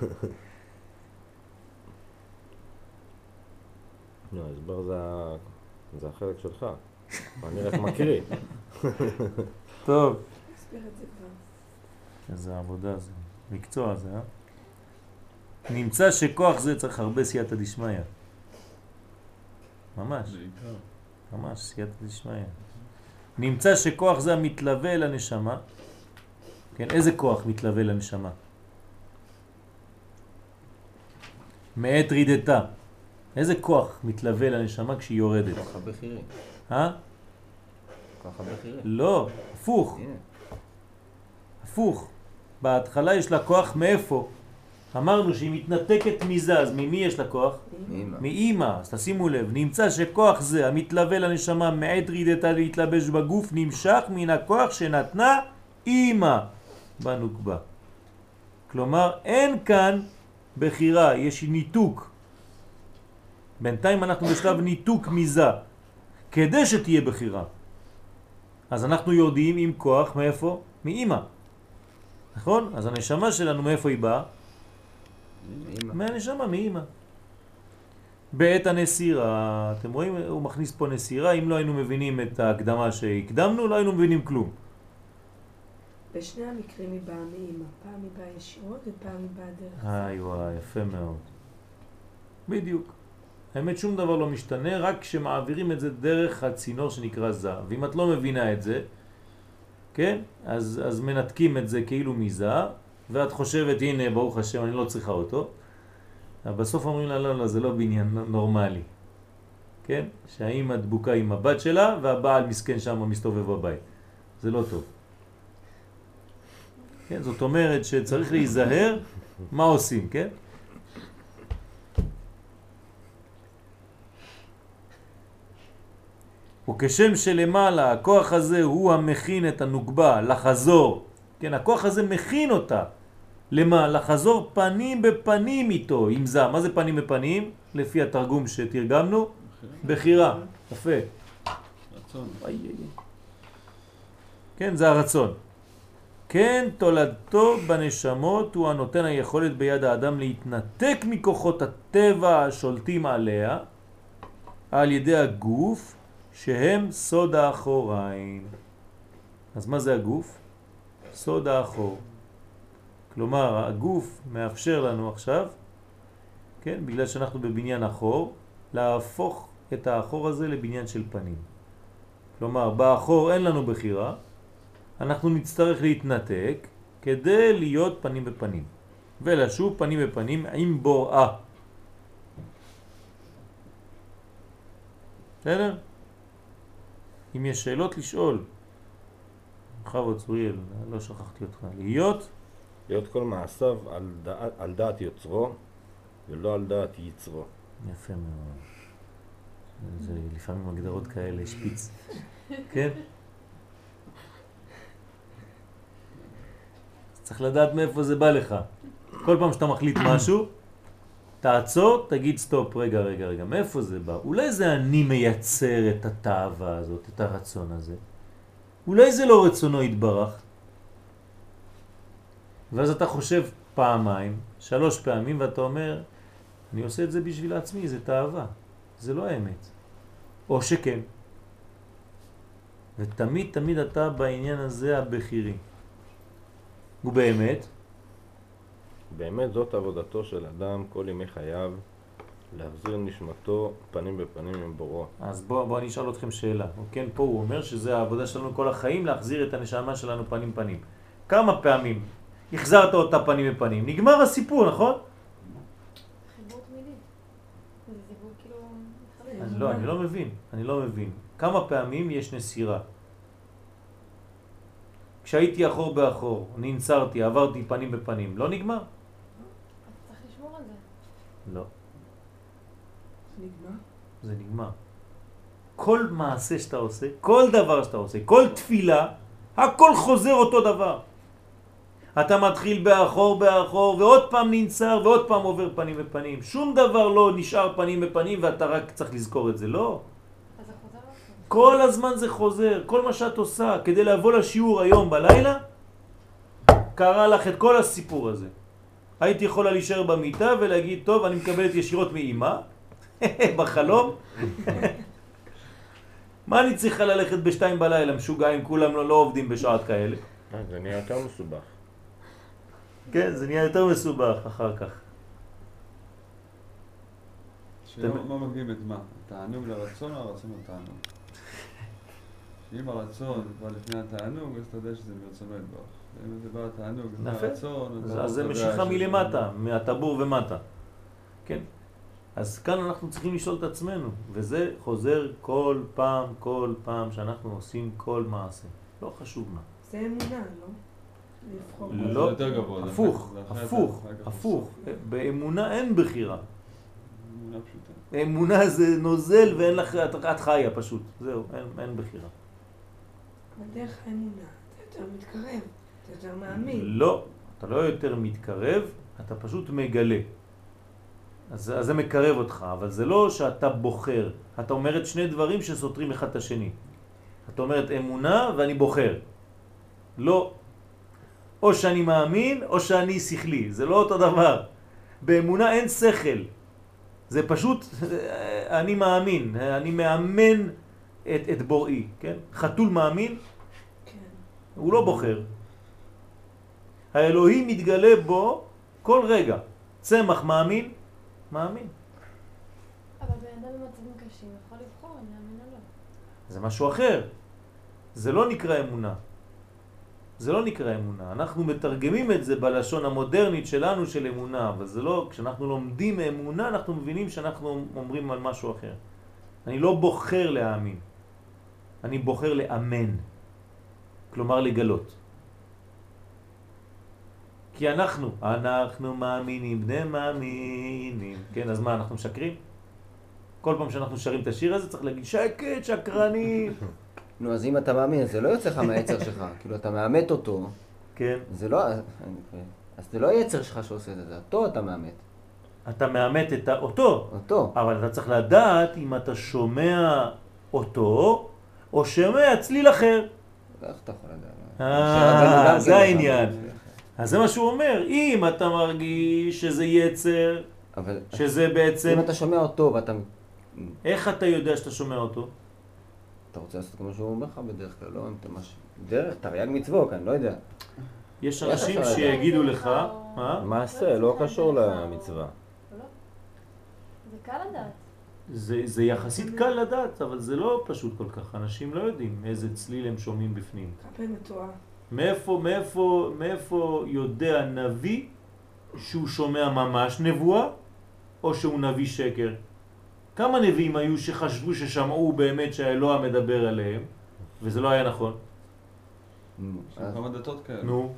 לא, ההסבר זה החלק שלך. אני רק מקריא. טוב. תסביר את זה כבר. איזה עבודה זה. מקצוע זה, אה? נמצא שכוח זה צריך הרבה סייעתא דשמיא. ממש. בעיקר. ממש סייעתא דשמיא. נמצא שכוח זה המתלווה לנשמה. כן, איזה כוח מתלווה לנשמה? מעת רידתה. איזה כוח מתלווה לנשמה כשהיא יורדת? כוח הבכירי. אה? כוח הבכירי. לא, הפוך. הנה. הפוך. בהתחלה יש לה כוח מאיפה? אמרנו שהיא מתנתקת מזה, אז ממי יש לה כוח? מאמא. מאמא. אז תשימו לב, נמצא שכוח זה המתלווה לנשמה מעת רידתה להתלבש בגוף נמשך מן הכוח שנתנה אמא בנוקבה. כלומר, אין כאן בחירה, יש ניתוק. בינתיים אנחנו בשלב ניתוק מזה, כדי שתהיה בחירה. אז אנחנו יודעים עם כוח מאיפה? מאמא. נכון? אז הנשמה שלנו מאיפה היא באה? מאמא. מהנשמה, מאמא. בעת הנסירה, אתם רואים? הוא מכניס פה נסירה, אם לא היינו מבינים את ההקדמה שהקדמנו, לא היינו מבינים כלום. בשני המקרים היא באה מאמא. פעם היא באה ישירות ופעם היא באה דרך זה. איי וואי, יפה מאוד. בדיוק. האמת שום דבר לא משתנה, רק כשמעבירים את זה דרך הצינור שנקרא זה. ואם את לא מבינה את זה, כן? אז מנתקים את זה כאילו מזה, ואת חושבת, הנה, ברוך השם, אני לא צריכה אותו. אבל בסוף אומרים לה, לא, זה לא בעניין נורמלי. כן? שהאמא דבוקה עם הבת שלה, והבעל מסכן שם מסתובב בבית. זה לא טוב. כן? זאת אומרת שצריך להיזהר מה עושים, כן? וכשם שלמעלה, הכוח הזה הוא המכין את הנוקבה לחזור. כן, הכוח הזה מכין אותה. למה? לחזור פנים בפנים איתו, עם זה. מה זה פנים בפנים? לפי התרגום שתרגמנו? בחירה. יפה. רצון. כן, זה הרצון. כן, תולדתו בנשמות הוא הנותן היכולת ביד האדם להתנתק מכוחות הטבע השולטים עליה על ידי הגוף שהם סוד האחוריים. אז מה זה הגוף? סוד האחור. כלומר, הגוף מאפשר לנו עכשיו, כן, בגלל שאנחנו בבניין אחור, להפוך את האחור הזה לבניין של פנים. כלומר, באחור אין לנו בחירה, אנחנו נצטרך להתנתק כדי להיות פנים בפנים. ולשוב פנים בפנים עם בוראה. בסדר? אם יש שאלות לשאול. חבוד צוריאל, לא שכחתי אותך. להיות כל מעשיו על דעת יוצרו ולא על דעת יצרו. יפה מאוד. זה לפעמים הגדרות כאלה, שפיץ. כן? צריך לדעת מאיפה זה בא לך. כל פעם שאתה מחליט משהו, תעצור, תגיד סטופ, רגע, מאיפה זה בא? אולי זה אני מייצר את התאווה הזאת, את הרצון הזה. אולי זה לא רצונו יתברך. ואז אתה חושב פעמיים, 3 פעמים ואתה אומר, אני עושה את זה בשביל עצמי, זה תאווה, זה לא האמת. או שכן. ותמיד תמיד אתה בעניין הזה הבכירי. ובאמת, באמת זאת עבודתו של אדם כל ימי חייו, להחזיר נשמתו פנים בפנים עם בורו. אז בוא אני אשאל אתכם שאלה. כן, פה הוא אומר שזה העבודה שלנו כל החיים, להחזיר את הנשמה שלנו פנים פנים. כמה פעמים החזרת אותה פנים בפנים? נגמר הסיפור, נכון? חיבור תמידי. זה דיבור כאילו... אז לא, אני לא מבין. כמה פעמים יש נסירה? כשהייתי אחור באחור, ננצרתי, עברתי פנים בפנים, לא נגמר? אז צריך לשמור על זה. לא, נגמר? זה נגמר. כל מעשה שאתה עושה, כל דבר שאתה עושה, כל תפילה, הכל חוזר אותו דבר. אתה מתחיל באחור ועוד פעם ננצר ועוד פעם עובר פנים בפנים. שום דבר לא נשאר פנים בפנים ואתה רק צריך לזכור את זה, לא. אז זה חוזר לך. כל הזמן זה חוזר, כל מה שאת עושה כדי לבוא לשיעור היום בלילה, קרה לך את כל הסיפור הזה. הייתי יכולה להישאר במיטה ולהגיד, טוב, אני מקבלת ישירות מאמא, בחלום. מה אני צריכה ללכת ב2 בלילה, משוגעים, כולם לא עובדים בשעות כאלה. זה נהיה יותר מסובך. כן, זה נהיה יותר מסובך אחר כך. מה מגיעים את מה? התענוג לרצון או הרצון לתענוג? אם הרצון בא לפני התענוג, אז אתה יודע שזה מרצונו יתברך. אם זה בא התענוג, זה הרצון... אז זה משיכה מלמטה, מהטבור ומטה. כן? אז כאן אנחנו צריכים לשאול את עצמנו, וזה חוזר כל פעם שאנחנו עושים כל מעשה. לא חשוב מה. זה אמונה, לא? לבחור. לא, זה יותר גבוה. הפוך. באמונה אין בחירה. אמונה פשוטה. אמונה זה נוזל ואין לך, את חיה פשוט. זהו, אין בחירה. בדרך האמונה, אתה יותר מתקרב, אתה יותר מאמין. לא, אתה לא יותר מתקרב, אתה פשוט מגלה. אז זה מקרב אותך, אבל זה לא שאתה בוחר. אתה אומרת שני דברים שסותרים אחד את השני. אתה אומרת אמונה ואני בוחר. לא. או שאני מאמין או שאני שכלי. זה לא אותו דבר. באמונה אין שכל. זה פשוט, אני מאמין. אני מאמן את בוראי. כן? חתול מאמין, כן. הוא לא בוחר. האלוהים מתגלה בו כל רגע. צמח מאמין, מאמין. אבל באדם במצבים קשים יכול לבחור אם להאמין או לא. זה משהו אחר. זה לא נקרא אמונה. זה לא נקרא אמונה. אנחנו מתרגמים את זה בלשון המודרנית שלנו של אמונה, אבל זה לא, כשאנחנו לומדים אמונה אנחנו מבינים שאנחנו אומרים על משהו אחר. אני לא בוחר להאמין. אני בוחר לאמן. כלומר לגלות. כי אנחנו מאמינים, בני מאמינים. כן, אז מה, אנחנו משקרים? כל פעם שאנחנו שרים את השיר הזה צריך להגיד שקט, שקרנים. נו, אז אם אתה מאמין, זה לא יוצא לך מהיצר שלך. כאילו, אתה מאמת אותו. כן. זה לא... אז זה לא היצר שלך שעושה את זה, אותו אתה מאמת. אתה מאמת את אותו. אותו. אבל אתה צריך לדעת אם אתה שומע אותו, או שומע צליל אחר. איך אתה יכול לדעת? זה העניין. אז זה מה שהוא אומר. אם אתה מרגיש שזה יצר, שזה בעצם... אם אתה שומע אותו ואתה... איך אתה יודע שאתה שומע אותו? אתה רוצה לעשות כמו שהוא אומר לך בדרך כלל, לא? אם אתה משהו... דרך, תרי"ג מצוות, אני לא יודע. יש אנשים שיגידו לך... מעשה, לא קשור למצווה. זה קל לדעת. זה יחסית קל לדעת, אבל זה לא פשוט כל כך. אנשים לא יודעים איזה צליל הם שומעים בפנים. כלפי מתואר. מאיפה יודע נביא שהוא שומע ממש נבואה, או שהוא נביא שקר? כמה נביאים היו שחשבו ששמעו באמת שהאלוה מדבר עליהם, וזה לא היה נכון? יש כמה דתות כאלה. נו.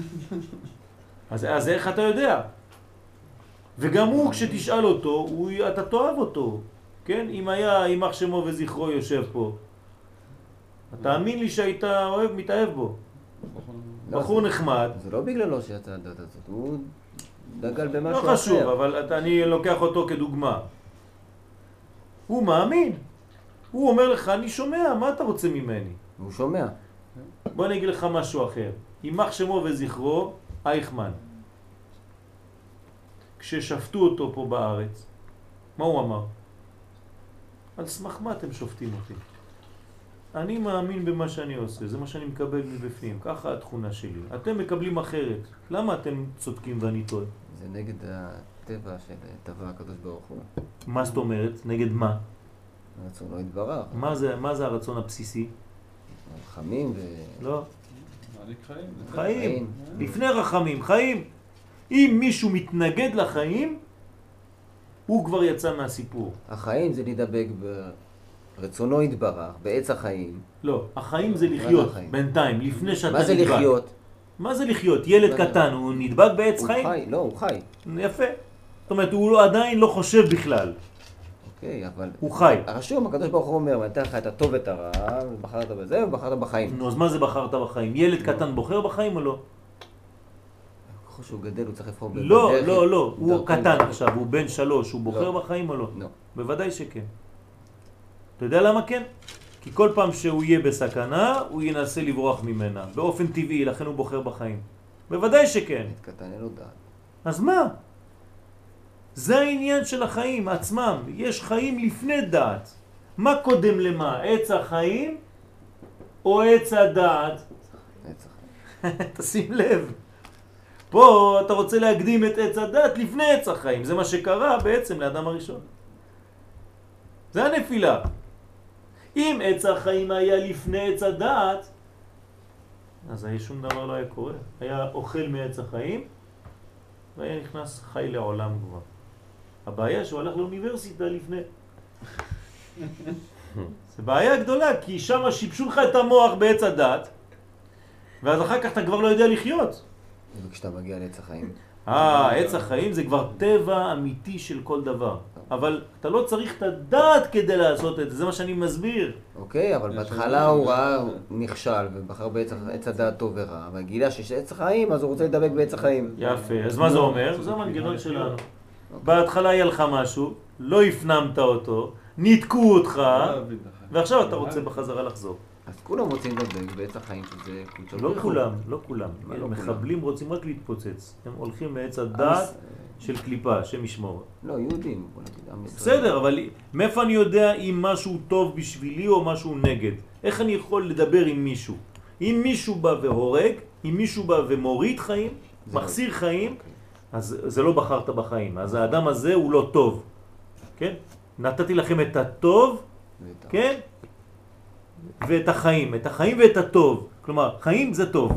אז איך אתה יודע? וגם הוא, כשתשאל אותו, אתה תאהב אותו. כן? אם היה יימח שמו וזכרו יושב פה. תאמין לי שהיית מתאהב בו. בחור נחמד. זה לא בגללו שיצא הדת הזאת, הוא דגל במשהו אחר. לא חשוב, אבל אני לוקח אותו כדוגמה. הוא מאמין. הוא אומר לך, אני שומע, מה אתה רוצה ממני? הוא שומע. בוא אני אגיד לך משהו אחר. יימח שמו וזכרו, אייכמן. כששפטו אותו פה בארץ, מה הוא אמר? על סמך מה אתם שופטים אותי? אני מאמין במה שאני עושה, זה מה שאני מקבל מבפנים, ככה התכונה שלי. אתם מקבלים אחרת, למה אתם צודקים ואני טועה? זה נגד הטבע של טבע הקדוש ברוך הוא. מה זאת אומרת? נגד מה? רצון לא יתברך. מה זה הרצון הבסיסי? חמים לא. מעניק חיים. חיים. לפני רחמים, חיים. אם מישהו מתנגד לחיים, הוא כבר יצא מהסיפור. החיים זה להידבק ברצונו יתברך, בעץ החיים. לא, החיים זה לחיות, בינתיים, לפני שאתה נדבק. מה זה לחיות? מה זה לחיות? ילד קטן, הוא נדבק בעץ חיים? הוא חי, לא, הוא חי. יפה. זאת אומרת, הוא עדיין לא חושב בכלל. אוקיי, אבל... הוא חי. הרשום, הקדוש ברוך הוא אומר, נתן לך את הטוב ואת הרע, ובחרת בזה ובחרת בחיים. נו, אז מה זה בחרת בחיים? ילד קטן בוחר בחיים או לא? ככל שהוא גדל, הוא צריך לבחור בדרך. לא, הוא קטן עכשיו, הוא בן 3, הוא בוחר בחיים או לא? לא. בוודאי שכן. אתה יודע למה כן? כי כל פעם שהוא יהיה בסכנה, הוא ינסה לברוח ממנה. באופן טבעי, לכן הוא בוחר בחיים. בוודאי שכן. קטן, אין לו דעת. אז מה? זה העניין של החיים עצמם. יש חיים לפני דעת. מה קודם למה? עץ החיים או עץ הדעת? עץ החיים. תשים לב. פה אתה רוצה להקדים את עץ הדעת לפני עץ החיים. זה מה שקרה בעצם לאדם הראשון. זה הנפילה. אם עץ החיים היה לפני עץ הדעת, אז שום דבר לא היה קורה. היה אוכל מעץ החיים, והיה נכנס חי לעולם כבר. הבעיה שהוא הלך לאוניברסיטה לפני. זה בעיה גדולה, כי שם שיבשו לך את המוח בעץ הדעת, ואז אחר כך אתה כבר לא יודע לחיות. וכשאתה מגיע לעץ החיים. עץ החיים זה כבר טבע אמיתי של כל דבר. אבל אתה לא צריך את הדעת כדי לעשות את זה, זה מה שאני מסביר. אוקיי, אבל בהתחלה הוא ראה, הוא נכשל ובחר בעץ הדעת טוב ורע, אבל גילה שיש עץ החיים, אז הוא רוצה לדבק בעץ החיים. יפה, אז מה זה אומר? זה המנגנון שלנו. בהתחלה היה לך משהו, לא הפנמת אותו, ניתקו אותך, ועכשיו אתה רוצה בחזרה לחזור. אז כולם רוצים לדבק בעץ החיים שזה קודשו. לא כולם, לא כולם. מחבלים רוצים רק להתפוצץ. הם הולכים לעץ הדעת של קליפה, שם ישמור. לא, יהודים, בוא נגיד, עם ישראל. בסדר, אבל מאיפה אני יודע אם משהו טוב בשבילי או משהו נגד? איך אני יכול לדבר עם מישהו? אם מישהו בא והורג, אם מישהו בא ומוריד חיים, מחסיר חיים, אז זה לא בחרת בחיים. אז האדם הזה הוא לא טוב. כן? נתתי לכם את הטוב, כן? ואת החיים. את החיים ואת הטוב. כלומר, חיים זה טוב.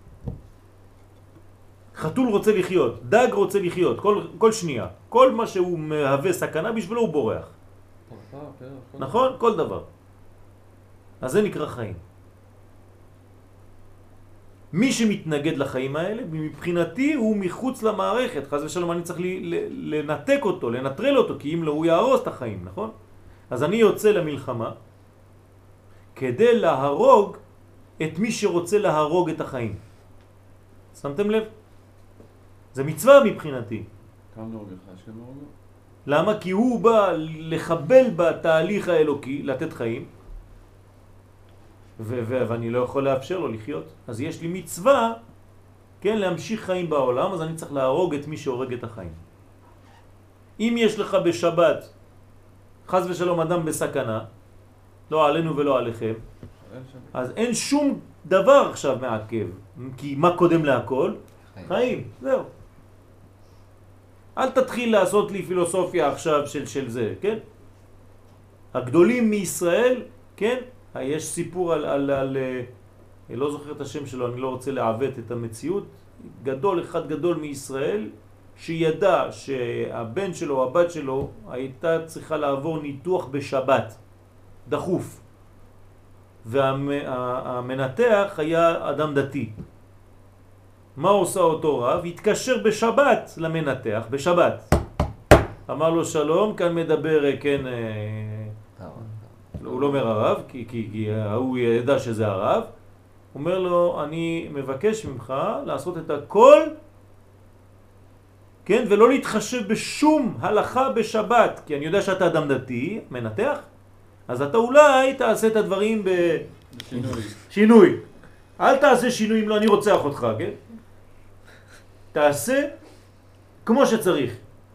חתול רוצה לחיות, דג רוצה לחיות, כל שנייה. כל מה שהוא מהווה סכנה בשבילו הוא בורח. נכון? כל דבר. אז זה נקרא חיים. מי שמתנגד לחיים האלה, מבחינתי הוא מחוץ למערכת. חס ושלום אני צריך לנתק אותו, לנטרל אותו, כי אם לא הוא יהרוס את החיים, נכון? אז אני יוצא למלחמה כדי להרוג את מי שרוצה להרוג את החיים. שמתם לב? זה מצווה מבחינתי. כמה נהוג לך? שכם נהוג? למה? כי הוא בא לחבל בתהליך האלוקי, לתת חיים, ואני לא יכול לאפשר לו לחיות. אז יש לי מצווה, כן, להמשיך חיים בעולם, אז אני צריך להרוג את מי שהורג את החיים. אם יש לך בשבת, חס ושלום אדם בסכנה, לא עלינו ולא עליכם, אז אין שום דבר עכשיו מעכב, כי מה קודם להכל? חיים, זהו. אל תתחיל לעשות לי פילוסופיה עכשיו של זה, כן? הגדולים מישראל, כן? יש סיפור על לא זוכר את השם שלו, אני לא רוצה לעוות את המציאות, אחד גדול מישראל, שידע שהבן שלו או הבת שלו הייתה צריכה לעבור ניתוח בשבת, דחוף. והמנתח היה אדם דתי. מה עושה אותו רב? התקשר בשבת למנתח, בשבת. אמר לו שלום, כאן מדבר, כן, הוא לא אומר הרב, כי הוא ידע שזה הרב. הוא אומר לו, אני מבקש ממך לעשות את הכל, כן, ולא להתחשב בשום הלכה בשבת, כי אני יודע שאתה אדם דתי, מנתח, אז אתה אולי תעשה את הדברים בשינוי. אל תעשה שינוי אם לא אני רוצח אותך, כן? תעשה כמו שצריך.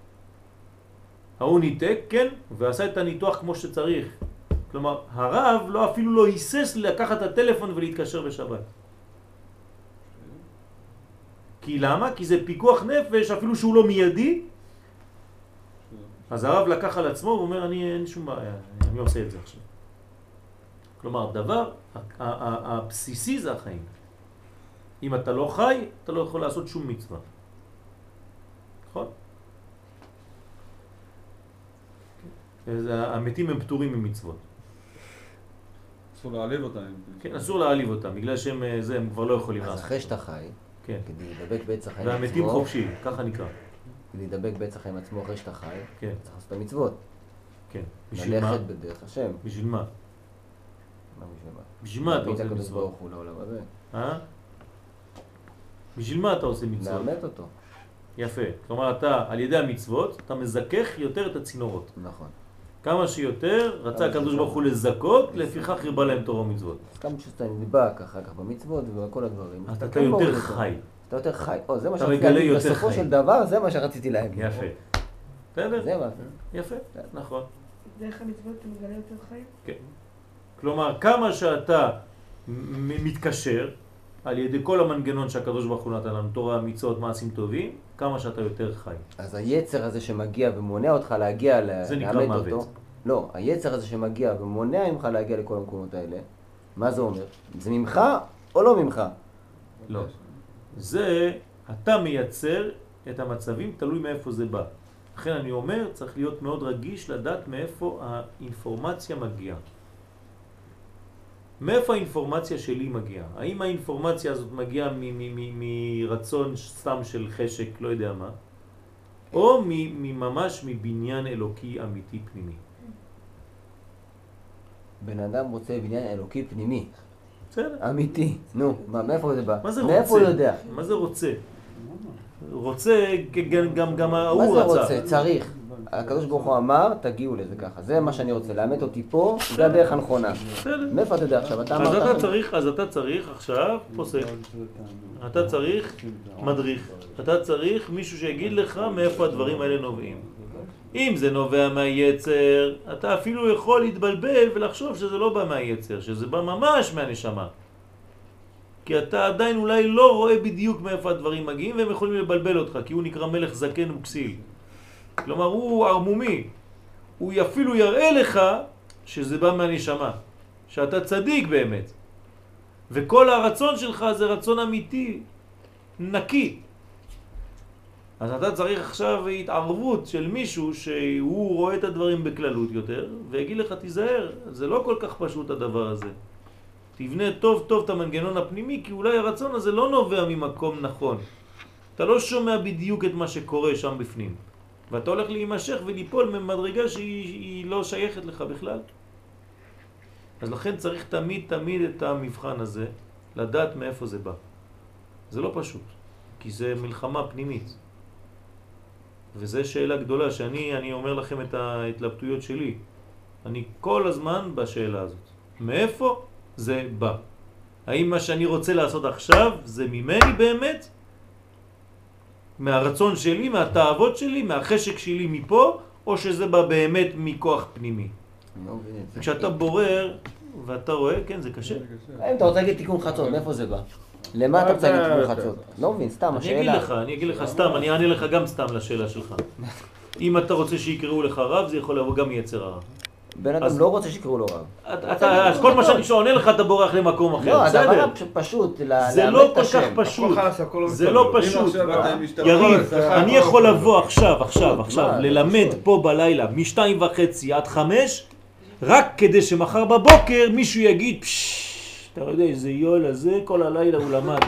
ההוא ניתק, כן, ועשה את הניתוח כמו שצריך. כלומר, הרב אפילו לא היסס לקחת את הטלפון ולהתקשר בשבת. כי למה? כי זה פיקוח נפש, אפילו שהוא לא מיידי. אז הרב לקח על עצמו ואומר, אין שום בעיה, אני עושה את זה עכשיו. כלומר, דבר הבסיסי זה החיים. אם אתה לא חי, אתה לא יכול לעשות שום מצווה. נכון? המתים הם פטורים ממצוות. אסור להעליב אותם. כן, אסור להעליב אותם, בגלל שהם הם כבר לא יכולים לעשות. אז אחרי שאתה חי, כן. כדי להידבק בעץ החיים עצמו, והמתים חופשי, ככה נקרא. כדי להידבק בעץ החיים עצמו אחרי שאתה חי, כן. צריך לעשות את המצוות. כן. בשביל מה? ללכת בדרך השם. בשביל מה? מה בשביל מה? בשביל מה אתה עושה הקדוש מצוות? ברוך הוא לעולם הזה. בשביל מה אתה עושה מצוות? לאמת אותו. יפה. כלומר, אתה, על ידי המצוות, אתה מזכך יותר את הצינורות. נכון. כמה שיותר רצה הקדוש ברוך הוא לזכות, לפיכך הרבה להם תורה ומצוות. אז כמה שאתה נדבק אחר כך במצוות ובכל הדברים. אתה יותר חי. אתה יותר חי. זה מה אתה שרציתי מגלה להגיד. יותר בסופו חיים. של דבר זה מה שרציתי להגיד. יפה. בסדר? זה מה. יפה, נכון. דרך המצוות אתה מגלה יותר חיים? כן. כלומר, כמה שאתה מתקשר על ידי כל המנגנון שהקדוש ברוך הוא נתן לנו, תורה, מצוות, מעשים טובים, כמה שאתה יותר חי. אז היצר הזה שמגיע ומונע אותך להגיע זה נקרא לאמת מוות. אותו. לא, היצר הזה שמגיע ומונע ממך להגיע לכל המקומות האלה, מה זה אומר? זה ממך או לא ממך? לא. זה, אתה מייצר את המצבים, תלוי מאיפה זה בא. לכן אני אומר, צריך להיות מאוד רגיש לדעת מאיפה האינפורמציה מגיעה. מאיפה האינפורמציה שלי מגיעה? האם האינפורמציה הזאת מגיעה מרצון סתם של חשק, לא יודע מה, או ממש מבניין אלוקי אמיתי פנימי? בן אדם רוצה בניין אלוקי פנימי. בסדר. אמיתי. נו, מאיפה זה בא? מה זה מאיפה הוא רוצה? יודע? מה זה רוצה? רוצה, גם מה ההוא זה רצה. רוצה? צריך. הקדוש ברוך הוא אמר, תגיעו לזה ככה. זה מה שאני רוצה, לאמת אותי פה, זה הדרך הנכונה. בסדר. מאיפה אתה יודע עכשיו? אתה אז אמרת... אתה צריך עכשיו פוסק. אתה צריך מדריך. אתה צריך מישהו שיגיד לך מאיפה הדברים האלה נובעים. אם זה נובע מהיצר, אתה אפילו יכול להתבלבל ולחשוב שזה לא בא מהיצר, שזה בא ממש מהנשמה. כי אתה עדיין אולי לא רואה בדיוק מאיפה הדברים מגיעים, והם יכולים לבלבל אותך, כי הוא נקרא מלך זקן וכסיל. כלומר, הוא ערמומי. הוא אפילו יראה לך שזה בא מהנשמה, שאתה צדיק באמת. וכל הרצון שלך זה רצון אמיתי, נקי. אז אתה צריך עכשיו התערבות של מישהו שהוא רואה את הדברים בכללות יותר, ויגיד לך תיזהר, זה לא כל כך פשוט הדבר הזה. תבנה טוב טוב את המנגנון הפנימי, כי אולי הרצון הזה לא נובע ממקום נכון. אתה לא שומע בדיוק את מה שקורה שם בפנים. ואתה הולך להימשך וליפול ממדרגה שהיא לא שייכת לך בכלל. אז לכן צריך תמיד את המבחן הזה, לדעת מאיפה זה בא. זה לא פשוט, כי זה מלחמה פנימית. וזו שאלה גדולה שאני אומר לכם את ההתלבטויות שלי. אני כל הזמן בשאלה הזאת. מאיפה זה בא? האם מה שאני רוצה לעשות עכשיו זה ממני באמת? מהרצון שלי, מהתאוות שלי, מהחשק שלי מפה, או שזה בא באמת מכוח פנימי? כשאתה בורר ואתה רואה, כן, זה קשה. אם אתה רוצה להגיד תיקון חצות, מאיפה זה בא? למה אתה רוצה להגיד תיקון חצות? לא מבין, סתם, השאלה. אני אגיד לך סתם, אני אענה לך גם סתם לשאלה שלך. אם אתה רוצה שיקראו לך רב, זה יכול לבוא גם יצר הרע. בן אדם לא רוצה שיקראו לו רב. אז כל מה שאני שעונה לך אתה בורח למקום אחר, לא, בסדר? הדבר פשוט, זה לא כל כך פשוט, זה לא פשוט. יריב, אני יכול לבוא עכשיו, ללמד פה בלילה מ2:30 עד 5, רק כדי שמחר בבוקר מישהו יגיד, אתה יודע איזה יול הזה, כל הלילה הוא למד.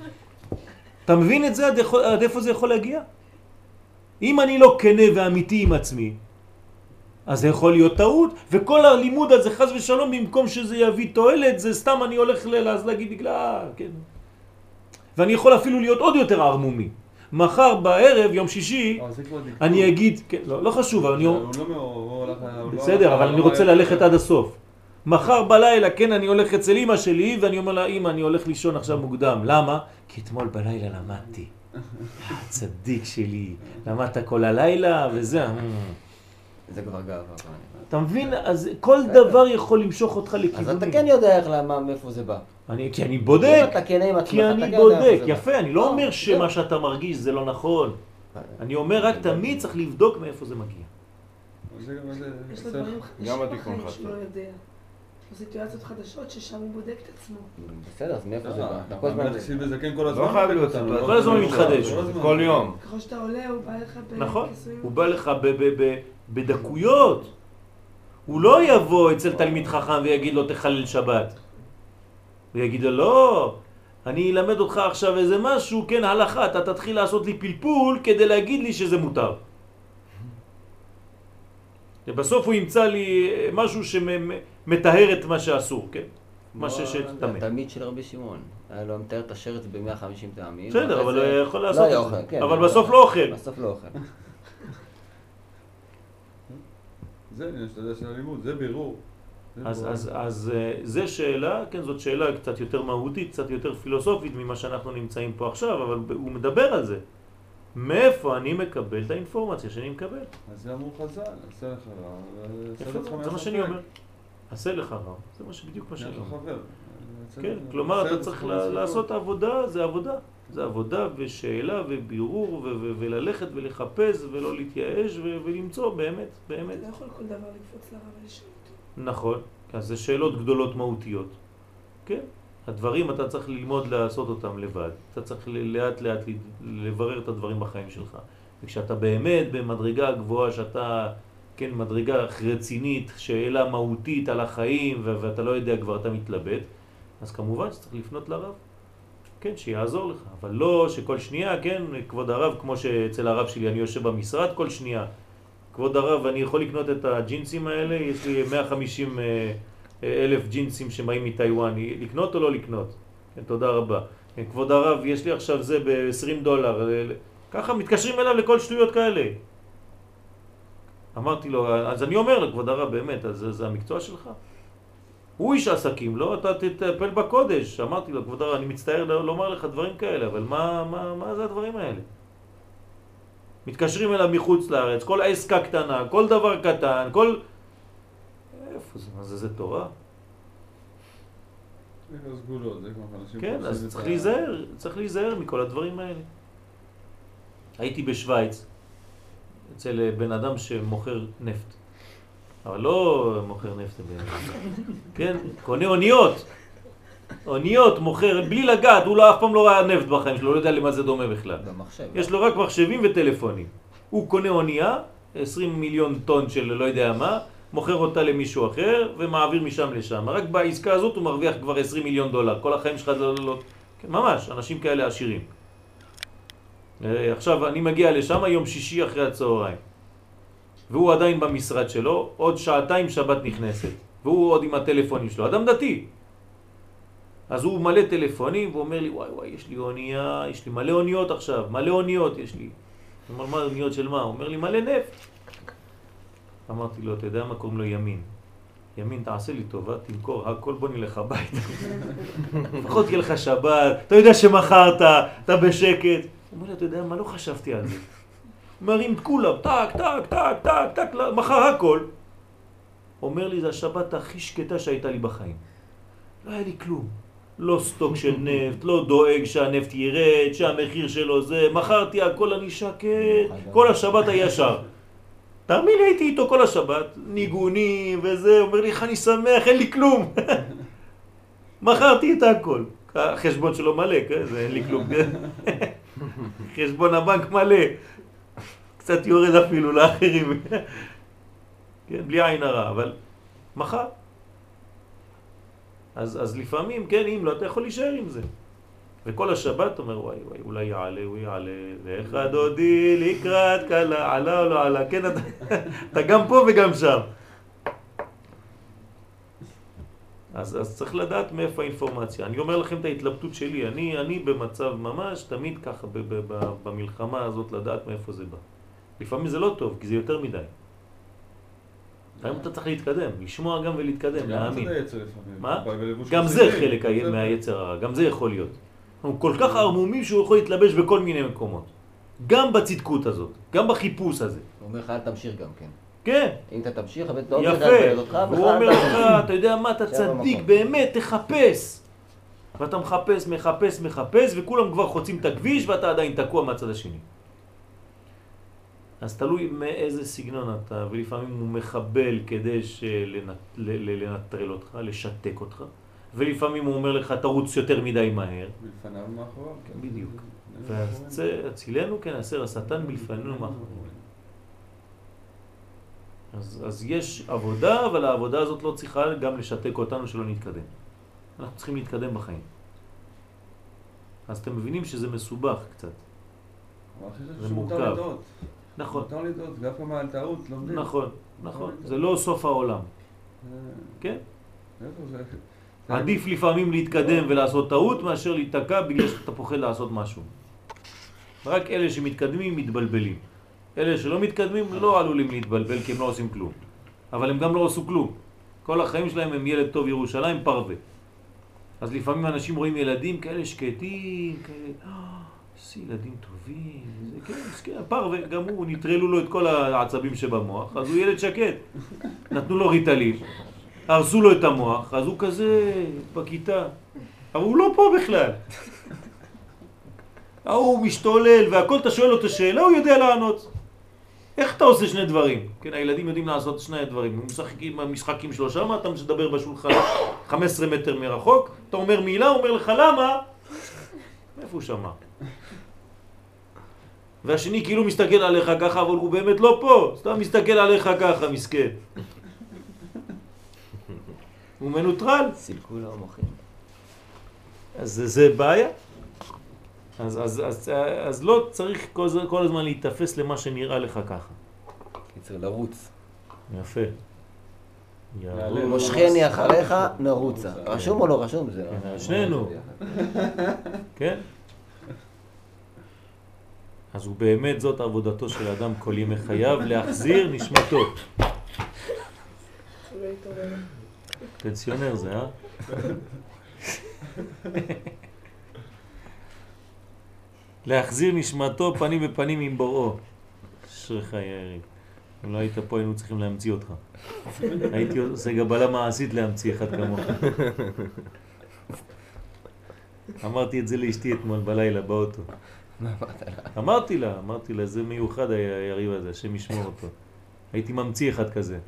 אתה מבין את זה? עד איפה זה יכול להגיע? אם אני לא כנה ואמיתי עם עצמי, אז זה יכול להיות טעות, וכל הלימוד הזה חס ושלום, במקום שזה יביא תועלת, זה סתם אני הולך להגיד בגלל, כן. ואני יכול אפילו להיות עוד יותר ערמומי. מחר בערב, יום שישי, אני אגיד, כן, לא חשוב, אבל אני... בסדר, אבל אני רוצה ללכת עד הסוף. מחר בלילה, כן, אני הולך אצל אמא שלי, ואני אומר לה, אמא, אני הולך לישון עכשיו מוקדם. למה? כי אתמול בלילה למדתי. צדיק שלי, למדת כל הלילה, וזה... זה כבר גאווה. אתה מבין? אז כל דבר יכול למשוך אותך אז לכיוונים. אתה כן יודע איך למה, מאיפה זה בא. כי אני בודק. אתה כן עם עצמך, כי אתה אני כן יודע בודק, איפה זה בא. יפה, אני לא אומר זהו. שמה שאתה מרגיש זה לא נכון. אני אומר רק תמיד צריך לבדוק מאיפה זה מגיע. זה גם איזה... יש לו דברים גם חדשים התיקון בחיים חשוב. שהוא לא יודע. יש לו סיטואציות חדשות ששם הוא בודק את עצמו. בסדר, אז מאיפה זה בא? אתה כל הזמן- המלך סיל וזקן כל הזמן. לא חייב להיות אותנו, סיטואציה. לא כל הזמן כל מתחדש. הזמן. זה כל יום. ככל שאתה עולה, הוא בא לך נכון, בכיסויים. הוא בא לך בדקויות. הוא לא יבוא אצל תלמיד חכם ויגיד לו תחלל שבת. הוא יגיד לו לא, אני אלמד אותך עכשיו איזה משהו, כן הלכה, אתה תתחיל לעשות לי פלפול כדי להגיד לי שזה מותר. ובסוף הוא ימצא לי משהו שמטהר את מה שאסור, כן? מה שתמיד. התלמיד של רבי שמעון, היה לו מתאר את השרץ ב-150 טעמים. בסדר, אבל הוא יכול לעשות לא היה את אוכל, זה. כן. אבל בסוף לא אוכל. בסוף לא אוכל. זה עניין שאתה יודע של הלימוד, זה בירור. אז זה שאלה, כן, זאת שאלה קצת יותר מהותית, קצת יותר פילוסופית ממה שאנחנו נמצאים פה עכשיו, אבל הוא מדבר על זה. מאיפה אני מקבל את האינפורמציה שאני מקבל? אז זה אמרו חז"ל, עשה לך רע, יפה, זה מה שאני אומר. עשה לך רע, זה בדיוק מה שאני יש לך אומר. חבר. כן, כלומר אתה צריך לעשות עבודה, זה עבודה. זה עבודה ושאלה ובירור וללכת ולחפש ולא להתייאש ולמצוא באמת, באמת. אתה לא יכול כל דבר לקפוץ לרב ולשאול אותו. נכון, אז זה שאלות גדולות מהותיות. כן, הדברים אתה צריך ללמוד לעשות אותם לבד. אתה צריך לאט לאט לברר את הדברים בחיים שלך. וכשאתה באמת במדרגה גבוהה, שאתה, כן, מדרגה רצינית, שאלה מהותית על החיים ואתה לא יודע כבר, אתה מתלבט, אז כמובן שצריך לפנות לרב. כן, שיעזור לך, אבל לא שכל שנייה, כן, כבוד הרב, כמו שאצל הרב שלי אני יושב במשרד כל שנייה, כבוד הרב, אני יכול לקנות את הג'ינסים האלה, יש לי 150 אלף ג'ינסים שבאים מטיואן, לקנות או לא לקנות? כן, תודה רבה. כן, כבוד הרב, יש לי עכשיו זה ב$20, ככה מתקשרים אליו לכל שטויות כאלה. אמרתי לו, אז אני אומר לו, כבוד הרב, באמת, אז זה המקצוע שלך? הוא איש עסקים, לא? אתה תטפל בקודש. אמרתי לו, כבוד הרב, אני מצטער לומר לך דברים כאלה, אבל מה זה הדברים האלה? מתקשרים אליו מחוץ לארץ, כל עסקה קטנה, כל דבר קטן, כל... איפה זה? מה זה תורה? זה כבר סגולות, זה כבר אנשים... כן, אז צריך להיזהר מכל הדברים האלה. הייתי בשוויץ, אצל בן אדם שמוכר נפט. אבל לא מוכר נפט, כן, קונה אוניות. אוניות מוכר, בלי לגעת, הוא אף פעם לא ראה נפט בחיים שלו, לא יודע למה זה דומה בכלל. במחשב. יש לו רק מחשבים וטלפונים. הוא קונה אונייה, 20 מיליון טון של לא יודע מה, מוכר אותה למישהו אחר ומעביר משם לשם. רק בעסקה הזאת הוא מרוויח כבר 20 מיליון דולר. כל החיים שלך לא... כן, ממש, אנשים כאלה עשירים. עכשיו אני מגיע לשם יום שישי אחרי הצהריים. והוא עדיין במשרד שלו, עוד שעתיים שבת נכנסת. והוא עוד עם הטלפונים שלו. אדם דתי. אז הוא מלא טלפונים ואומר לי, וואי, יש לי אונייה, יש לי מלא אוניות עכשיו, מלא אוניות יש לי. הוא אומר, מה אוניות של מה? הוא אומר לי, מלא נפט. אמרתי לו, אתה יודע מה קוראים לו ימין? ימין, תעשה לי טובה, תמכור הכל, בוא נלך הביתה. לפחות יהיה לך שבת, אתה יודע שמחרת, אתה בשקט. הוא אומר לי, אתה יודע מה? לא חשבתי על זה. מרים את כולם, טק, טק, טק, טק, טק, מחר הכל. אומר לי, זה השבת הכי שקטה שהייתה לי בחיים. לא היה לי כלום. לא סטוק של נפט, לא דואג שהנפט ירד, שהמחיר שלו זה, מכרתי הכל, אני שקט, כל השבת הישר. תאמין לי, הייתי איתו כל השבת, ניגונים וזה, אומר לי, איך אני שמח, אין לי כלום. מכרתי את הכל. החשבון שלו מלא, זה אין לי כלום. חשבון הבנק מלא. קצת יורד אפילו לאחרים. כן, בלי עין הרע, אבל מחר. אז לפעמים, כן, אם לא, אתה יכול להישאר עם זה. וכל השבת אומר, וואי, אולי יעלה, הוא יעלה, ואיך דודי לקראת קלה, עלה או לא עלה, כן, אתה גם פה וגם שם. אז צריך לדעת מאיפה האינפורמציה. אני אומר לכם את ההתלבטות שלי, אני במצב ממש, תמיד ככה במלחמה הזאת לדעת מאיפה זה בא. לפעמים זה לא טוב, כי זה יותר מדי. היום אתה צריך להתקדם, לשמוע גם ולהתקדם, להאמין. מה? גם זה חלק מהיצר הרע, גם זה יכול להיות. הוא כל כך ערמומי שהוא יכול להתלבש בכל מיני מקומות. גם בצדקות הזאת, גם בחיפוש הזה. הוא אומר לך, אל תמשיך גם כן. כן. אם אתה תמשיך, הבן לא יפה. תדבר אותך, הוא אומר לך, אתה יודע מה, אתה שם צדיק, במקום. באמת, תחפש. ואתה מחפש, וכולם כבר חוצים את הכביש, ואתה עדיין תקוע מהצד השני. אז תלוי מאיזה סגנון אתה, ולפעמים הוא מחבל כדי לנטרל אותך, לשתק אותך, ולפעמים הוא אומר לך, תרוץ יותר מדי מהר. מלפניו ומאחוריו. כן. בדיוק. והצילנו כן, הסר השטן מלפנינו מאחורינו. אז יש עבודה, אבל העבודה הזאת לא צריכה גם לשתק אותנו שלא נתקדם. אנחנו צריכים להתקדם בחיים. אז אתם מבינים שזה מסובך קצת. אבל אחרי זה זה שמותר מורכב. לדעות. נכון, מותר לדעות, גם פעם על טעות לומדים. נכון, נכון. זה לא סוף העולם. כן? איפה זה? עדיף לפעמים להתקדם ולעשות טעות מאשר להתקע בגלל שאתה פוחד לעשות משהו. רק אלה שמתקדמים מתבלבלים. אלה שלא מתקדמים לא עלולים להתבלבל כי הם לא עושים כלום. אבל הם גם לא עשו כלום. כל החיים שלהם הם ילד טוב ירושלים פרווה. אז לפעמים אנשים רואים ילדים כאלה שקטים, כאלה, איזה ילדים טובים, זה כן, מסכן, פרווה, גם הוא, נטרלו לו את כל העצבים שבמוח, אז הוא ילד שקט. נתנו לו ריטלין, הרסו לו את המוח, אז הוא כזה בכיתה. אבל הוא לא פה בכלל. הוא משתולל והכל, אתה שואל לו את השאלה, הוא יודע לענות. איך אתה עושה שני דברים? כן, הילדים יודעים לעשות שני דברים. הם משחקים המשחקים שלו שם, אתה מדבר בשולחן 15 מטר מרחוק, אתה אומר מילה, הוא אומר לך למה? איפה הוא שמע? והשני כאילו מסתכל עליך ככה, אבל הוא באמת לא פה. סתם מסתכל עליך ככה, מסכן. הוא מנוטרל. סילקו לו המוחים. אז זה בעיה. אז לא צריך כל הזמן להתאפס למה שנראה לך ככה. קיצר לרוץ. יפה. מושכני אחריך נרוצה. רשום או לא רשום? זה שנינו. כן? אז הוא באמת זאת עבודתו של אדם כל ימי חייו, להחזיר נשמתו. פנסיונר זה, להחזיר נשמתו פנים בפנים עם בוראו. אשריך יריב. אם לא היית פה היינו צריכים להמציא אותך. הייתי עושה גבלה מעשית להמציא אחד כמוך. אמרתי את זה לאשתי אתמול בלילה באוטו. אמרתי לה, זה מיוחד היריב הזה, השם ישמור אותו. הייתי ממציא אחד כזה.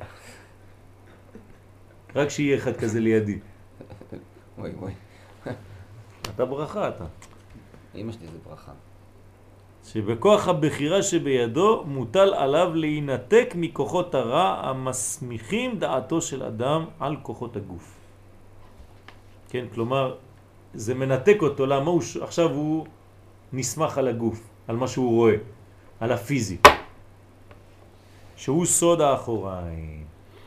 רק שיהיה אחד כזה לידי. וואי. אתה ברכה אתה. אמא שלי זה ברכה. שבכוח הבחירה שבידו מוטל עליו להינתק מכוחות הרע המסמיכים דעתו של אדם על כוחות הגוף. כן, כלומר, זה מנתק אותו, למה עכשיו הוא נסמך על הגוף, על מה שהוא רואה, על הפיזי, שהוא סוד האחוריים.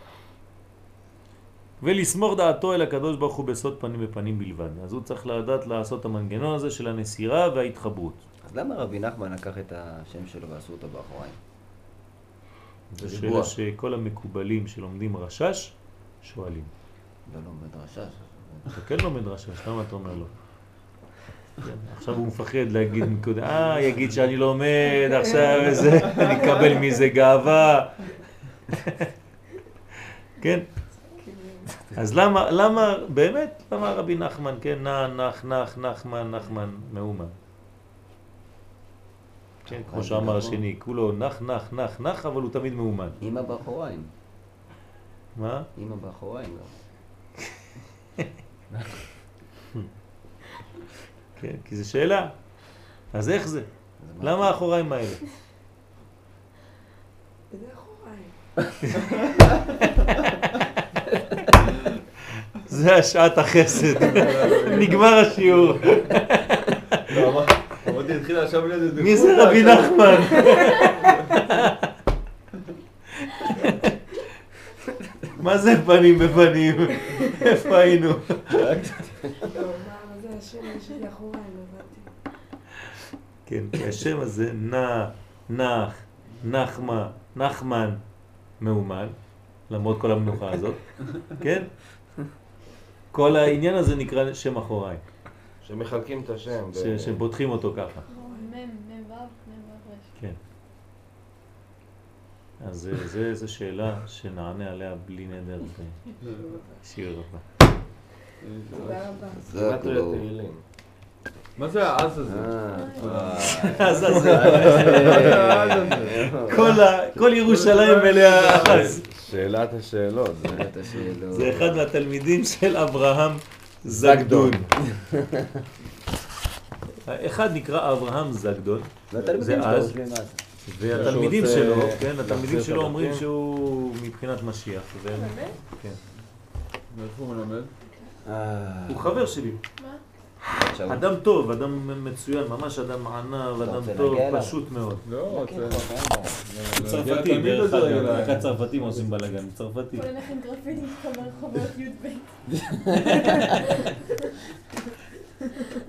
ולסמוך דעתו אל הקדוש ברוך הוא בסוד פנים בפנים בלבד. אז הוא צריך לדעת לעשות את המנגנון הזה של הנסירה וההתחברות. אז למה רבי נחמן לקח את השם שלו ועשו אותו באחוריים? זו שאלה שכל המקובלים שלומדים רשש שואלים. לא לומד רשש. אתה כן לומד רשש, למה אתה אומר לו? עכשיו הוא מפחד להגיד נקודה, יגיד שאני לומד עכשיו וזה, אני אקבל מזה גאווה. כן? אז למה, באמת, למה רבי נחמן, כן, נחמן, מאומן. כן, כמו שאמר השני, כולו נח, אבל הוא תמיד מאומן. אמא באחוריים. מה? אמא באחוריים גם. כן, כי זו שאלה. אז איך זה? למה האחוריים האלה? זה אחוריים. זה השעת החסד. נגמר השיעור. אמרתי, התחילה עכשיו לזה. מי זה רבי נחמן? מה זה פנים בפנים? איפה היינו? לא, מה זה השם שלי אחוריים, הבנתי. כן, כי השם הזה נחמן, מאומן, למרות כל המנוחה הזאת, כן? כל העניין הזה נקרא שם אחוריים. שמחלקים את השם. שבוטחים אותו ככה. מם וו רש. כן. אז זו שאלה שנענה עליה בלי נדר בשיר הבא. תודה רבה. זה כאילו... מה זה העז הזה? אז כל ירושלים מלאה אחז. שאלת השאלות. זה אחד מהתלמידים של אברהם זגדון. אחד נקרא אברהם זגדון, זה אז, והתלמידים שלו, כן, התלמידים שלו אומרים שהוא מבחינת משיח. באמת? כן. מאיפה הוא מלמד? הוא חבר שלי. מה? אדם טוב, אדם מצוין, ממש אדם ענב, אדם טוב, פשוט מאוד. לא, צרפתי, דרך אגב, רק הצרפתים עושים בלגן, צרפתי. בוא נלך עם גרפיטי ברחובות י"ב.